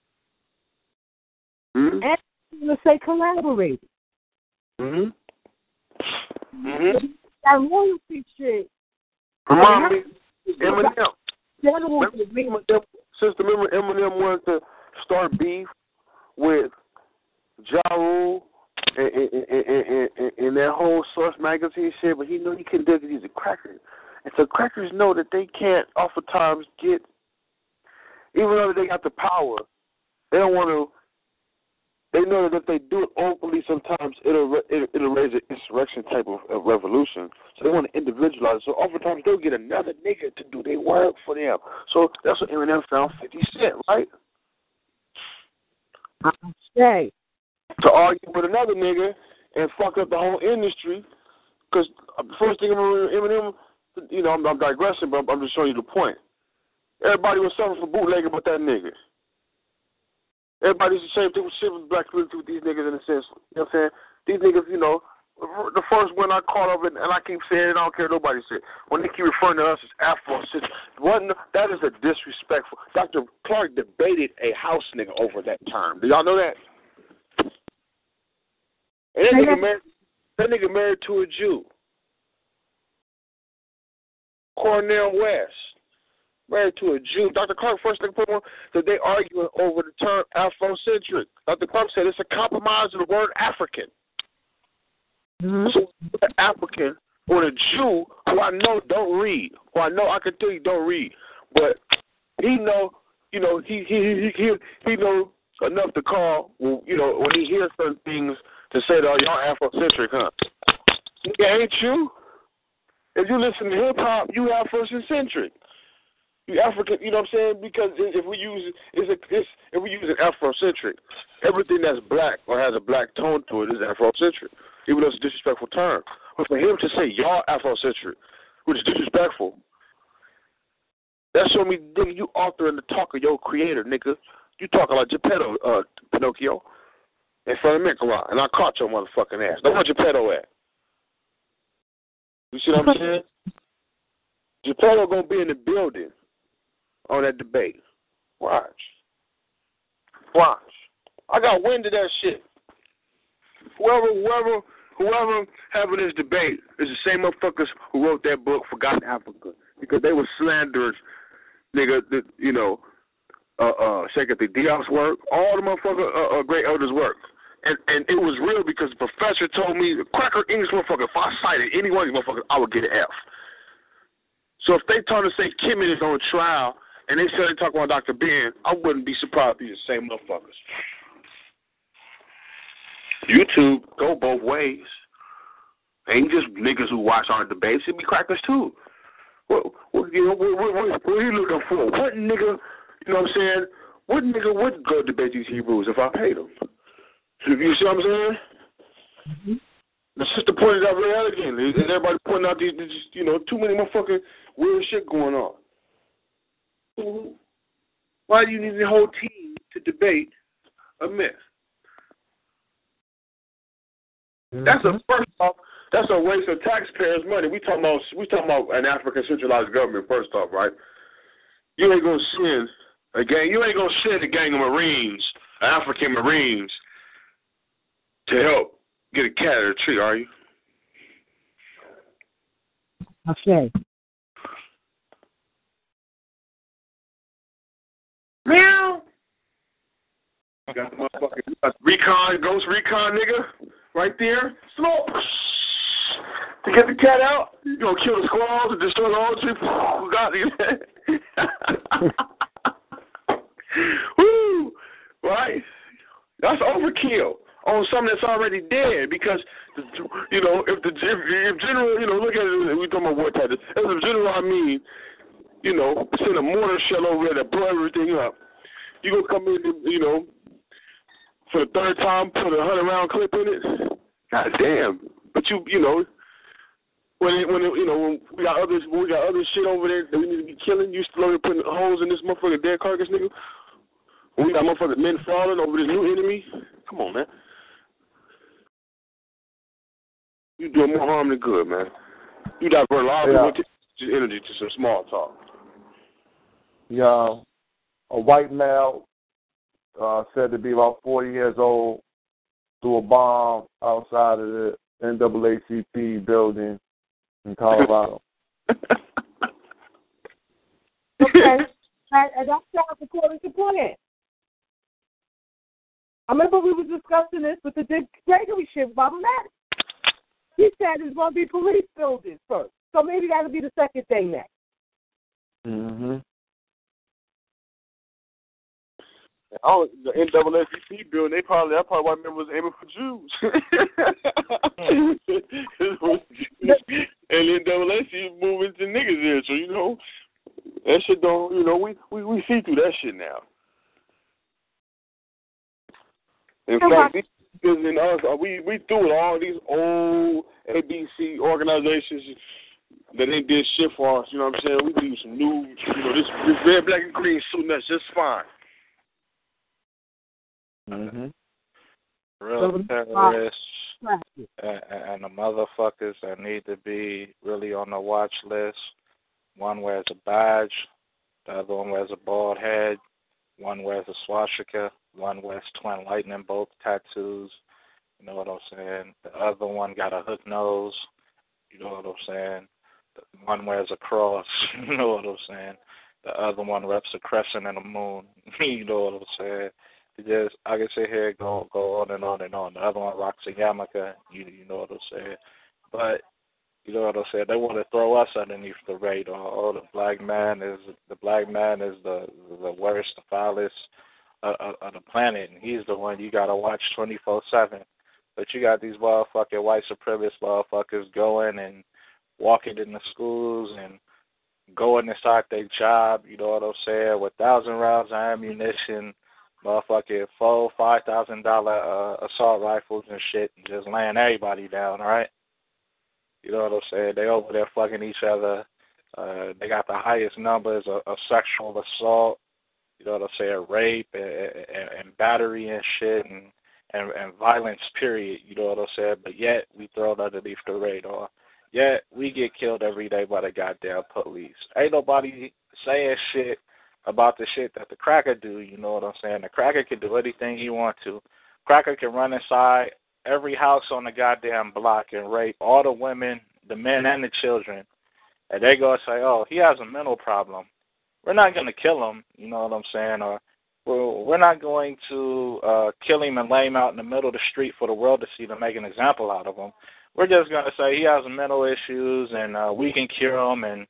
Hmm? And I'm going to say collaborate. Mm-hmm. Mm-hmm. That royalty shit. Remind me, Eminem. Remember, since remember Eminem wanted to start beef with Ja Rule and, and, and, and, and, and that whole Source magazine shit, but he knew he couldn't do it because he's a cracker. And so crackers know that they can't oftentimes get, even though they got the power, they don't want to. They know that if they do it openly, sometimes it'll it'll, it'll raise an insurrection type of, of revolution. So they want to individualize. So oftentimes they'll get another nigga to do their work for them. So that's what Eminem found fifty Cent, right? Say. To argue with another nigga and fuck up the whole industry. Because the first thing Eminem, you know, I'm, I'm digressing, but I'm, I'm just showing you the point. Everybody was suffering for bootlegging but that nigga. Everybody's the same thing with shit with black community with these niggas in a sense. You know what I'm saying? These niggas, you know, the first one I caught of it, and I keep saying it, I don't care what nobody said. When they keep referring to us as Afro, that is a disrespectful. Doctor Clark debated a house nigga over that term. Do y'all know that? And that nigga married, that nigga married to a Jew. Cornel West. Married to a Jew. Doctor Clark first thing put on that they arguing over the term Afrocentric. Doctor Clark said it's a compromise of the word African. Mm-hmm. So an African or a Jew who I know don't read, who I know I can tell you don't read, but he know, you know, he he he he, he know enough to call, you know, when he hears certain things to say that, oh, y'all Afrocentric, huh? Yeah, ain't you? If you listen to hip hop, you Afrocentric. You African, you know what I'm saying? Because if we use it's a, it's, if we use an Afrocentric, everything that's black or has a black tone to it is Afrocentric, even though it's a disrespectful term. But for him to say y'all Afrocentric, which is disrespectful, that show me, nigga, you authoring the talk of your creator, nigga. You talking like Geppetto, uh, Pinocchio, in front of Michelin, and I caught your motherfucking ass. Now where Geppetto at? You see what I'm saying? Geppetto gonna be in the building on that debate. Watch. Watch. I got wind of that shit. Whoever, whoever, whoever having this debate is the same motherfuckers who wrote that book, Forgotten Africa, because they were slanderers, nigga. The, you know, uh, uh, Shakespeare Diop's work, all the motherfucker uh, uh, great elders' work, and and it was real because the professor told me, the cracker English motherfucker, if I cited any one of these motherfuckers, I would get an F. So if they turn to say Kimmon is on trial, and they say they talk about Doctor Ben, I wouldn't be surprised if these the same motherfuckers. YouTube go both ways. Ain't just niggas who watch our debates. It be crackers too. What, what you know? What, what, what, what are you looking for? What nigga? You know what I'm saying? What nigga would go debate these Hebrews if I paid him? You see what I'm saying? Mm-hmm. The sister pointed out very elegantly, and everybody pointing out these, these, you know, too many motherfucking weird shit going on. Mm-hmm. Why do you need the whole team to debate a myth? Mm-hmm. That's a first off. That's a waste of taxpayers' money. We talking about we talking about an African centralized government. First off, right? You ain't gonna send a gang. You ain't gonna send a gang of Marines, African Marines, to help get a cat out of a tree, are you? Okay. Meow. You got the motherfucking you got the recon, ghost recon nigga right there. Slow. To get the cat out, you gonna kill the squirrels and destroy the whole tree. God, woo, right? That's overkill on something that's already dead because, you know, if the if, if general, you know, look at it, we talking about war tactics. As a general, I mean, you know, send a mortar shell over there to blow everything up. You gonna come in, you know, for the third time, put a hundred round clip in it? God damn! But you, you know, when it, when it, you know, when we got others, when we got other shit over there that we need to be killing, you still over putting holes in this motherfucker dead carcass, nigga. When we got motherfucking men falling over this new enemy. Come on, man. You doing more harm than good, man. You divert a lot of yeah. energy to some small talk. Yeah, a white male uh, said to be about forty years old threw a bomb outside of the N double A C P building in Colorado. Okay, and, and that sounds according to plan. I remember we were discussing this with the Dick Gregory shit about that. He said it's going to be police buildings first. So maybe that'll be the second thing next. Mm-hmm. Oh, the N double A C P building, they probably, that probably why members aiming for Jews. And N double A C moving to niggas there, so, you know, that shit don't, you know, we, we, we see through that shit now. In fact, these niggas and us, we, we threw it all these old A B C organizations that they did shit for us, you know what I'm saying? We do some new, you know, this, this red, black, and green suiting us just fine. Mm-hmm. Real terrorists and, and the motherfuckers that need to be really on the watch list. One wears a badge, the other one wears a bald head, one wears a swastika, one wears twin lightning bolt tattoos. You know what I'm saying? The other one got a hook nose. You know what I'm saying? One wears a cross. You know what I'm saying? The other one reps a crescent and a moon. You know what I'm saying? Just, I can sit here and go, go on and on and on. The other one rocks a yarmulke. You, you know what I'm saying? But, you know what I'm saying? They want to throw us underneath the radar. Oh, the black man is the black man is the the worst, the foulest of, of, of the planet, and he's the one you got to watch twenty-four seven. But you got these motherfucking white supremacist motherfuckers going and walking in the schools and going inside their job, you know what I'm saying, with thousand rounds of ammunition, motherfucking four, five thousand dollar uh, assault rifles and shit, and just laying everybody down, right? You know what I'm saying? They over there fucking each other. Uh, they got the highest numbers of, of sexual assault. You know what I'm saying? Rape and, and, and battery and shit and, and and violence. Period. You know what I'm saying? But yet we thrown underneath the radar. Yet we get killed every day by the goddamn police. Ain't nobody saying shit about the shit that the cracker do, you know what I'm saying? The cracker can do anything he want to. Cracker can run inside every house on the goddamn block and rape all the women, the men, and the children. And they go and say, oh, he has a mental problem. We're not going to kill him, you know what I'm saying? Or we're, we're not going to uh, kill him and lay him out in the middle of the street for the world to see to make an example out of him. We're just going to say he has mental issues and uh, we can cure him, and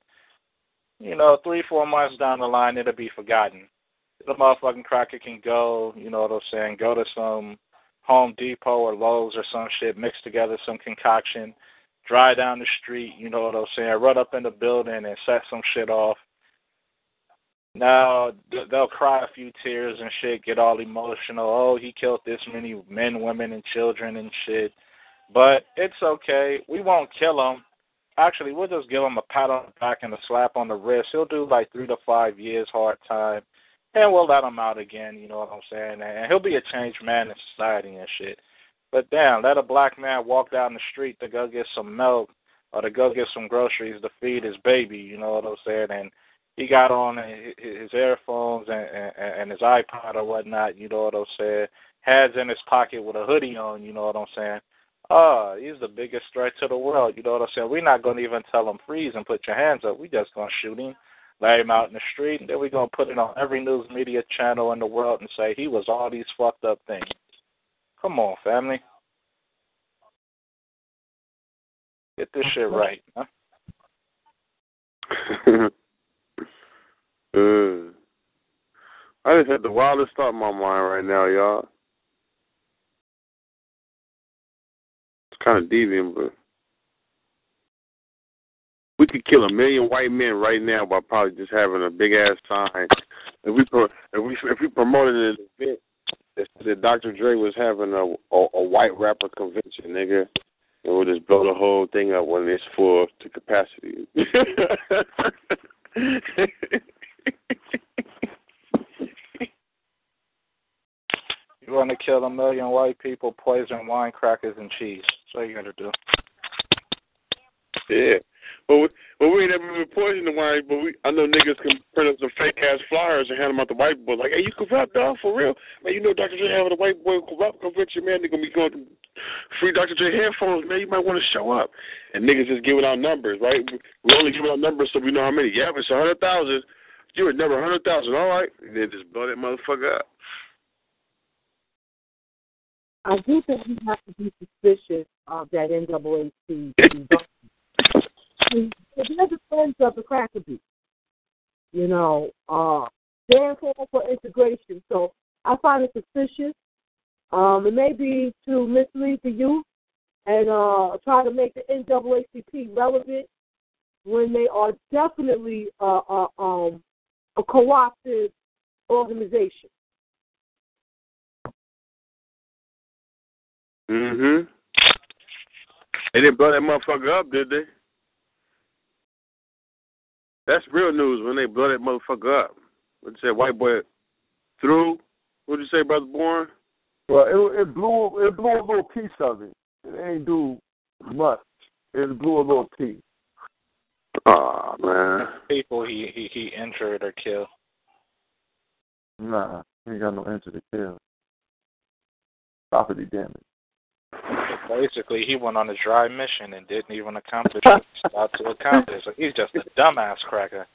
you know, three, four months down the line, it'll be forgotten. The motherfucking cracker can go, you know what I'm saying, go to some Home Depot or Lowe's or some shit, mix together some concoction, drive down the street, you know what I'm saying, run up in the building and set some shit off. Now, they'll cry a few tears and shit, get all emotional. Oh, he killed this many men, women, and children and shit. But it's okay. We won't kill him. Actually, we'll just give him a pat on the back and a slap on the wrist. He'll do like three to five years hard time, and we'll let him out again, you know what I'm saying? And he'll be a changed man in society and shit. But damn, let a black man walk down the street to go get some milk or to go get some groceries to feed his baby, you know what I'm saying? And he got on his earphones and, and, and his iPod or whatnot, you know what I'm saying? Hands in his pocket with a hoodie on, you know what I'm saying? Oh, he's the biggest threat to the world, you know what I'm saying? We're not going to even tell him freeze and put your hands up. We're just going to shoot him, lay him out in the street, and then we're going to put it on every news media channel in the world and say he was all these fucked up things. Come on, family. Get this shit right, huh? uh, I just had the wildest thought in my mind right now, y'all. It's kind of deviant, but we could kill a million white men right now by probably just having a big ass sign. If we pro- if we if we promoted an event that, that Doctor Dre was having a, a a white rapper convention, nigga, and we'll just blow the whole thing up when it's full to capacity. You want to kill a million white people, poison wine, crackers, and cheese. That's what you got to do. Yeah. But we, but we ain't never been poisoning the wine, but we, I know niggas can print up some fake-ass flyers and hand them out to white boys. Like, hey, you corrupt, dog, for real? Man, you know Doctor Dre having a white boy corrupt convention, man. They're going to be going to free Doctor Dre headphones, man. You might want to show up. And niggas just giving out numbers, right? We only giving out numbers so we know how many. Yeah, if it's one hundred thousand, you would never one hundred thousand, all right? And then just blow that motherfucker up. I do think you have to be suspicious of that N double A C. They're the friends of the cracker beat. You know, uh, they're for, for integration. So I find it suspicious. Um, it may be to mislead the youth and uh, try to make the N double A C P relevant when they are definitely uh, uh, um, a co-opted organization. Mm-hmm. They didn't blow that motherfucker up, did they? That's real news when they blow that motherfucker up. What you say, white boy through? What did you say, Brother Bourne? Well, it, it blew it blew a little piece of it. It ain't do much. It blew a little piece. Oh man. People he, he, he injured or killed. Nah, he ain't got no injury to kill. Property damage. Basically, he went on a dry mission and didn't even accomplish what he sought to accomplish. So he's just a dumbass cracker.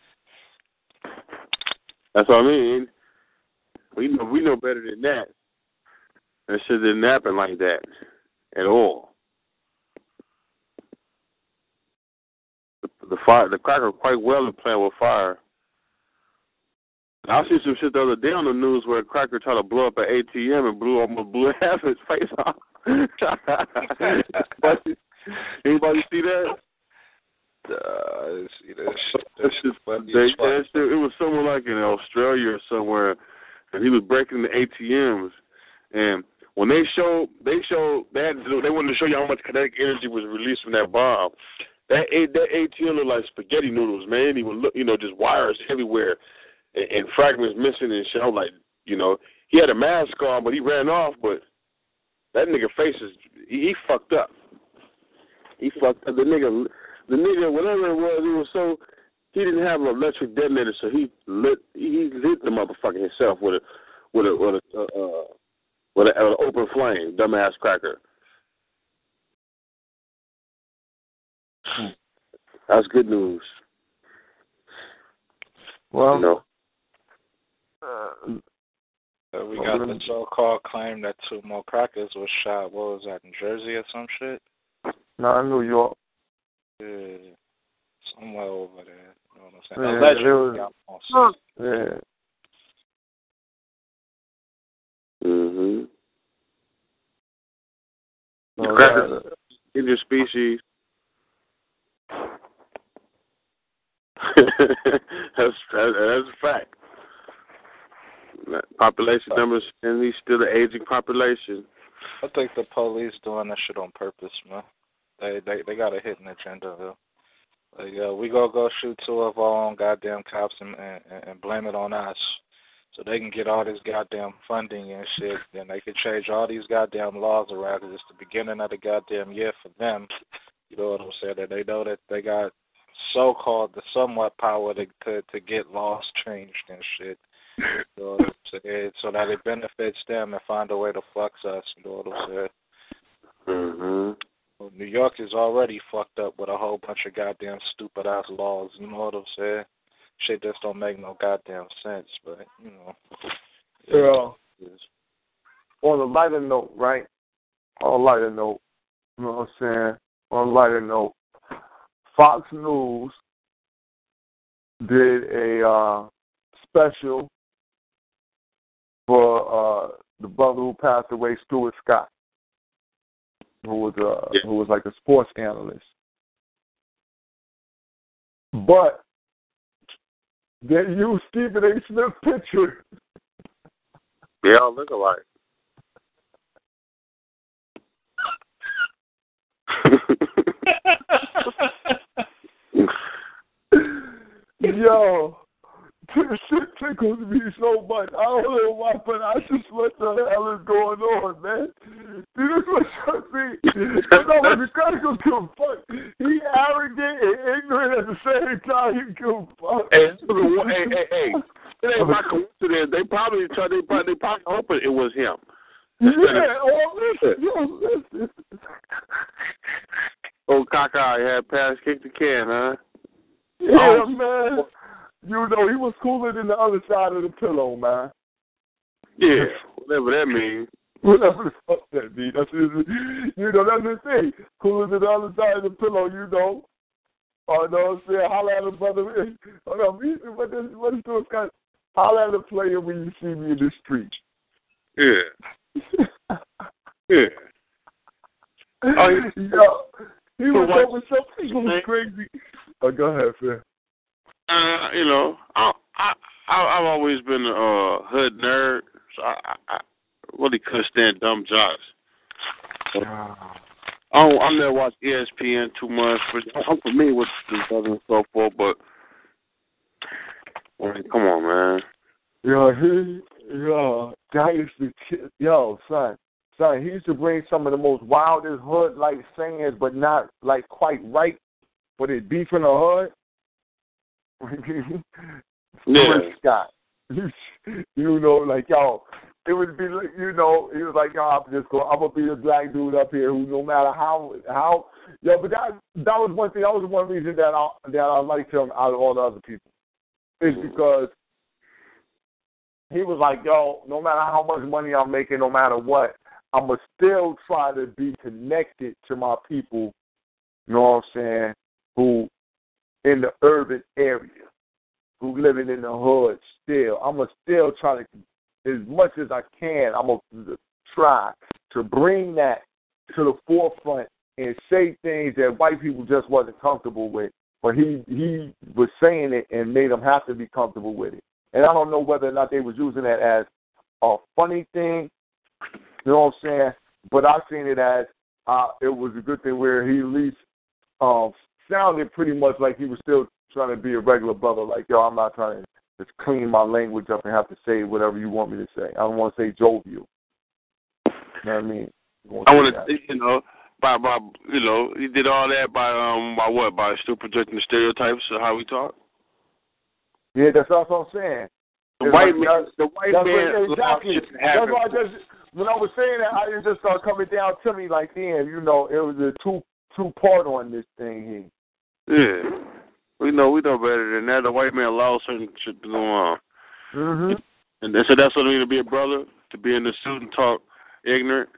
That's what I mean. We know we know better than that. That shit didn't happen like that at all. The, the fire, the cracker, quite well at playing with fire. I see some shit the other day on the news where a cracker tried to blow up an A T M and blew almost blew half his face off. Anybody see that? Uh, I see that shit. That shit, they, that shit, it was somewhere like in Australia or somewhere, and he was breaking the A T Ms. And when they showed, they showed, they had to, they wanted to show you how much kinetic energy was released from that bomb. That that A T M looked like spaghetti noodles, man. He would look, you know, just wires everywhere. And, and fragments missing and shit. I was like, you know, he had a mask on, but he ran off. But that nigga face is, he, he fucked up. He fucked up. The nigga, the nigga, whatever it was, he was so, he didn't have an electric detonator, so he lit, he lit the motherfucker himself with a, with a, with a, uh, uh, with an uh, open flame, dumbass cracker. That's good news. Well, you know. Uh, So we got the so-called claim that two more crackers was shot. What was that, in Jersey or some shit? no, in New York. Yeah, somewhere over there. You know what I'm saying? Yeah, Allegedly, was, huh. Yeah. Mm-hmm. So Crackers, in your species. that's that, that's a fact. Population numbers, and he's still the aging population. I think the police doing that shit on purpose, man. They they they got a hidden agenda, though. Like, uh, we go go shoot two of our own goddamn cops and, and and blame it on us, so they can get all this goddamn funding and shit. Then they can change all these goddamn laws around, because it's the beginning of the goddamn year for them. You know what I'm saying? That they know that they got so-called the somewhat power to to, to get laws changed and shit. You know what I'm saying? So that it benefits them and find a way to fuck us. You know what I'm saying? Mm-hmm. Well, New York is already fucked up with a whole bunch of goddamn stupid ass laws. You know what I'm saying? Shit just don't make no goddamn sense. But you know. Yeah. On a lighter note, right? On a lighter note, you know what I'm saying? On a lighter note, Fox News did a uh, special for uh, the brother who passed away, Stuart Scott, who was uh, yeah. who was like a sports analyst. But they used Stephen A. Smith's picture. They all look alike. Yo, this shit tickles me so much. I don't know why, but I just what the hell is going on, man? Dude, this was something. No, but the guy don't give a fuck. He arrogant and ignorant at the same time. He give a fuck. Hey, hey, hey, hey. It ain't by coincidence. They probably tried. They probably, they probably hoping it was him. Yeah, oh, listen, yo, listen. Old Kaka had pass kicked the can, huh? Yeah, oh. Man. You know, he was cooler than the other side of the pillow, man. Yeah, whatever that means. Whatever the fuck that means. That's just, you know, that's the thing. Cooler than the other side of the pillow, you know. I know what I'm saying? Holla at a brother. Hold on, what is, what is this guy? Holla at a player when you see me in the street. Yeah. Yeah. Oh, he, yo, he was what, over something. He was crazy. Oh, go ahead, Phil. Uh, you know, I, I, I've always been a uh, hood nerd, so I, I, I really couldn't stand dumb jocks. So, I don't, I never watched E S P N too much, but I'm familiar with this other and so forth. But I mean, come on, man. Yo, he, yo, that used to, yo, son, son, he used to bring some of the most wildest hood-like sayings, but not like quite right, but it beef in the hood. Yeah. Scott. You know, like, yo, it would be, you know, he was like, yo, I'm just going, I'm going to be the black dude up here who no matter how, how, yo, but that that was one thing, that was one reason that I, that I liked him out of all the other people. Is because he was like, yo, no matter how much money I'm making, no matter what, I'm going to still try to be connected to my people, you know what I'm saying, who in the urban area, who living in the hood still. I'm going to still try to, as much as I can, I'm going to try to bring that to the forefront and say things that white people just wasn't comfortable with. But he, he was saying it and made them have to be comfortable with it. And I don't know whether or not they was using that as a funny thing, you know what I'm saying? But I seen it as uh, it was a good thing where he at least um, sounded pretty much like he was still trying to be a regular brother. Like, yo, I'm not trying to just clean my language up and have to say whatever you want me to say. I don't want to say jovial. You know what I mean? I want to, you know, by by you know, he did all that by um by what? By still projecting the stereotypes of how we talk. Yeah, that's what I'm saying. The it's white like, man, the white man, exactly. That's why I just when I was saying that, I just started coming down to me like, damn, you know, it was a two two part on this thing here. Yeah, we know we know better than that. The white man allows certain shit to go on. Mm-hmm. And so that's what it means to be a brother, to be in the suit and talk ignorant.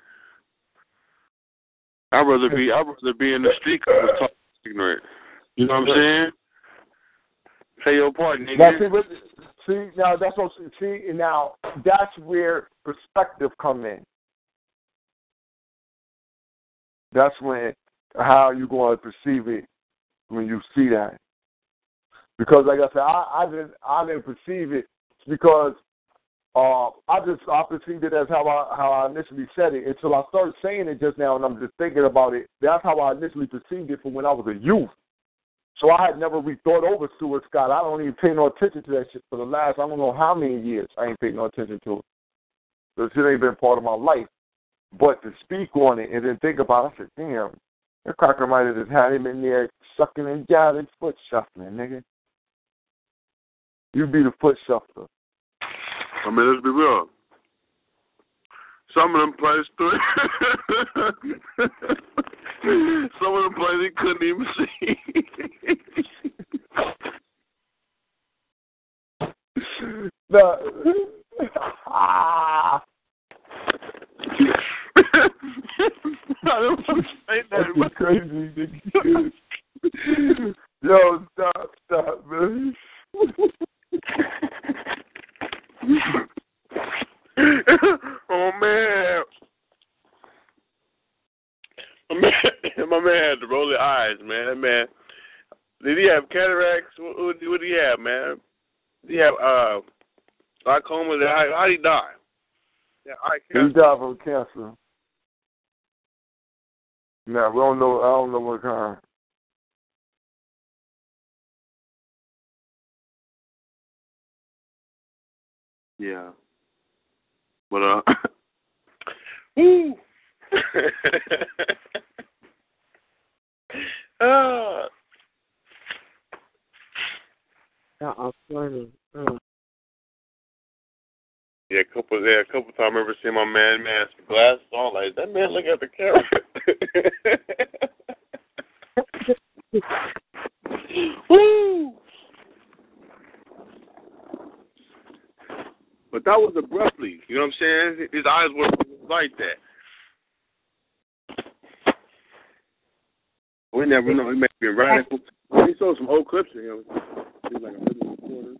I'd rather be I'd rather be in the street and talk ignorant. You know what I'm saying? Play your part, nigga. Now, see, but, see, now that's what see. Now that's where perspective come in. That's when how you going to perceive it when you see that. Because, like I said, I, I didn't I didn't perceive it because uh, I just I perceived it as how I how I initially said it until I started saying it just now, and I'm just thinking about it. That's how I initially perceived it from when I was a youth. So I had never really thought over Stuart Scott. I don't even pay no attention to that shit for the last I don't know how many years. I ain't paid no attention to it. So it ain't been part of my life. But to speak on it and then think about it, I said, damn, that cracker might have just had him in there sucking and jiving, foot shuffling, nigga. You be the foot shuffler. I mean, let's be real. Some of them plays through. Some of them plays he couldn't even see. No. Ah. I don't want to say that. That's crazy, nigga. Yo, stop, stop, man. Oh man. My man, my man had to roll his eyes, man. That man, did he have cataracts? What, what, what did he have, man? Did he have uh, glaucoma? How, how did he die? Yeah, eye cancer. He died from cancer. Now we don't know. I don't know what kind. Yeah. But uh. Woo. uh. Uh-uh, funny. Uh. Yeah, a couple. Yeah, a couple times I remember seeing my man, man, some glasses on. Like that man, look at the camera. Woo! But that was abruptly. You know what I'm saying? His eyes were like that. We never know. He may be radical. He saw some old clips of him. He's like a middle reporter.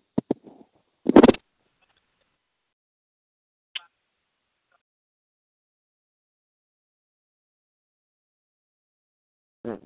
Mm.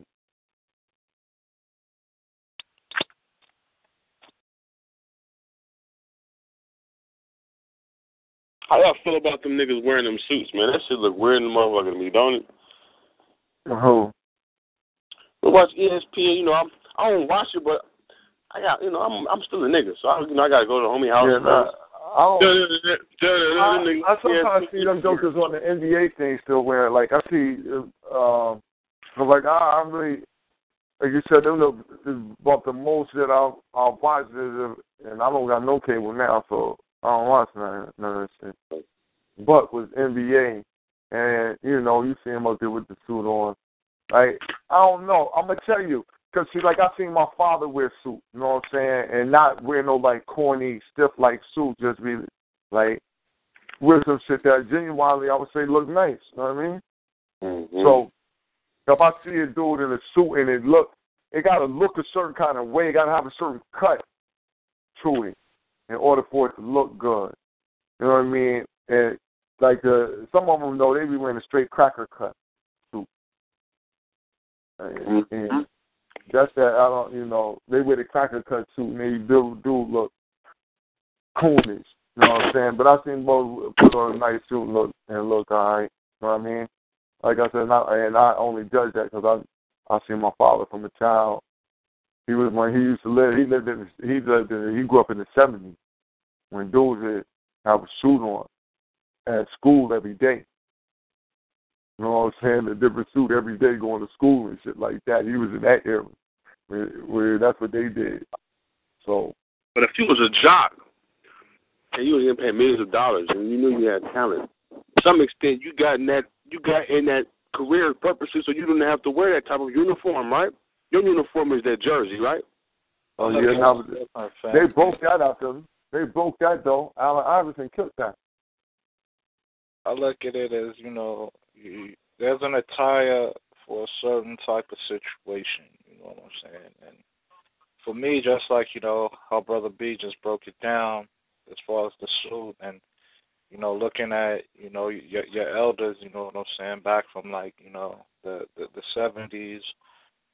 How y'all feel about them niggas wearing them suits, man? That shit look weird in the motherfucker to me, don't it? Who? We watch E S P N, you know, I'm, I don't watch it, but I got, you know, I'm I'm still a nigga, so I, you know, I gotta go to the homie house. Yeah, nah, I, don't, I, I sometimes see them jokers on the N B A thing still wearing. Like I see, um, I'm like I, I'm really, like you said, them the about the most that I'll I'll watch is, and I don't got no cable now, so I don't watch none, none of that shit. But with N B A, and you know, you see him up there with the suit on. Like, I don't know. I'm going to tell you. Because, see, like, I seen my father wear suit, you know what I'm saying? And not wear no, like, corny, stiff-like suit. Just be, like, wear some shit that genuinely, I would say, look nice. You know what I mean? Mm-hmm. So, if I see a dude in a suit and it look, it got to look a certain kind of way. It got to have a certain cut to it in order for it to look good. You know what I mean? And, like, the, some of them, though, they be wearing a straight cracker cut suit. And, and that's that. I don't, you know, they wear the cracker cut suit and they do do look coolish. You know what I'm saying? But I seen both put on a nice suit and look and look all right. You know what I mean? Like I said, not, and I only judge that because I I seen my father from a child. He was when he used to live. He lived in he lived in, he grew up in the seventies when dudes would have a suit on at school every day. You know what I'm saying? A different suit every day going to school and shit like that. He was in that era where, where that's what they did. So, but if you was a jock and you was getting paid millions of dollars and you knew you had talent, to some extent you got in that you got in that career purposes, so you didn't have to wear that type of uniform, right? Your uniform is that jersey, right? Oh yeah, now, they broke that out though. They broke that though. Allen Iverson killed that. I look at it as, you know, you, there's an attire for a certain type of situation, you know what I'm saying? And for me, just like, you know, how Brother B just broke it down as far as the suit and, you know, looking at, you know, your, your elders, you know what I'm saying, back from, like, you know, the, the, the seventies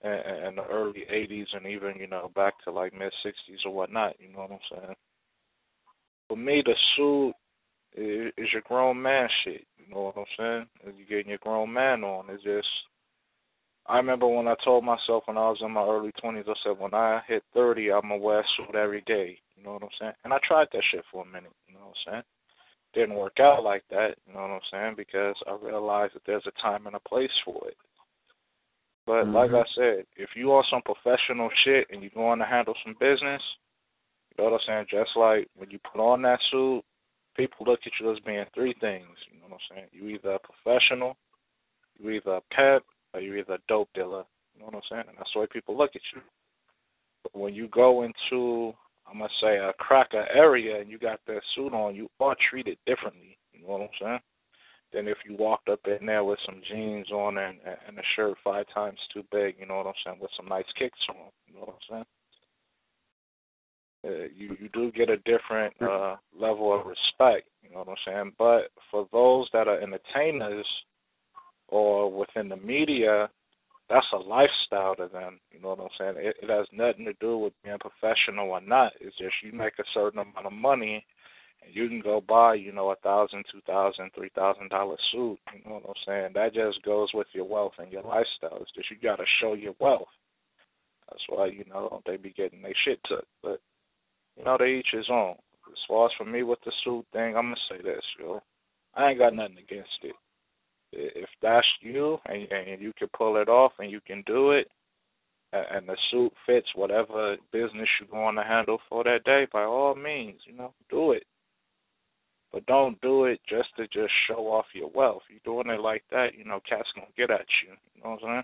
in, in the early eighties and even, you know, back to like mid sixties or whatnot. You know what I'm saying? For me, the suit is, is your grown man shit. You know what I'm saying? Is you getting your grown man on. It's just, I remember when I told myself when I was in my early twenties, I said, when I hit thirty, I'm going to wear a suit every day. You know what I'm saying? And I tried that shit for a minute. You know what I'm saying? Didn't work out like that. You know what I'm saying? Because I realized that there's a time and a place for it. But mm-hmm. like I said, if you are some professional shit and you're going to handle some business, you know what I'm saying? Just like when you put on that suit, people look at you as being three things. You know what I'm saying? You either a professional, you either a pep, or you either a dope dealer. You know what I'm saying? And that's the way people look at you. But when you go into, I'm going to say, a cracker area and you got that suit on, you are treated differently. You know what I'm saying? Than if you walked up in there with some jeans on and, and a shirt five times too big, you know what I'm saying, with some nice kicks on. You know what I'm saying? Uh, you, you do get a different uh, level of respect, you know what I'm saying? But for those that are entertainers or within the media, that's a lifestyle to them, you know what I'm saying? It, it has nothing to do with being professional or not. It's just you make a certain amount of money and you can go buy, you know, a thousand, two thousand, three thousand dollar suit. You know what I'm saying? That just goes with your wealth and your lifestyle. It's just you got to show your wealth. That's why, you know, they be getting their shit took. But you know, they each his own. As far as for me with the suit thing, I'm gonna say this, yo. I ain't got nothing against it. If that's you and, and you can pull it off and you can do it, and the suit fits whatever business you're going to handle for that day, by all means, you know, do it. But don't do it just to just show off your wealth. You're doing it like that, you know, cats gonna get at you. You know what I'm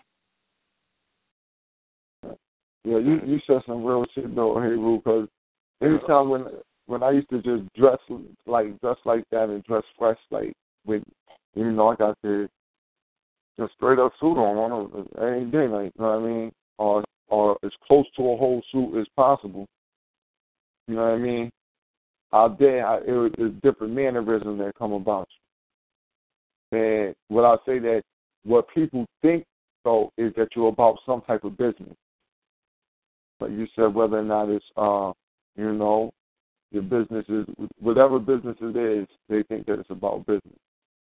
saying? Yeah, you you said some real shit though, hey Rue, because anytime when when I used to just dress like dress like that and dress fresh, like with, you know, I got the just straight up suit on on every day, like, you know what I mean, or or as close to a whole suit as possible. You know what I mean? Out there, I, it, it's different mannerisms that come about you. And what I say that what people think though is that you're about some type of business. But you said whether or not it's, uh, you know, your business is, whatever business it is, they think that it's about business.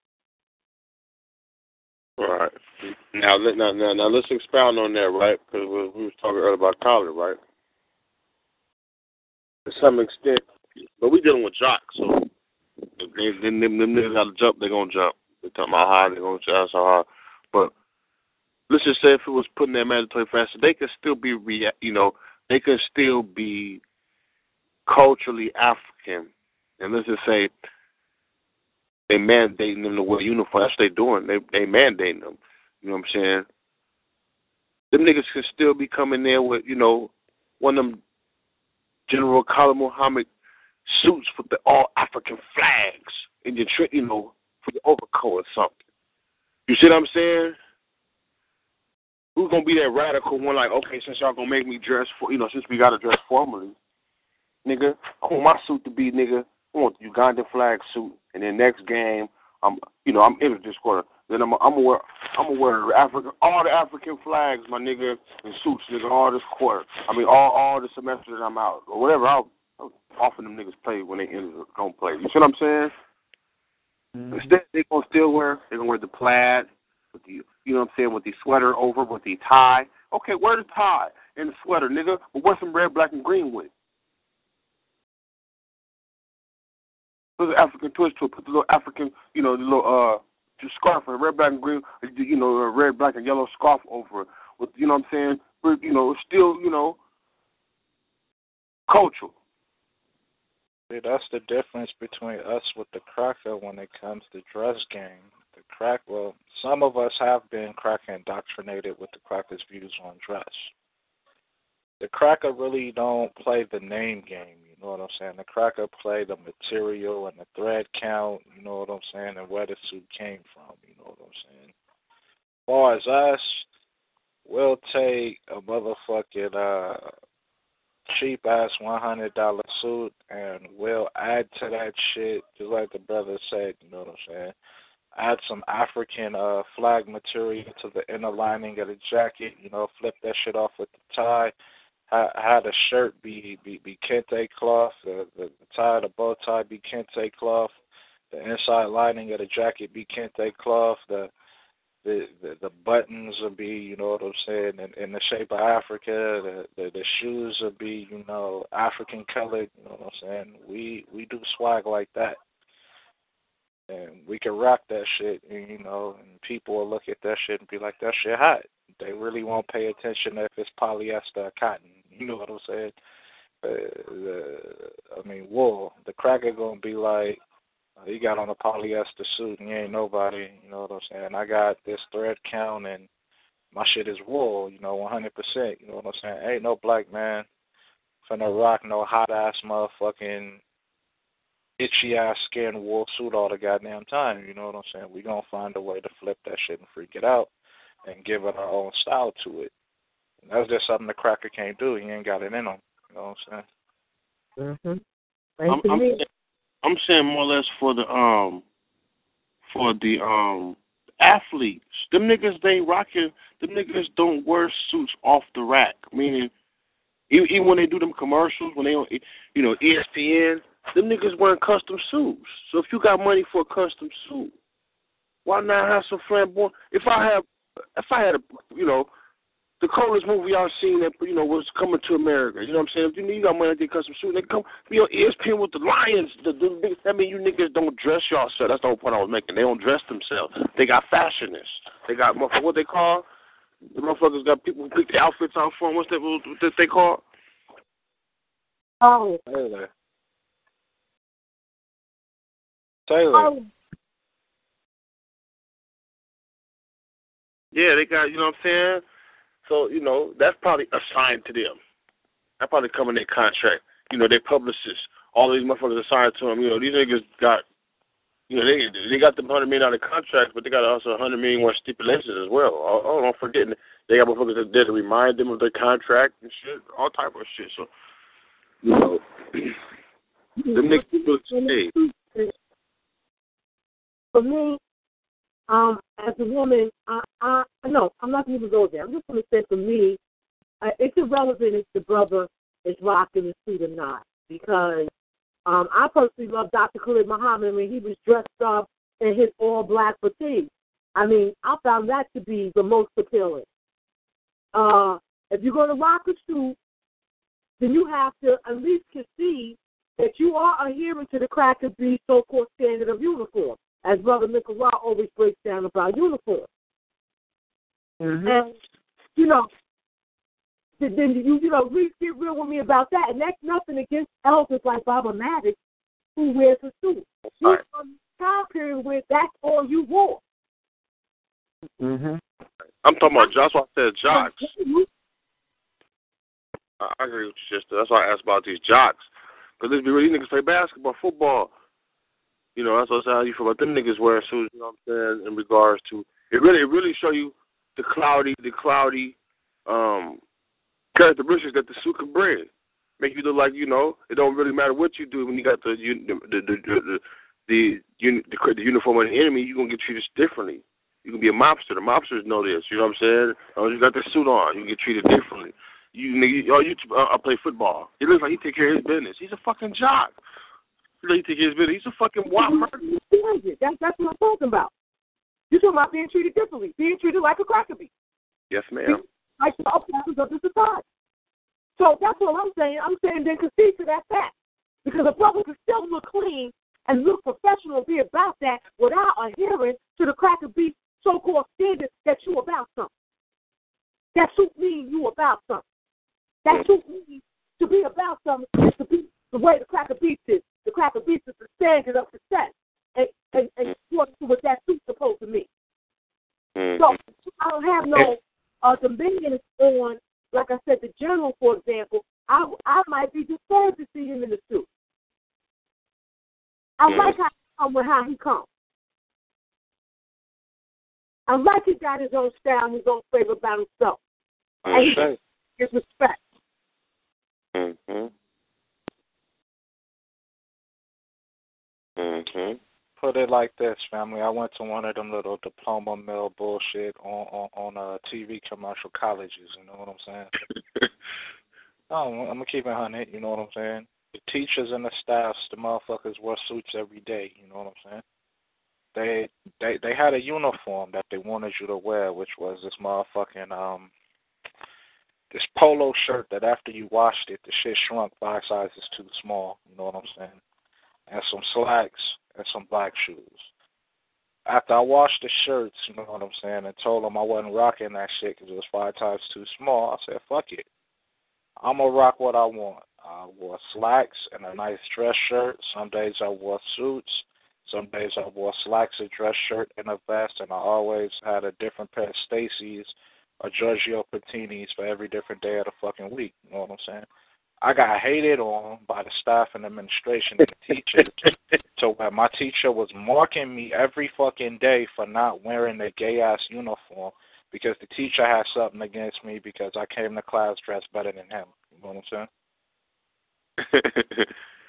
Right. Now, now, now, now let's expound on that, right? Because we, we was talking earlier about college, right? To some extent, but we dealing with jocks, so if they, them, them, them niggas got to jump, they're going to jump. They're talking about how they're going to jump, so hard. But let's just say if it was putting that mandatory faster, they could still be, rea- you know, they could still be culturally African. And let's just say they mandating them to wear uniform. That's what they doing. They they mandating them. You know what I'm saying? Them niggas could still be coming there with, you know, one of them General Khalid Muhammad suits with the all African flags in your, tri- you know, for your overcoat or something. You see what I'm saying? Who's gonna be that radical one? Like, okay, since y'all gonna make me dress for, you know, since we gotta dress formally, nigga, I want my suit to be, nigga, I want the Ugandan flag suit, and then next game, I'm, you know, I'm in this quarter. Then I'm, I'm gonna wear, I'm gonna wear African, all the African flags, my nigga, and suits, nigga, all this quarter. I mean, all, all the semester that I'm out or whatever. I'll, I'll offer them niggas play when they enter, don't play. You see what I'm saying? Mm-hmm. Instead, they gonna still wear, they gonna wear the plaid with the, you know what I'm saying, with the sweater over, with the tie. Okay, wear the tie and the sweater, nigga, but wear some red, black, and green with it. Put the African twist to it. Put the little African, you know, the little uh, just scarf and red, black, and green, you know, a red, black, and yellow scarf over it. With, you know what I'm saying? You know, still, you know, cultural. See, that's the difference between us with the cracker when it comes to dress game. The crack, well, some of us have been cracker indoctrinated with the cracker's views on dress. The cracker really don't play the name game, you know what I'm saying? The cracker play the material and the thread count, you know what I'm saying, and where the suit came from, you know what I'm saying? As far as us, we'll take a motherfucking uh, cheap-ass one hundred dollars suit and we'll add to that shit, just like the brother said, you know what I'm saying? add some African uh, flag material to the inner lining of the jacket. You know, flip that shit off with the tie. Ha- had a shirt be be, be kente cloth. The, the, the tie, the bow tie be kente cloth. The inside lining of the jacket be kente cloth. The The, the the buttons will be, you know what I'm saying, in, in the shape of Africa. The, the the shoes will be, you know, African colored. You know what I'm saying? We we do swag like that, and we can rock that shit. And, you know, and people will look at that shit and be like, that shit hot. They really won't pay attention if it's polyester or cotton. You know what I'm saying? Uh, the, I mean, wool. The cracker gonna be like, he got on a polyester suit and he ain't nobody, you know what I'm saying? I got this thread count and my shit is wool, you know, one hundred percent, you know what I'm saying? Ain't no black man finna rock no hot-ass motherfucking itchy-ass skin wool suit all the goddamn time, you know what I'm saying? We gonna find a way to flip that shit and freak it out and give it our own style to it. And that's just something the cracker can't do. He ain't got it in him, you know what I'm saying? Mm-hmm. I'm, I'm, I'm saying more or less for the um for the um athletes. Them niggas they rocking. Them niggas don't wear suits off the rack. Meaning, even, even when they do them commercials, when they on you know E S P N, them niggas wearing custom suits. So if you got money for a custom suit, why not have some flamboyant? If I have, if I had a you know. The coolest movie I've seen that you know was Coming to America. You know what I'm saying? If you, you got money to get custom suit, they come be on E S P N with the Lions. The, the big, I mean, you niggas don't dress yourself. That's the whole point I was making. They don't dress themselves. They got fashionists. They got what they call the motherfuckers got people who pick the outfits out for them. What's that? What that they call? Oh, Taylor. Taylor. Oh. Yeah, they got. You know what I'm saying? So, you know, that's probably assigned to them. That probably come in their contract. You know, their publicists, all these motherfuckers assigned to them. You know, these niggas got, you know, they they got the one hundred million dollars contract, but they got also one hundred million dollars stipulations as well. Oh, oh, don't forget, they got motherfuckers there to remind them of their contract and shit, all type of shit. So, you know, them niggas really stay. For me, Um, as a woman, I, I no, I'm not going to go there. I'm just going to say for me, uh, it's irrelevant if the brother is rocking the suit or not, because um, I personally love Doctor Khalid Muhammad when he was dressed up in his all-black fatigue. I mean, I found that to be the most appealing. Uh, if you're going to rock a suit, then you have to at least concede that you are adhering to the Cracker B so-called standard of uniform, as Brother Nicolau always breaks down about uniform. Mm-hmm. And, you know, then you, you know, really get real with me about that. And that's nothing against elders like Baba Maddox, who wears a suit. She's right. From the time period where that's all you wore. Mm-hmm. I'm talking about, that's why I said jocks. I agree with you, sister. That's why I asked about these jocks. Because let's be real, these niggas play basketball, football. You know, that's what how you feel about them niggas wearing suits, you know what I'm saying, in regards to, it really it really show you the cloudy, the cloudy um, characteristics that the suit can bring. Make you look like, you know, it don't really matter what you do when you got the the the the the, the, the, the, the uniform of the enemy, you're going to get treated differently. You can be a mobster. The mobsters know this, you know what I'm saying? Oh, you got the suit on, you get treated differently. You, nigga, oh, you uh, I play football. It looks like he take care of his business. He's a fucking jock. He take care of his business. He's a fucking wild murderer. That's, that's what I'm talking about. You're talking about being treated differently, being treated like a cracker bee. Yes, ma'am. Like the upstairs of the society. So that's what I'm saying. I'm saying then concede to that fact. Because a brother can still look clean and look professional and be about that without adhering to the cracker bee so-called standard that you about something. That suit means you about something. That suit means to be about something is to be the way the cracker beats is. The cracker beats is the standard of success. And, and, and according to what that suit's supposed to mean. Mm-hmm. So I don't have no uh, dominion on, like I said, the general, for example. I, I might be disturbed to see him in the suit. I mm-hmm. like how he come with how he comes. I like he got his own style, his own flavor about himself. Mm-hmm. And he gets his respect. Mm-hmm. Mm-hmm. put it like this, family. I went to one of them little diploma mill bullshit on on, on uh, T V commercial colleges. You know what I'm saying? oh, I'm gonna keep it one hundred. You know what I'm saying? The teachers and the staffs, the motherfuckers wear suits every day. You know what I'm saying? They they they had a uniform that they wanted you to wear, which was this motherfucking um this polo shirt that after you washed it, the shit shrunk five sizes too small. You know what I'm saying? And some slacks and some black shoes. After I washed the shirts, you know what I'm saying, and told them I wasn't rocking that shit because it was five times too small, I said, fuck it. I'm going to rock what I want. I wore slacks and a nice dress shirt. Some days I wore suits. Some days I wore slacks, a dress shirt, and a vest, and I always had a different pair of Stacy's or Giorgio Patinis for every different day of the fucking week. You know what I'm saying? I got hated on by the staff and administration and the teachers to where my teacher was marking me every fucking day for not wearing a gay-ass uniform because the teacher had something against me because I came to class dressed better than him. You know what I'm saying?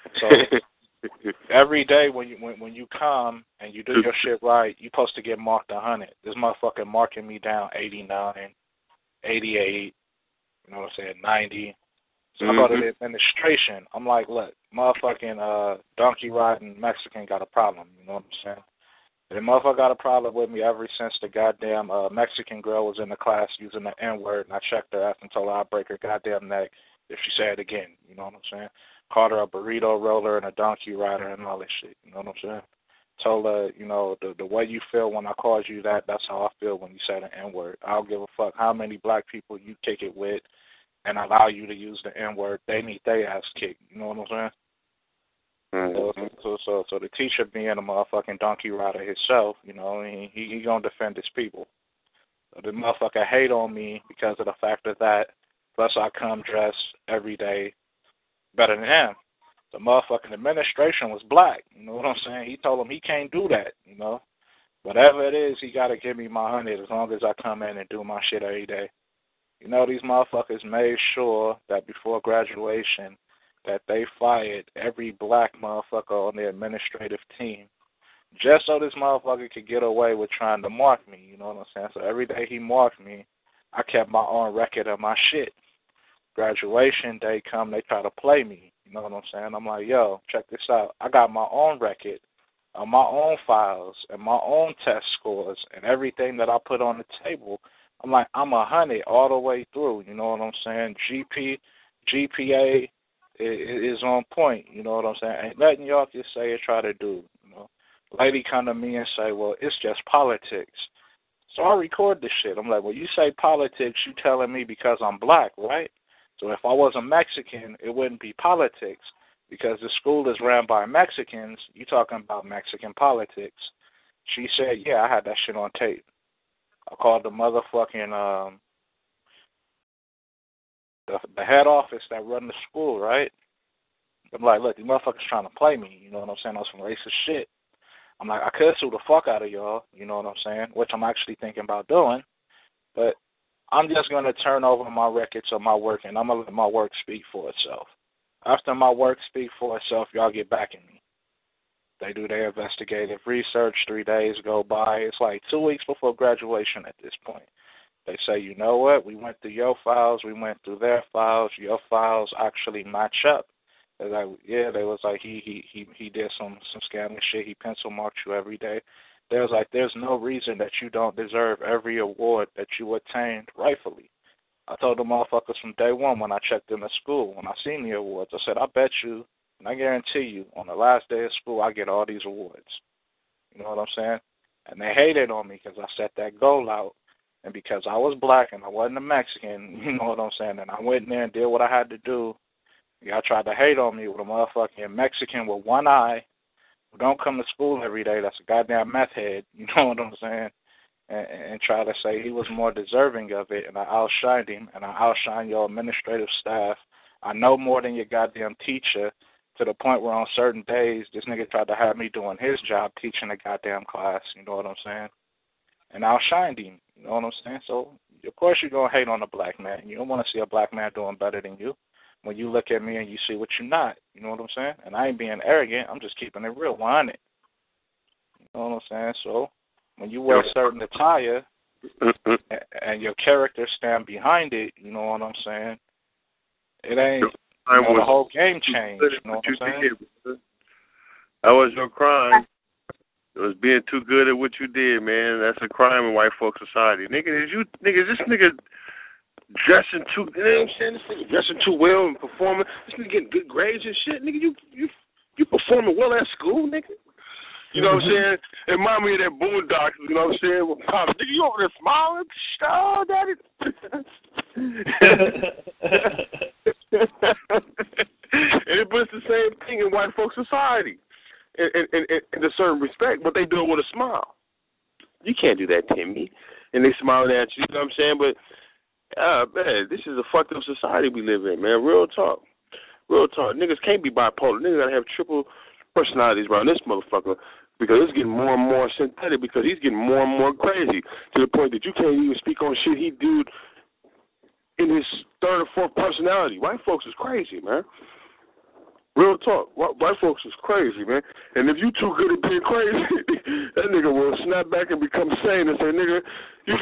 So every day when you when, when you come and you do your shit right, you're supposed to get marked one hundred. This motherfucker marking me down eighty-nine, eighty-eight, you know what I'm saying, ninety. So mm-hmm. I go to the administration. I'm like, look, motherfucking uh, donkey riding Mexican got a problem. You know what I'm saying? The motherfucker got a problem with me ever since the goddamn uh, Mexican girl was in the class using the N-word, and I checked her after and told her I'd break her goddamn neck if she said it again. You know what I'm saying? Called her a burrito roller and a donkey rider and all this shit. You know what I'm saying? Told her, you know, the the way you feel when I called you that, that's how I feel when you say the N-word. I don't give a fuck how many black people you kick it with and allow you to use the N-word. They need their ass kicked. You know what I'm saying? Mm-hmm. So, so, so, so the teacher being a motherfucking donkey rider himself, you know, he he, he gonna defend his people. So the motherfucker hate on me because of the fact of that. Plus, I come dressed every day better than him. The motherfucking administration was black. You know what I'm saying? He told him he can't do that. You know, whatever it is, he got to give me my hundred as long as I come in and do my shit every day. You know, these motherfuckers made sure that before graduation that they fired every black motherfucker on the administrative team just so this motherfucker could get away with trying to mark me. You know what I'm saying? So every day he marked me, I kept my own record of my shit. Graduation day come, they try to play me. You know what I'm saying? I'm like, yo, check this out. I got my own record of my own files and my own test scores and everything that I put on the table. I'm like, I'm a hundred all the way through. You know what I'm saying? G P, G P A is on point. You know what I'm saying? Ain't nothing y'all can say or try to do. You know, lady come to me and say, well, it's just politics. So I record this shit. I'm like, well, you say politics, you telling me because I'm black, right? So if I wasn't Mexican, it wouldn't be politics because the school is ran by Mexicans. You talking about Mexican politics. She said, yeah, I had that shit on tape. I called the motherfucking, um, the, the head office that run the school, right? I'm like, look, these motherfuckers trying to play me. You know what I'm saying? On some racist shit. I'm like, I could sue the fuck out of y'all. You know what I'm saying? Which I'm actually thinking about doing. But I'm just going to turn over my records of my work, and I'm going to let my work speak for itself. After my work speak for itself, y'all get back at me. They do their investigative research. Three days go by. It's like two weeks before graduation at this point. They say, you know what? We went through your files. We went through their files. Your files actually match up. They're like, yeah, they was like, he he he he did some, some scamming shit. He pencil marked you every day. They was like, there's no reason that you don't deserve every award that you attained rightfully. I told the motherfuckers from day one when I checked in the school, when I seen the awards, I said, I bet you, and I guarantee you, on the last day of school, I get all these awards. You know what I'm saying? And they hated on me because I set that goal out. And because I was black and I wasn't a Mexican, you know what I'm saying, and I went in there and did what I had to do. Y'all tried to hate on me with a motherfucking Mexican with one eye who don't come to school every day. That's a goddamn meth head, you know what I'm saying? And, and try to say he was more deserving of it, and I outshined him, and I outshined your administrative staff. I know more than your goddamn teacher, to the point where on certain days, this nigga tried to have me doing his job teaching a goddamn class, you know what I'm saying? And I outshined him, you know what I'm saying? So, of course you're going to hate on a black man. You don't want to see a black man doing better than you. When you look at me and you see what you're not, you know what I'm saying? And I ain't being arrogant. I'm just keeping it real, one hundred. I'm saying? So when you wear certain attire and your character stand behind it, you know what I'm saying? It ain't, you know, the whole game changed, you know what I'm saying? That was your crime. It was being too good at what you did, man. That's a crime in white folk society. Nigga, is you, nigga, this nigga dressing too, you know what I'm saying? This nigga dressing too well and performing. This nigga getting good grades and shit. Nigga, you, you, you performing well at school, nigga. You know what I'm saying? It remind me of that Boondocks, you know what I'm saying? With Pop, nigga, you over there smiling? Oh, daddy. And it, but it's the same thing in white folk society, in, in, in, in a certain respect, but they do it with a smile. You can't do that, Timmy. And they smiling at you, you know what I'm saying? But, uh, man, this is a fucked up society we live in, man. Real talk. Real talk. Niggas can't be bipolar. Niggas gotta have triple personalities around this motherfucker because it's getting more and more synthetic because he's getting more and more crazy to the point that you can't even speak on shit he do in his third or fourth personality. White folks is crazy, man. Real talk. White folks is crazy, man. And if you too good at being crazy, that nigga will snap back and become sane and say, nigga, you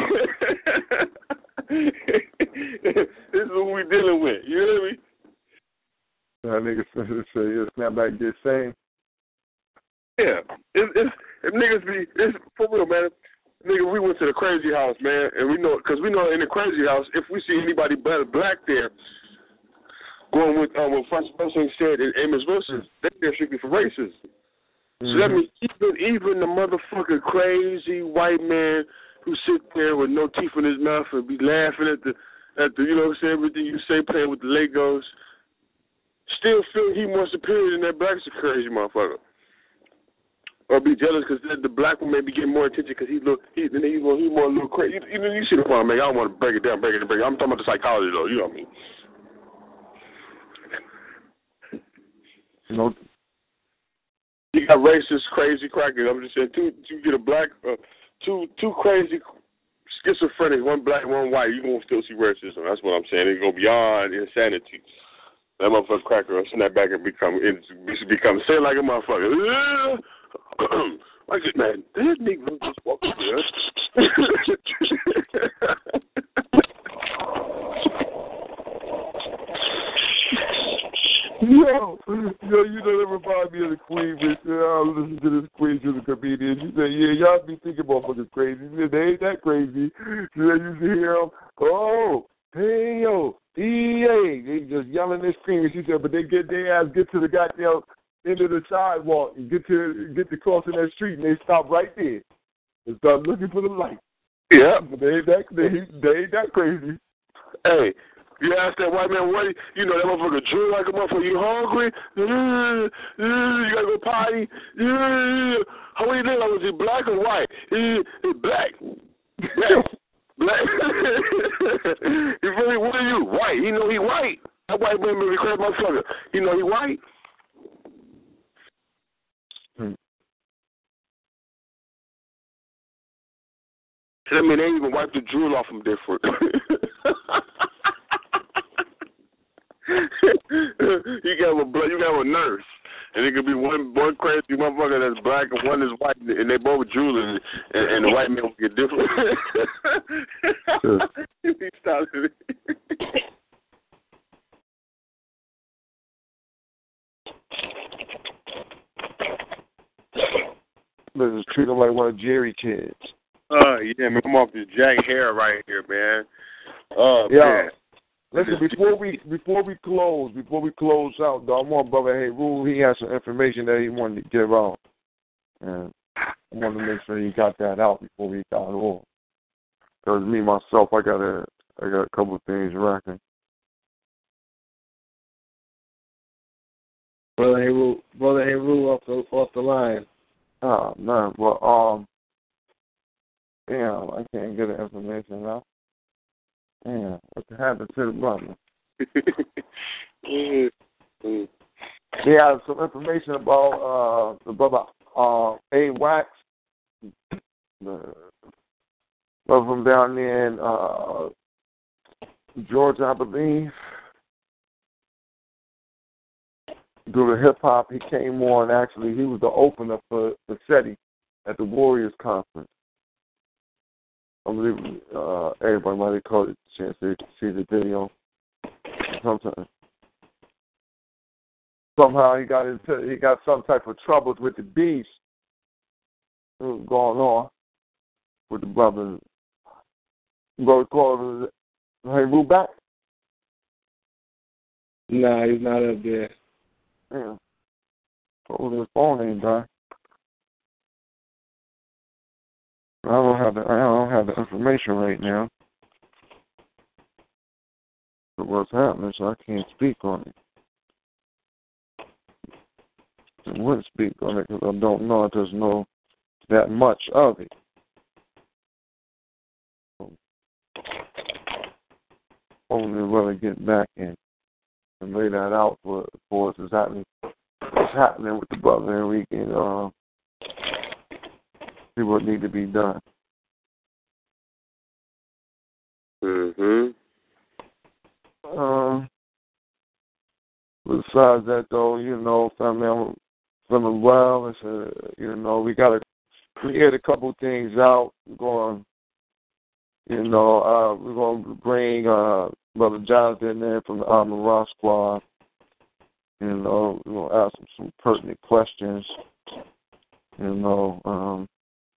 this is what we dealing with. You know what I mean? That nigga say, yeah, snap back and get sane. Yeah. If, if, if niggas be, it's for real, man. Nigga, we went to the crazy house, man, and we know, because we know in the crazy house, if we see anybody black there, going with um, what Francis Wilson said and Amos Wilson, they're there strictly for racism. Mm-hmm. So that means even, even the motherfucking crazy white man who sit there with no teeth in his mouth and be laughing at the, at the, you know what I'm saying, everything you say, playing with the Legos, still feel he more superior than that black crazy motherfucker. Or be jealous because the black one may be getting more attention because he look he then he more he more a little crazy. You, you, you see the point, man. I don't want to break it down, break it down, break it. I'm talking about the psychology though. You know what I mean? You know, you got racist, crazy crackers. I'm just saying, two you get a black, uh, two two crazy schizophrenic, one black, one white. You gonna still see racism. That's what I'm saying. It's go beyond insanity. That motherfucker cracker will snap back and become it become say like a motherfucker. Like it, man. That nigga just walked there. Yo, yo, you know that remind me of the Queen, bitch. Yeah, I listen to this Queen, she's a comedian. She said, yeah, y'all be thinking motherfuckers crazy. She said, they ain't that crazy. She said, you see hear them, oh, hey, yo, E A. They just yelling and screaming. She said, but they get their ass, get to the goddamn end of the sidewalk and get to get to crossing that street, and they stop right there and start looking for the light. Yeah. But they ain't that, they, they ain't that crazy. Hey. You ask that white man, what, you know, that motherfucker drew like a motherfucker, you hungry? Uh, uh, you gotta go potty? Uh, how many days was he, black or white? He, he black. Black. Black. You really, what are you? White. He know he white. That white man made me crazy motherfucker. He know he white. Hmm. So that mean they even wipe the drool off him different. you got a blood, you got a nurse, and it could be one one crazy motherfucker that's black and one is white, and they both drooling, and, and the white man will get different. He started it. Let's just treat him like one of Jerry kids. Uh, yeah, man, I'm off this Jack hair right here, man. Oh, yeah. Man. Listen, before we before we close, before we close out, though, I want Brother Heru, he has some information that he wanted to give out. And I wanted to make sure he got that out before we got off. Because me, myself, I got a, I got a couple of things racking. Brother Heru, Brother Heru off the, off the line. Oh, man. Well, um, damn, I can't get the information now. Damn, what happened to the brother? He has some information about uh, the brother uh, A. Wax, the brother from down there in uh, Georgia, I believe. Due to hip hop, he came on. Actually, he was the opener for for SETI at the Warriors conference. I believe uh, everybody might have caught a chance to see the video. Sometimes, somehow he got into, he got some type of troubles with the Beast going on with the brothers. Brother Claude, hey, move back. Nah, he's not up there. Yeah. Oh, his phone ain't done. I don't have the I don't have the information right now. But what's happening, so I can't speak on it. I wouldn't speak on it because I don't know. I just know that much of it. Only really get back in and lay that out for for us. What's happening? What's happening with the brother, and we can uh, see what need to be done. Mhm. Um. Besides that, though, you know, family, I'm feeling well. It's a, you know, we got to clear a couple things out. We're going, you know, uh, we're going to bring uh, Brother Jonathan in from the Armor Raw Squad. You know, we're going to ask him some pertinent questions. You know, um,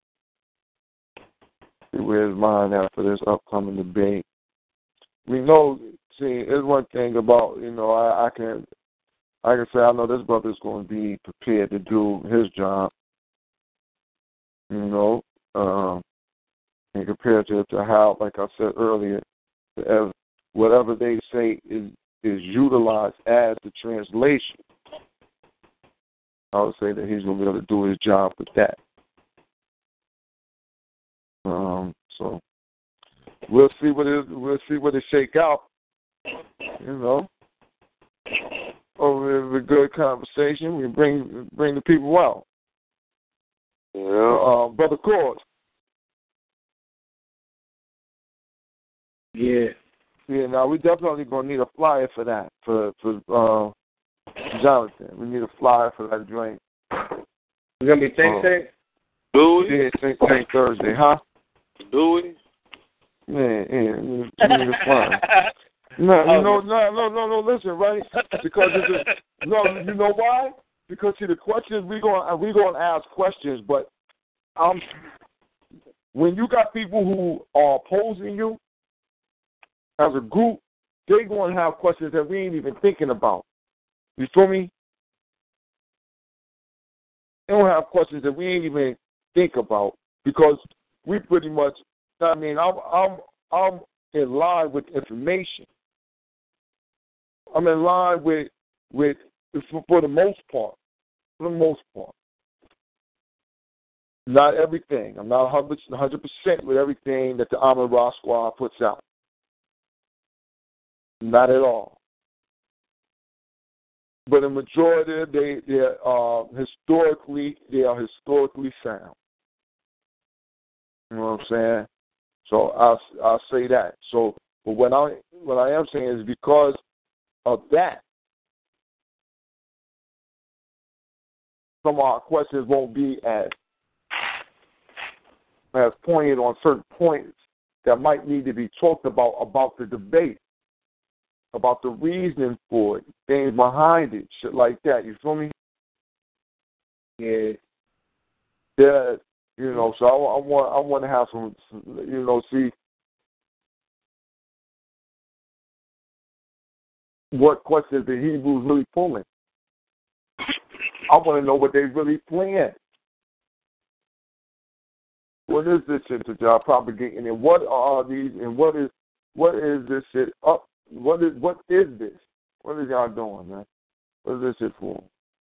see where his mind at for this upcoming debate. We know, see, there's one thing about, you know, I, I can, I can say I know this brother's going to be prepared to do his job. You know, um, and compared to, to how, like I said earlier, as whatever they say is is utilized as the translation, I would say that he's going to be able to do his job with that. Um, so we'll see what it we'll see what it shake out. You know, over a good conversation, we bring bring the people out. Yeah. Uh, Brother Cord. Yeah. Yeah, now we definitely gonna need a flyer for that, for for uh, Jonathan. We need a flyer for that drink. It's gonna be Think Tank? Do we? Yeah, Think Tank Thursday, huh? Do we? Man, yeah, we need, we need a flyer. No, you know, no, no, no, no. Listen, right? Because it's a, no, you know why? Because see, the questions we going we gonna ask questions, but um, when you got people who are opposing you as a group, they're gonna have questions that we ain't even thinking about. You feel me? They don't have questions that we ain't even think about because we pretty much. I mean, I'm I'm I'm in line with information. I'm in line with with for, for the most part. For the most part, not everything. I'm not one hundred percent with everything that the Ahmed Ra Squad puts out. Not at all. But the majority, they they are historically they are historically sound. You know what I'm saying? So I'll I'll say that. So, but what I what I am saying is because of that, some of our questions won't be as as pointed on certain points that might need to be talked about about the debate, about the reasoning for it, things behind it, shit like that. You feel me? Yeah. Yeah. You know, so I, I want I want to have some, you know, see what questions the Hebrews really pulling. I want to know what they really playing. What is this shit that y'all propagating, and what are these, and what is what is this shit up? What is what is this? What is y'all doing, man? What is this shit for?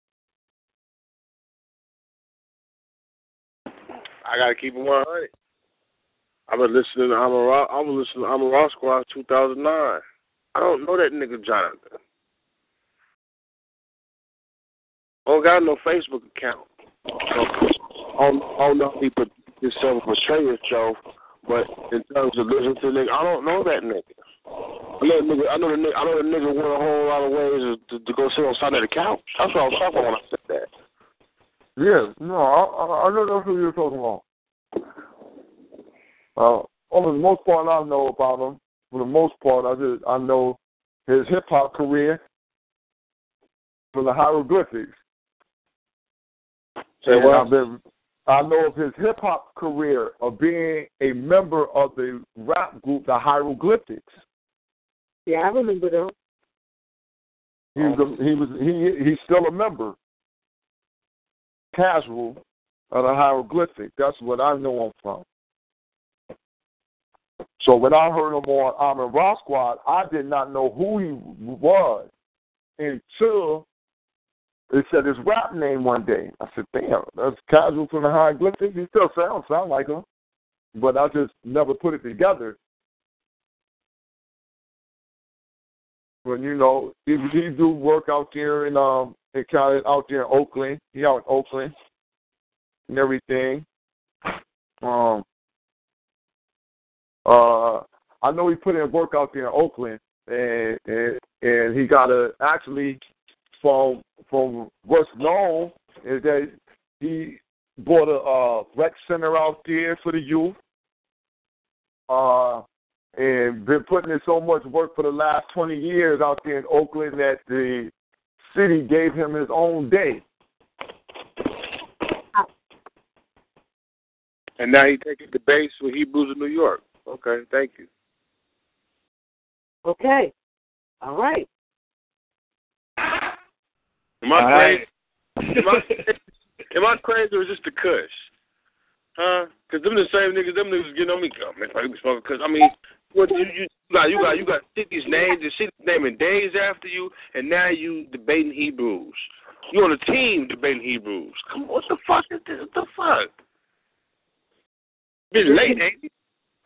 I gotta keep it one hundred. I've been listening to Amara. I was listening to Amara Squad two thousand nine. I don't know that nigga Jonathan. I don't got no Facebook account. So I don't, I don't know if he put himself portray himself, but in terms of listening to the nigga, I don't know that nigga. I know the nigga. I know the nigga. I know the nigga went a whole lot of ways to, to go sit on side of the couch. That's what I was talking about when I said that. Yeah, no, I, I, I know that's who you're talking about. Uh, for the most part, I know about him. For the most part, I just I know his hip hop career from the hieroglyphics. Say what? I've been, I know of his hip hop career of being a member of the rap group, the Hieroglyphics. Yeah, I remember them. He was a, he was he he's still a member, casual of the Hieroglyphic. That's what I know him from. So when I heard him on Amin Ra Squad, I did not know who he was until they said his rap name one day. I said, damn, that's Casual from the Hieroglyphics. He still sounds sound like him, but I just never put it together. But you know, he, he do work out there in um in kind of out there in Oakland. He out in Oakland and everything. Um. Uh, I know he put in work out there in Oakland, and and, and he got a actually from from what's known is that he bought a uh, rec center out there for the youth, uh, and been putting in so much work for the last twenty years out there in Oakland that the city gave him his own day. And now he's taking the base for Hebrews in New York. Okay, thank you. Okay. All right. Am I crazy? Am I, am I crazy or is this the Kush? Huh? Because them the same niggas, them niggas getting on me. Oh, man, I be smoking Kush. I mean, what you, you got, you got, you got cities names and cities naming days after you, and now you debating Hebrews. You on a team debating Hebrews. Come on, what the fuck is this? What the fuck? It's late, ain't it?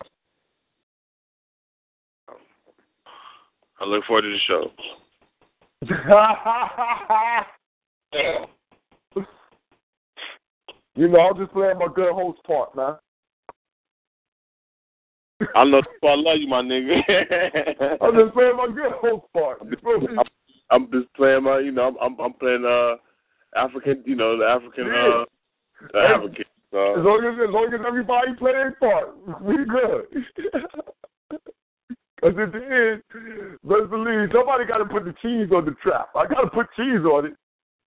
I look forward to the show. You know, I'm just playing my good host part, man. I love, I love you, my nigga. I'm just playing my good host part. You feel me? I'm, I'm just playing my, you know, I'm, I'm playing uh African, you know, the African, yeah. uh, the hey, African. Uh, as long as, as long as everybody play their part, we good. Because at the end, let's believe somebody got to put the cheese on the trap. I got to put cheese on it.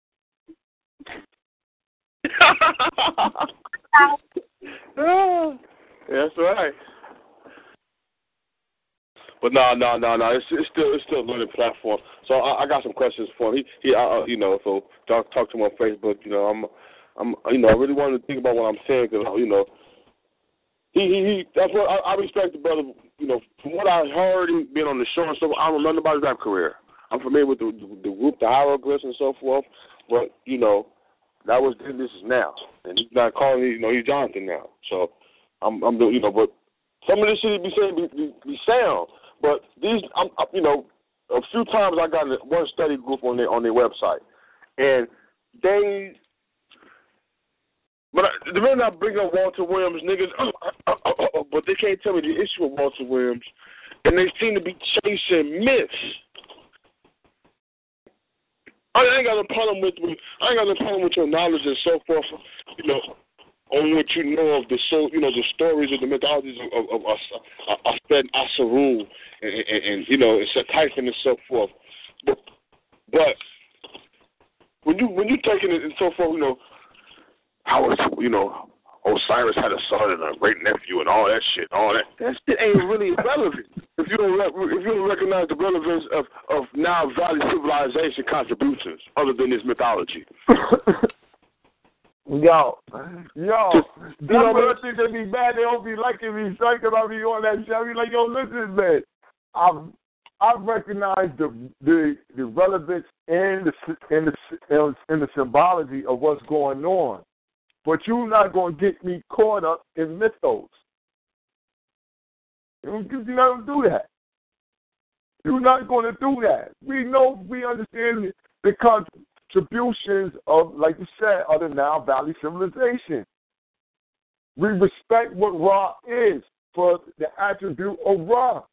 That's right. But no, no, no, no. It's, it's still it's still a learning platform. So I, I got some questions for him. He, he uh, you know, so talk talk to him on Facebook. You know, I'm, I'm, you know, I really wanted to think about what I'm saying because you know, he, he, he that's what I, I respect the brother. You know, from what I heard him being on the show and stuff, I don't remember about his rap career. I'm familiar with the, the, the group, the Hieroglyphs and so forth, but, you know, that was then, this is now. And he's not calling me, you know, he's Jonathan now. So, I'm, I'm you know, but some of this shit he be saying be, be, be sound. But these, I'm, you know, a few times I got in one study group on their, on their website, and they, But I, the minute I bring up Walter Williams, niggas, oh, oh, oh, oh, but they can't tell me the issue with Walter Williams, and they seem to be chasing myths. I ain't got no problem with, with I ain't got no problem with your knowledge and so forth, you know, on what you know of the so you know the stories of the mythologies of of Asped Asaru and, and, and you know it's a typhon and so forth. But, but when you when you taking it and so forth, you know. How was, you know, Osiris had a son and a great nephew and all that shit, all that. That shit ain't really relevant if you don't if you don't recognize the relevance of of now Valley civilization contributions other than this mythology. Yo, yo, you know what I think they be mad? They don't be liking me, son, because I be on that shit. I be like, yo, listen, man, I've I've recognized the the the relevance in the in the in the symbology of what's going on. But you're not going to get me caught up in mythos. You're not going to do that. You're not going to do that. We know, we understand the contributions of, like you said, of the Nile Valley civilization. We respect what Ra is for the attribute of Ra.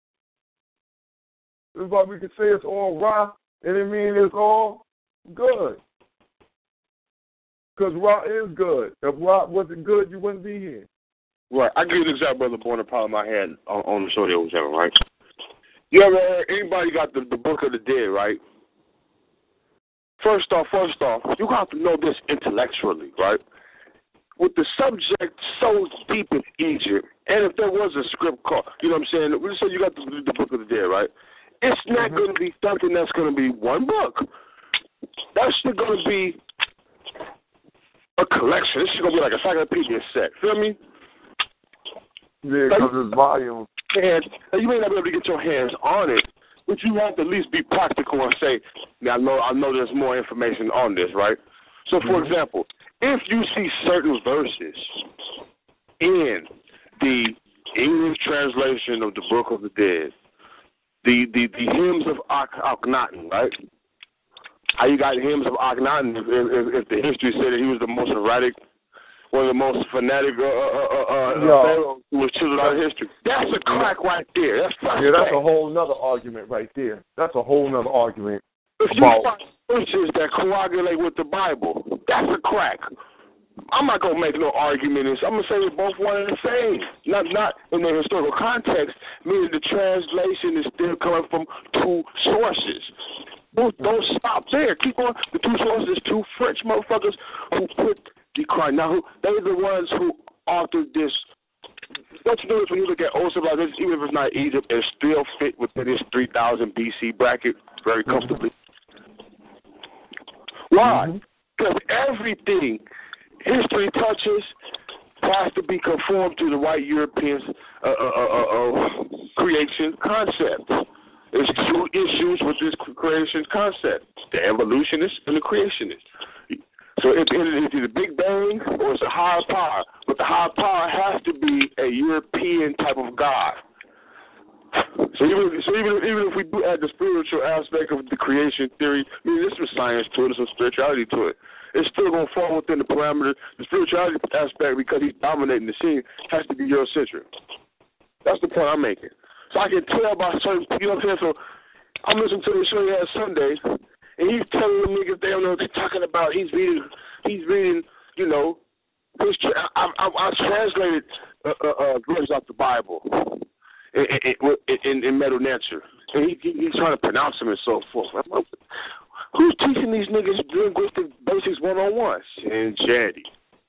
That's why we can say it's all Ra, and it means it's all good. Because Raw is good. If Raw wasn't good, you wouldn't be here. Right. I give you an example of the born problem I had on, on the show that was having, right? You ever heard, anybody got the, the Book of the Dead, right? First off, first off, you have to know this intellectually, right? With the subject so deep in Egypt, and if there was a script called, you know what I'm saying? We say you got the, the Book of the Dead, right? It's not mm-hmm. going to be something that's going to be one book. That's going to be a collection. This is going to be like a encyclopedia set. Feel me? Yeah, because it's volume. And you may not be able to get your hands on it, but you have to at least be practical and say, now, I know, I know there's more information on this, right? So, for mm-hmm. example, if you see certain verses in the English translation of the Book of the Dead, the, the, the hymns of Akhenaten, right? How you got hymns of Akhenaten if, if, if the history said that he was the most erratic, one of the most fanatic uh, uh, uh, pharaohs who was chiseled out of history. That's a crack right there. That's yeah, that's a whole nother argument right there. That's a whole nother argument. If you find verses that coagulate with the Bible, that's a crack. I'm not gonna make no argument. I'm gonna say they're both one and the same. Not not in the historical context, meaning the translation is still coming from two sources. Don't, don't stop there. Keep on. The two sources, two French motherfuckers who put the crime. Now, who, they're the ones who authored this. Don't you notice when you look at old civilizations, even if it's not Egypt, it still fit within this three thousand B C bracket very comfortably. Why? Because mm-hmm. everything history touches has to be conformed to the white Europeans' uh, uh, uh, uh, creation concept. There's two issues with this creation concept, the evolutionist and the creationist. So it's either the Big Bang or it's a higher power, but the higher power has to be a European type of God. So even so even even if we do add the spiritual aspect of the creation theory, I mean, there's some science to it, there's some spirituality to it. It's still going to fall within the parameters. The spirituality aspect, because he's dominating the scene, has to be Eurocentric. That's the point I'm making. So I can tell by certain, you know what I'm saying? So I'm listening to the show he had Sunday, and he's telling the niggas they don't know what they're talking about. He's reading, he's reading, you know, history. I, I, I translated uh, uh, uh, verses out the Bible in, in, in, in Metal Nature, and he, he, he's trying to pronounce them and so forth. Like, who's teaching these niggas linguistic basics one on one? And Jaddy.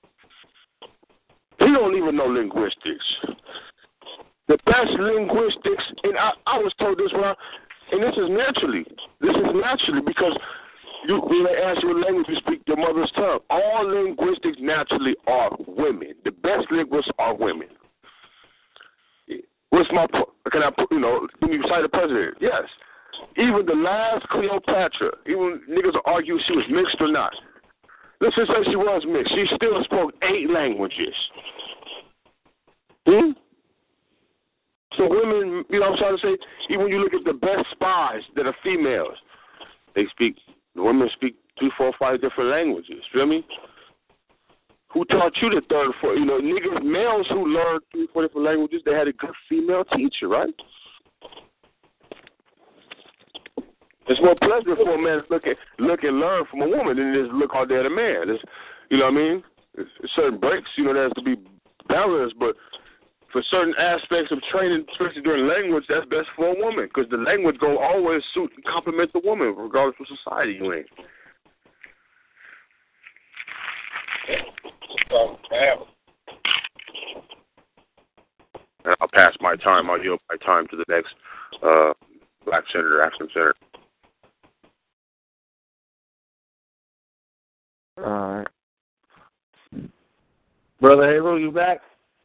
He don't even know linguistics. The best linguistics, and I, I was told this when I, and this is naturally, this is naturally because you, when they ask you what language you speak, your mother's tongue. All linguistics naturally are women. The best linguists are women. What's my, can I put, you know, can you cite a president? Yes. Even the last Cleopatra, even niggas will argue she was mixed or not. Let's just say she was mixed. She still spoke eight languages. Hmm? So women, you know what I'm trying to say? Even when you look at the best spies that are females, they speak, the women speak three, four, five different languages. Feel me? Who taught you the third, four? You know, niggas, males who learned three, four different languages, they had a good female teacher, right? It's more pleasant for a man to look, at, look and learn from a woman than it is to look all day at a man. It's, you know what I mean? It's, it's certain breaks, you know, there has to be balance, but for certain aspects of training, especially during language, that's best for a woman because the language go always suit and complement the woman, regardless of society you in. And I'll pass my time. I'll yield my time to the next uh, black senator, African senator. All right. Brother Halo, you back?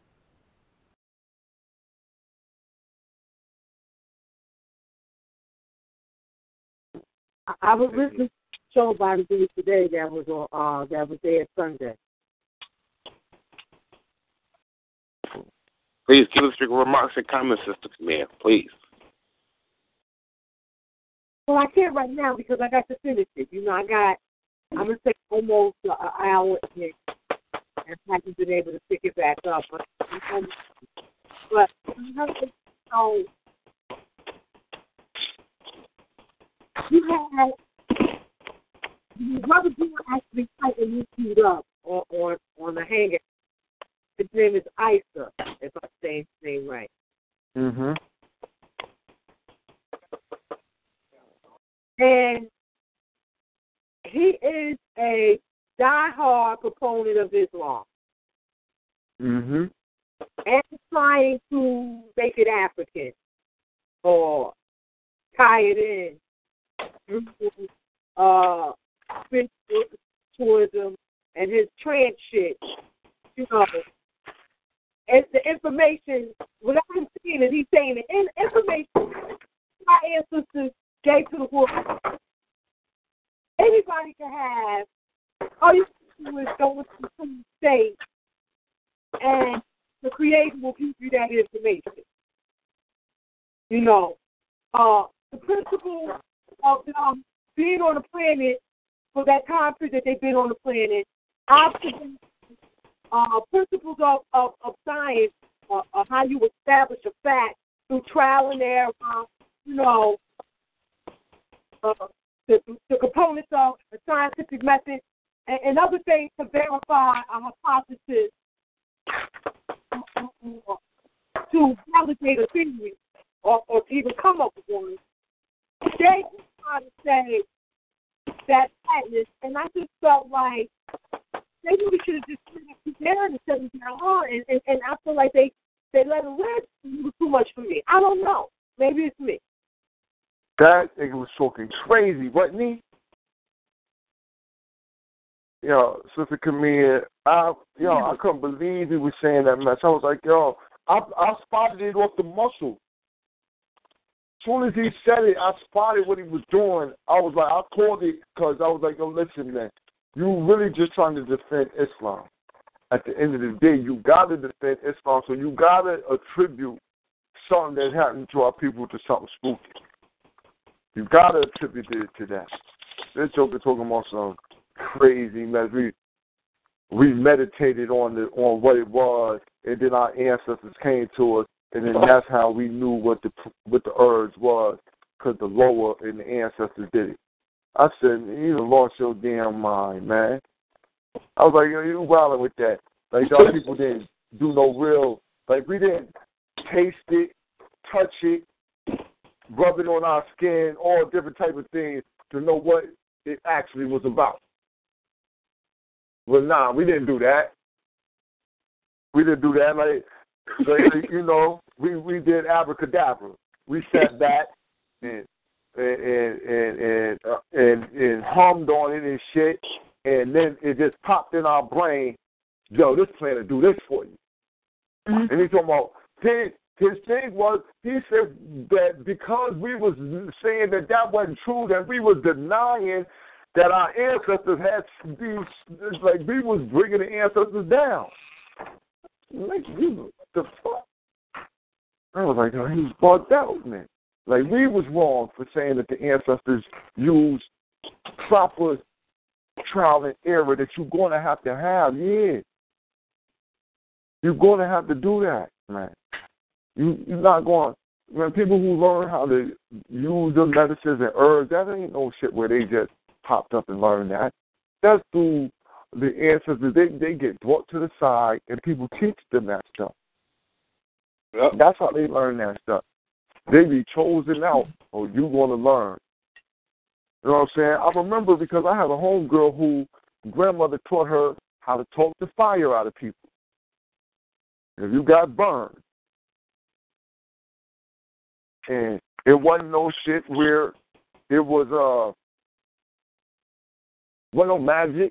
I, I was listening to a show by the day today that was on uh that was there Sunday. Please give us your remarks and comments, Sister Camille, please. Well, I can't right now because I got to finish it. You know, I got, I'm going to take almost an hour and I haven't been able to pick it back up. But, but so, you had, your brother didn't actually fight and you queued up name is Isa, if I'm saying his name right. Mhm. And he is a diehard proponent of Islam. Mhm. And trying to make it African or tie it in through uh, spiritualism and his trance shit, you know. And the information, what I'm seeing is he's saying the in- information my ancestors gave to the world. Anybody can have. All you have to do is go into the state, and the Creator will give you that information. You know, uh, the principle of um, being on the planet for that time period that they've been on the planet, observations, uh, principles of, of, of science, uh, of how you establish a fact through trial and error, you know, uh, the, the components of the scientific method, and, and other things to verify a hypothesis, to validate a theory, or, or to even come up with one. They just try to say that madness, and I just felt like maybe we should have just put it down and said it down hard, and, and, and I feel like they, they let it rest. It was too much for me. I don't know. Maybe it's me. That nigga was talking crazy, wasn't he? Yo, Sister Camille, I, yo, I couldn't believe he was saying that mess. I was like, yo, I, I spotted it off the muscle. As soon as he said it, I spotted what he was doing. I was like, I called it because I was like, yo, listen, man, you really just trying to defend Islam. At the end of the day, you got to defend Islam, so you got to attribute something that happened to our people to something spooky. You got to attribute it to that. This joker talking about some crazy mess. We, we meditated on the on what it was, and then our ancestors came to us, and then that's how we knew what the what the herbs was, because the lower and the ancestors did it. I said, you done lost your damn mind, man. I was like, yo, you wilding with that. Like, y'all people didn't do no real, like, we didn't taste it, touch it, rub it on our skin, all different type of things to know what it actually was about. Well, nah, we didn't do that. We didn't do that. Like, like you know, we, we did abracadabra. We sat back and and and and, uh, and and hummed on it and shit, and then it just popped in our brain. Yo, this plan to do this for you. Mm-hmm. And he's talking about his, his thing was he said that because we was saying that that wasn't true, that we was denying that our ancestors had these, like we was bringing the ancestors down. Like, what the fuck? I was like, oh, he was bugged out, man. Like, we was wrong for saying that the ancestors used proper trial and error that you're going to have to have, yeah. You're going to have to do that, man. You, you're not going, man, people who learn how to use the medicines and herbs, that ain't no shit where they just popped up and learned that. That's through the ancestors. They, they get brought to the side and people teach them that stuff. Yep. That's how they learn that stuff. They be chosen out, or you going to learn. You know what I'm saying? I remember because I had a homegirl who grandmother taught her how to talk the fire out of people. If you got burned, and it wasn't no shit where it was uh wasn't no magic.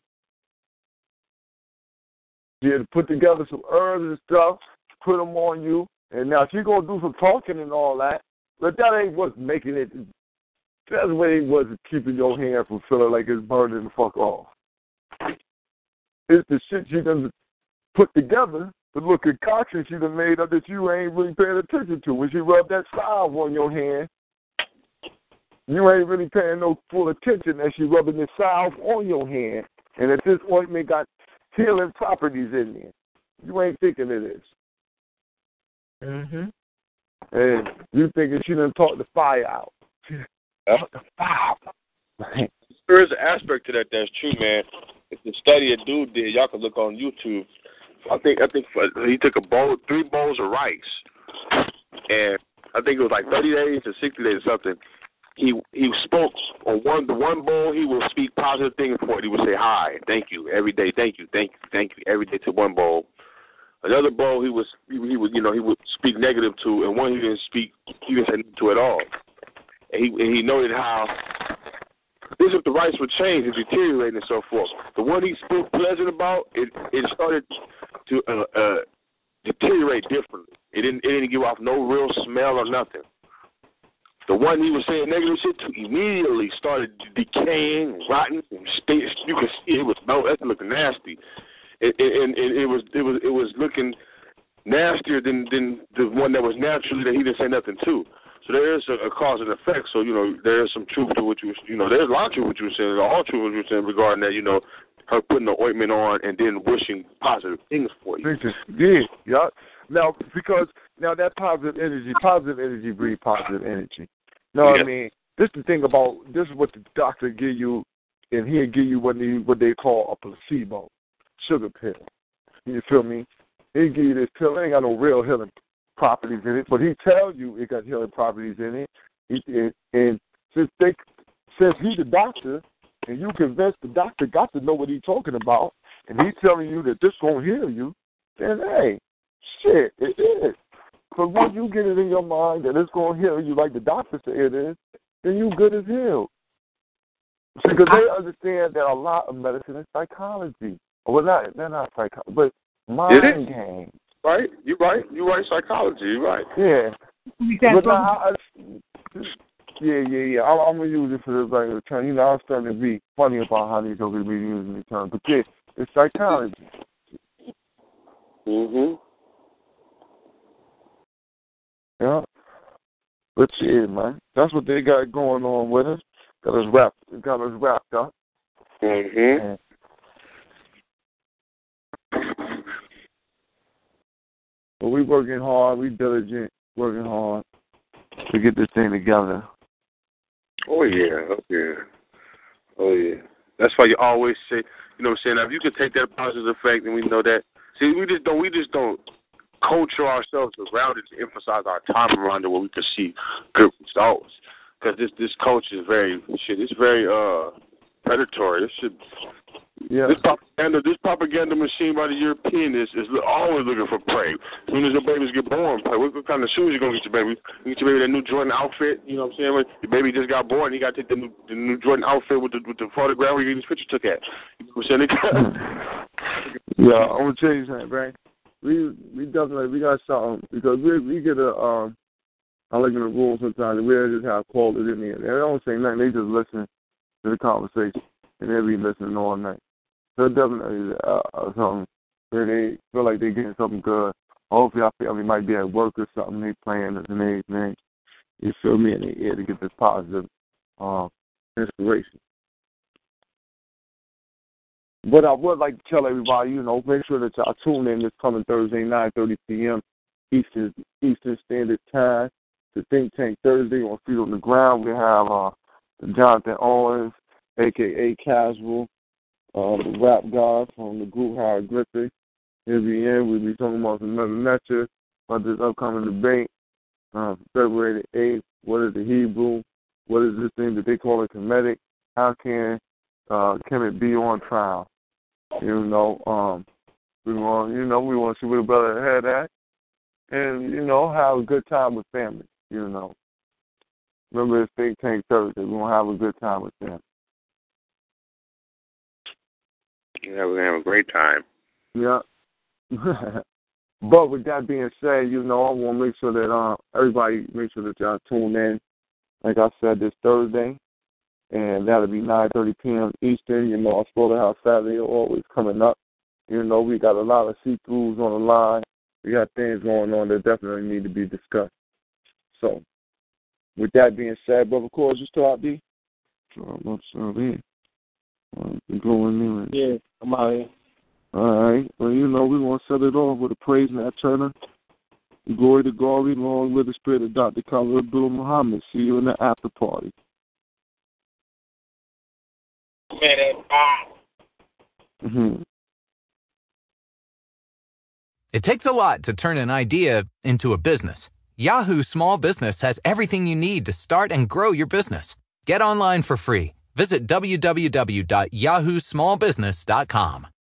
You had to put together some herbs and stuff, put them on you, and now she's gonna do some talking and all that, but that ain't what's making it. That's what it was keeping your hand from feeling like it's burning the fuck off. It's the shit she done put together, the little concoction she done made up that you ain't really paying attention to. When she rubbed that salve on your hand, you ain't really paying no full attention that she rubbing the salve on your hand, and that this ointment got healing properties in there. You ain't thinking it is. Mm-hmm. And you thinking she done talked the fire out. Yep. There is an aspect to that that's true, man. It's a study a dude did. Y'all can look on YouTube. I think I think he took a bowl, three bowls of rice, and I think it was like thirty days or sixty days or something. He he spoke on one the one bowl. He would speak positive things for it. He would say hi, thank you every day, thank you, thank you, thank you every day to one bowl. Another bowl he was he, he would you know he would speak negative to, and one he didn't speak he didn't say nothing to at all. And he and he noted how this if the rice would change and deteriorate and so forth. The one he spoke pleasant about, it it started to uh, uh, deteriorate differently. It didn't it didn't give off no real smell or nothing. The one he was saying negative shit to immediately started decaying, rotting, and stay, you could see it was no, that's looking nasty. It, it, and it, it was it was it was looking nastier than than the one that was naturally that he didn't say nothing to. So there is a, a cause and effect. So you know there is some truth to what you you know there's a lot of truth to what you were saying, all truth to what you were saying regarding that. You know, her putting the ointment on and then wishing positive things for you. Yeah, yeah. Now because now that positive energy, positive energy breeds positive energy. No, yeah. I mean, this is the thing about, this is what the doctor give you, and he'll give you what they, what they call a placebo, sugar pill. You feel me? He'll give you this pill. It ain't got no real healing properties in it, but he tells you it got healing properties in it. He, and, and since they, since he's the doctor, and you convinced the doctor got to know what he's talking about, and he's telling you that this gonna heal you, then hey, shit, it is. Because once you get it in your mind that it's going to heal you like the doctor said it is, then you good as healed. Because they understand that a lot of medicine is psychology. Well, not, they're not psychology, but mind games. Right? You're right. You're right, psychology. You're right. Yeah. But now, I, yeah, yeah, yeah. I'm, I'm going to use it for the regular term. You know, I'm starting to be funny about how these people be using the term. But yeah, it's psychology. Mm-hmm. Yeah. But yeah, man. That's what they got going on with us. Got us wrapped got us wrapped up. Mm-hmm. But we working hard, we diligent, working hard to get this thing together. Oh yeah, oh yeah. Oh yeah. That's why you always say, you know what I'm saying, now, if you can take that positive effect and we know that, see we just don't we just don't culture ourselves around it to emphasize our time around it where we can see good results. Because this this culture is very shit. It's very uh predatory. This should yeah. This propaganda this propaganda machine by the European is is always looking for prey. As soon as your babies get born, prey. What, what kind of shoes you gonna get your baby? You get your baby that new Jordan outfit. You know what I'm saying? When your baby just got born, you got to take the new the new Jordan outfit with the with the photograph where you get this picture took at. You know what I'm saying? Yeah, I'm gonna tell you something, right? We we definitely we got something because we we get a um I look in the room sometimes and we just have called it in there. They don't say nothing, they just listen to the conversation and they be listening all night. So definitely uh, something where they feel like they're getting something good. Hopefully I feel they might be at work or something, they playing and everything. You feel me? And they here to get this positive uh, inspiration. But I would like to tell everybody, you know, make sure that y'all tune in this coming Thursday, nine thirty p.m. Eastern Eastern Standard Time to Think Tank Thursday on Feet on the Ground. We have uh, Jonathan Owens, a k a. Casual, uh, the rap guy from the group Hieroglyphic. He'll be in. We'll be talking about another lecture about this upcoming debate, uh, February the eighth. What is the Hebrew? What is this thing that they call a Kemetic? How can uh, can it be on trial? You know, um, we want, you know, we want to see where the brother had at, and you know, have a good time with family. You know, remember it's Think Tank Thursday. We want to have a good time with family. Yeah, we're gonna have a great time. Yeah. But with that being said, you know, I want to make sure that uh, everybody make sure that y'all tune in. Like I said, this Thursday. And that'll be nine thirty p.m. Eastern. You know, our Slaughterhouse Saturday always coming up. You know, we got a lot of see-throughs on the line. We got things going on that definitely need to be discussed. So, with that being said, Brother Cords, you still out there? Sure, I'm still there. I'm going in. Yeah, I'm out here. All right. Well, you know, we want to set it off with a praise and that Turner. Glory to God, along with the spirit of Doctor Khalid Abdul Muhammad. See you in the after party. Minute. Mm-hmm. It takes a lot to turn an idea into a business. Yahoo Small Business has everything you need to start and grow your business. Get online for free. Visit w w w dot yahoo small business dot com.